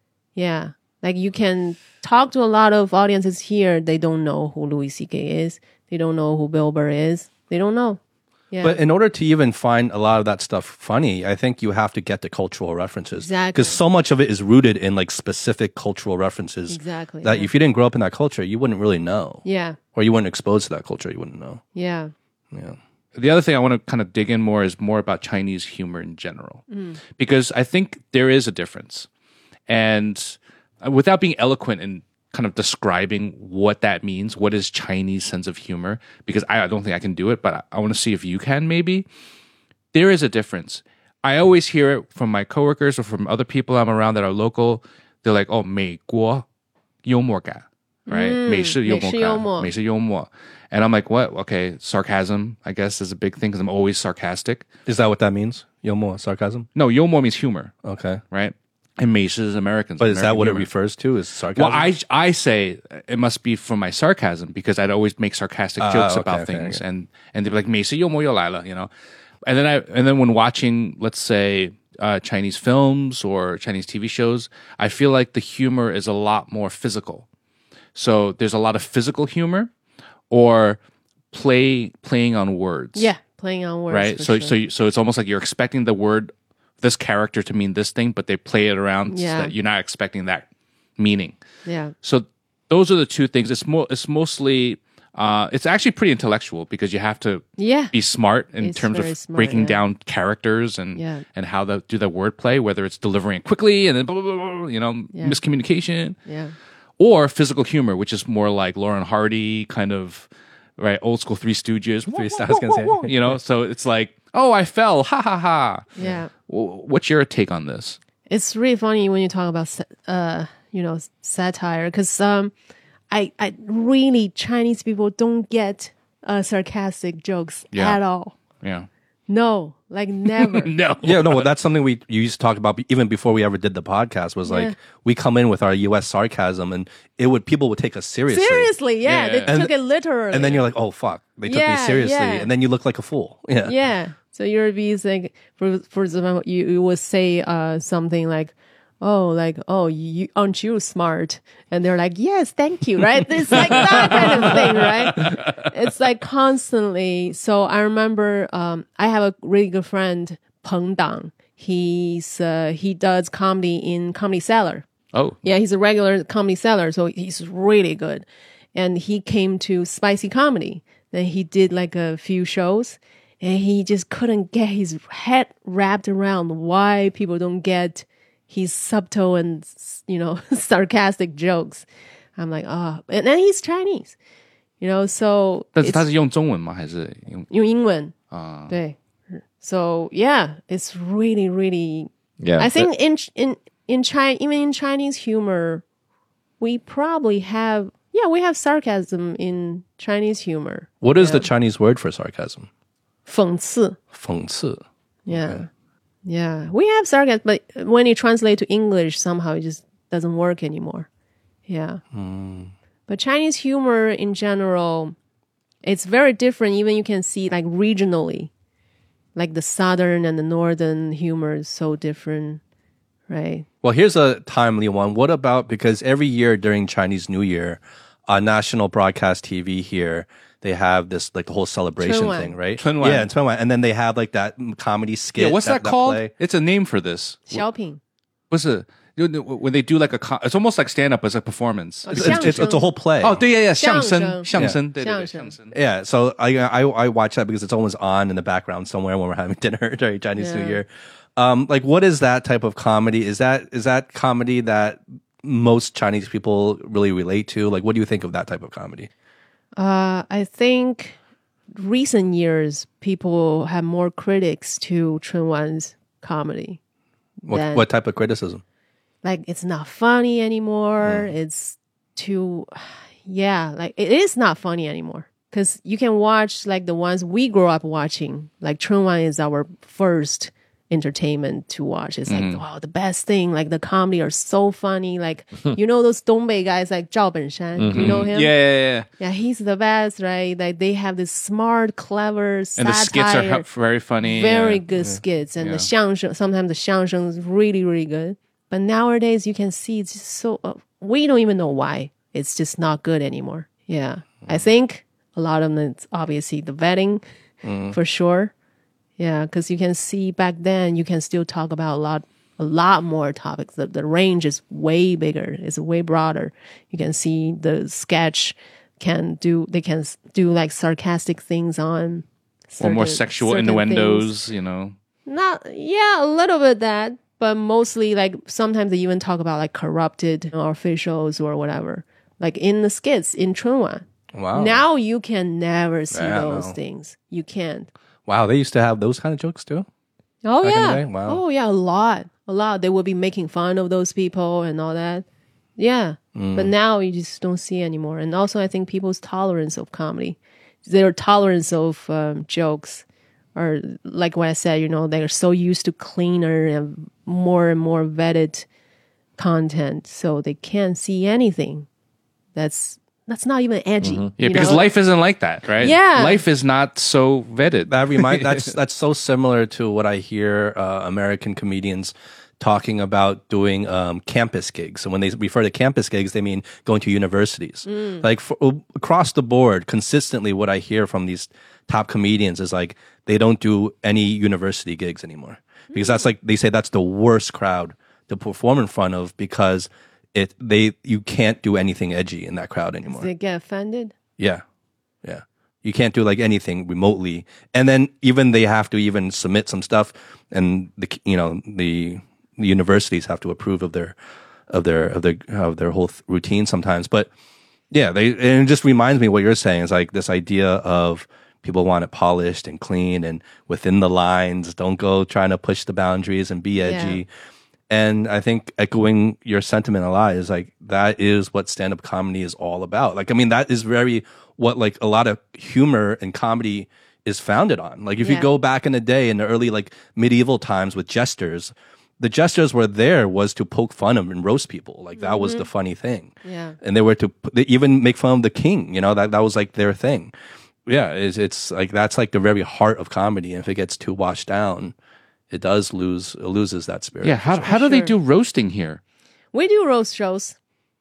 Yeah. Like you can talk to a lot of audiences here. They don't know who Louis C.K. is. They don't know who Bill Burr is. They don't know. Yeah. But in order to even find a lot of that stuff funny, I think you have to get the cultural references. Exactly. Because so much of it is rooted in like specific cultural references. Exactly. That if you didn't grow up in that culture, you wouldn't really know. Yeah. Or you weren't exposed to that culture, you wouldn't know. Yeah. Yeah. The other thing I want to kind of dig in more is more about Chinese humor in general, because I think there is a difference. And without being eloquent in kind of describing what that means, what is Chinese sense of humor, because I don't think I can do it, but I want to see if you can maybe. There is a difference. I always hear it from my coworkers or from other people I'm around that are local. They're like, oh, 美国幽默感, right? 美式幽默感,美式幽默. And I'm like, what? Okay, sarcasm, I guess, is a big thing because I'm always sarcastic. Is that what that means? Yomo, sarcasm? No, 幽默 means humor, Okay. right? And 美式is Americans. But is that American what humor. it refers to? Is sarcasm? Well, I say it must be from my sarcasm because I'd always make sarcastic jokes okay, about okay, things, okay. and they'd be like, 美式幽默又来了, you know. And then when watching, let's say, Chinese films or Chinese TV shows, I feel like the humor is a lot more physical. So there's a lot of physical humor, or playing on words. Yeah. Playing on words. Right. for sure. So it's almost like you're expecting the word, this character to mean this thing, but they play it around so Yeah. that you're not expecting that meaning. Yeah. So those are the two things. It's mostly it's actually pretty intellectual because you have to Yeah. be smart in It's terms very of smart, breaking yeah. down characters and Yeah. how to do the wordplay, whether it's delivering it quickly and then blah, blah, blah, blah, you know, Yeah. miscommunication, Yeah. or physical humor, which is more like Lauren Hardy kind of, right, old school Three Stooges. I was gonna say. You know, so it's like, oh, I fell, ha ha ha. Yeah. What's your take on this? It's really funny when you talk about, satire, because I really, Chinese people don't get sarcastic jokes Yeah. at all. Yeah. No, like never. No. Yeah, no, well, that's something you used to talk about even before we ever did the podcast was like, Yeah. we come in with our U.S. sarcasm and people would take us seriously. Seriously, yeah, Yeah. they And- took it literally. And then you're like, oh, fuck. They took me Yeah, seriously. yeah. And then you look like a fool. Yeah. yeah. So you're being like, for example, you would say something like, you aren't you smart? And they're like, yes, thank you, right? It's like that kind of thing, right? It's like constantly. So I remember I have a really good friend, Peng Dang. He does comedy in Comedy Cellar. Oh. Yeah, he's a regular Comedy Cellar, so he's really good. And he came to Spicy Comedy. Then he did like a few shows, and he just couldn't get his head wrapped around why people don't get his subtle and, sarcastic jokes. I'm like, and then he's Chinese, so 但是 it's- 他是用中文吗？还是用用英文对 So yeah, it's really, really. Yeah, I think in China, even in Chinese humor, we probably have we have sarcasm in Chinese humor. What is the Chinese word for sarcasm? 讽刺. 讽刺. Yeah. Yeah. We have sarcasm, but when you translate to English, somehow it just doesn't work anymore. Yeah. But Chinese humor in general, it's very different. Even you can see like regionally, like the southern and the northern humor is so different, right? Well, here's a timely one. What about, because every year during Chinese New Year, on national broadcast TV here, they have this, like the whole celebration 春晚. thing, right? 春晚. Yeah, and 春晚. And then they have like that comedy skit. Yeah, what's that called? play. It's a name for this. 小品. 不是 when they do like it's almost like stand up as a performance. It's a whole play. Oh, 对，相声， 相声。 相声，对， 相声。 相声。 Yeah, so I watch that because it's always on in the background somewhere when we're having dinner during Chinese New Year. Like, what is that type of comedy? Is that comedy that most Chinese people really relate to? Like, what do you think of that type of comedy? I think recent years people have more critics to Chunwan's comedy. What type of criticism? Like it's not funny anymore. It's too, like it is not funny anymore. Because you can watch like the ones we grew up watching. Like Chunwan is our first entertainment to watch. It's like, wow, the best thing. Like the comedy are so funny. Like, those Dongbei guys like Zhao Benshan. You know him? Yeah. Yeah, he's the best, right? Like they have this smart, clever satire. And the skits are very funny. Very good skits. And the xiangsheng, sometimes the xiangsheng is really, really good. But nowadays you can see it's just so, we don't even know why. It's just not good anymore. Yeah. I think a lot of them, it's obviously the vetting for sure. Yeah, because you can see back then, you can still talk about a lot more topics. The range is way bigger. It's way broader. You can see the sketch they can do like sarcastic things on or more sexual innuendos, you know. A little bit that, but mostly like sometimes they even talk about like corrupted officials or whatever. Like in the skits in Chunwa. Wow. Now you can never see those things. You can't. Wow, they used to have those kind of jokes too? Oh, back in yeah. the day? Wow. Oh, yeah, a lot. They would be making fun of those people and all that. Yeah. But now you just don't see anymore. And also, I think people's tolerance of comedy, their tolerance of jokes are, like what I said, they're so used to cleaner and more vetted content. So they can't see anything that's not even edgy. Yeah, because life isn't like that, right? Yeah. Life is not so vetted. That's so similar to what I hear American comedians talking about doing campus gigs. So when they refer to campus gigs, they mean going to universities. Like across the board, consistently, what I hear from these top comedians is like they don't do any university gigs anymore because that's like they say that's the worst crowd to perform in front of because you can't do anything edgy in that crowd anymore. They get offended. Yeah. You can't do like anything remotely, and then even they have to even submit some stuff, and the universities have to approve of their whole routine sometimes. But yeah, and it just reminds me what you're saying is like this idea of people want it polished and clean and within the lines. Don't go trying to push the boundaries and be edgy. Yeah. And I think echoing your sentiment a lot is like, that is what stand-up comedy is all about. Like, I mean, that is very what like a lot of humor and comedy is founded on. Like if you go back in the day in the early like medieval times with jesters, the jesters were was to poke fun of and roast people. Like that was the funny thing. Yeah. And they even make fun of the king, that was like their thing. Yeah. It's like, that's like the very heart of comedy. And if it gets too washed down, it loses that spirit. Yeah, how do they do roasting here? We do roast shows,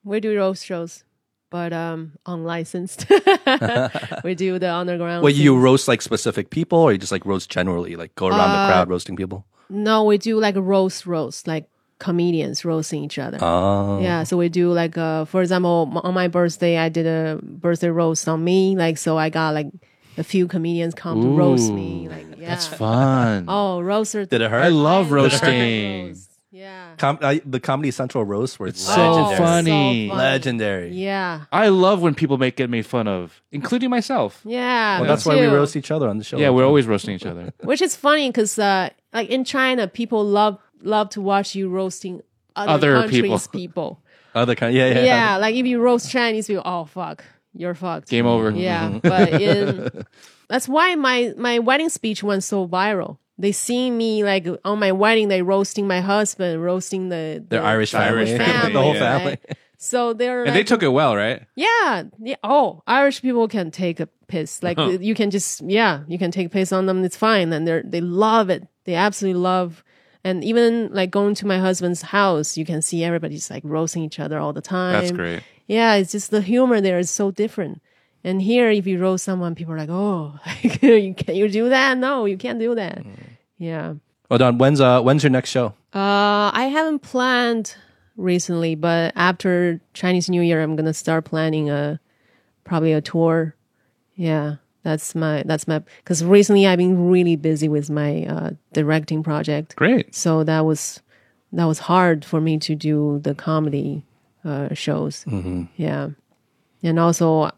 but unlicensed. We do the underground. Well, you roast like specific people, or you just like roast generally, like go around the crowd roasting people? No, we do like a roast, like comedians roasting each other. Oh. Yeah, so we do like, for example, on my birthday, I did a birthday roast on me. Like, so I got like a few comedians come to roast me. Like, yeah. That's fun. Oh, roaster. Did it hurt? I love roasting. Yeah. The Comedy Central roast was so funny. Legendary. Yeah. I love when people get made fun of, including myself. Yeah. Well, that's why we roast each other on the show. Yeah, we're always roasting each other. Which is funny because like in China, people love to watch you roasting other countries' people. Other countries, yeah. Yeah, like if you roast Chinese people, oh, fuck. You're fucked. Game over. Yeah, but that's why my wedding speech went so viral. They see me like on my wedding, they roasting my husband, roasting the Irish family. The whole family. Right? So they're and they took it well, right? Yeah. Oh, Irish people can take a piss. Like you can just you can take a piss on them. It's fine, and they love it. They absolutely love. And even like going to my husband's house, you can see everybody's like roasting each other all the time. That's great. Yeah, it's just the humor there is so different. And here, if you roast someone, people are like, "Oh, can you do that? No, you can't do that." Yeah. Well, Don, when's your next show? I haven't planned recently, but after Chinese New Year, I'm gonna start planning probably a tour. Yeah, that's my because recently I've been really busy with my directing project. Great. So that was hard for me to do the comedy shows. Yeah. And also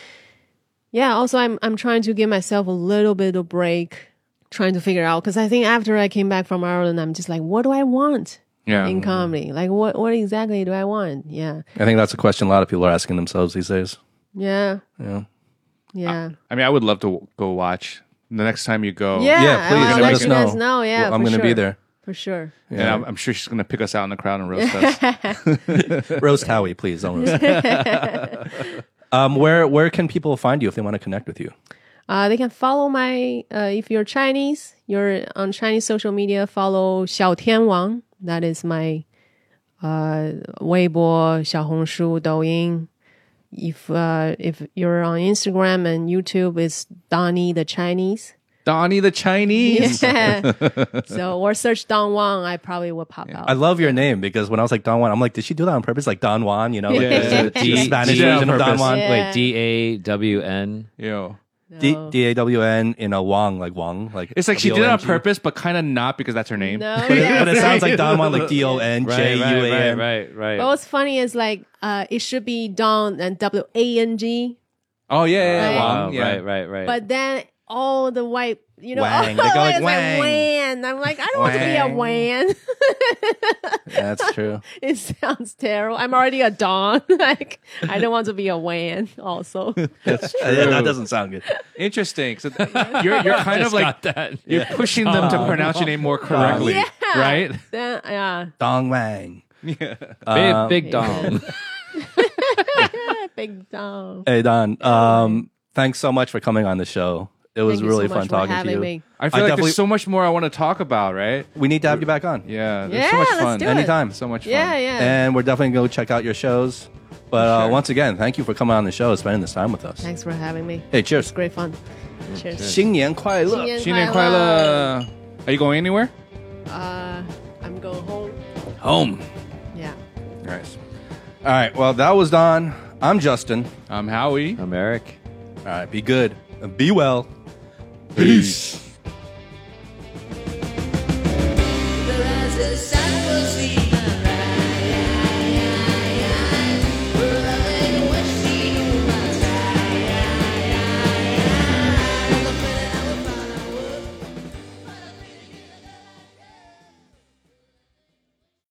I'm trying to give myself a little bit of break, trying to figure out, because I think after I came back from Ireland, I'm just like, what do I want in comedy? Like what exactly do I want? Yeah. I think that's a question a lot of people are asking themselves these days. Yeah. I mean, I would love to go watch the next time you go. Yeah, please I'll let let us you guys know. Yeah, I'm going to be there. For sure. And I'm sure she's going to pick us out in the crowd and roast us. Roast Howie, please. Don't roast. Where can people find you if they want to connect with you? They can follow if you're Chinese, you're on Chinese social media, follow Xiao Tian Wang. That is my Weibo, Xiaohongshu, Douyin. If you're on Instagram and YouTube, it's Donnie the Chinese. Donnie the Chinese. Yeah. So, or search Don Wang, I probably will pop out. I love your name because when I was like Don Juan, I'm like, did she do that on purpose? Like Don Juan, you know, like Yeah. the Spanish She did it on version of Don purpose. Juan. Yeah. Wait, DAWN. Yo. No. DAWN in a Wang, like Wang, like It's like she did it on W-O-N-G. purpose, but kind of not because that's her name. No, But yeah. it sounds like Don Juan, like DONJUAN. Right. But what's funny is like it should be Don and WANG, Oh, yeah. Right. Wang, yeah. Right. but then all the white, Wang. all They go the like white is Wang. Wan. I'm like, I don't want to be a Wan. Yeah, that's true. It sounds terrible. I'm already a Don. Like, I don't want to be a Wan also. That's true. Yeah, that doesn't sound good. Interesting. So you're kind of like that. you're pushing them to pronounce your name more correctly, Yeah. right? Then, yeah. Dong Wang. Big dong. Big Don. Hey Don, thanks so much for coming on the show. It was Thank you really so fun much for talking to having you. me. I feel I like definitely- there's so much more I want to talk about, right? We need to have you back on. Yeah. There's Yeah, so much let's fun. do it. Anytime. So much fun. Yeah, yeah. And we're definitely going to check out your shows. But Sure. once again, thank you for coming on the show and spending this time with us. Thanks for having me. Hey, It's cheers. great fun. Cheers. 新年快乐. 新年快乐. Are you going anywhere? I'm going home. Home. Yeah. Nice. All right. Well, that was Don. I'm Justin. I'm Howie. I'm Eric. All right. Be good. And be well. Peace.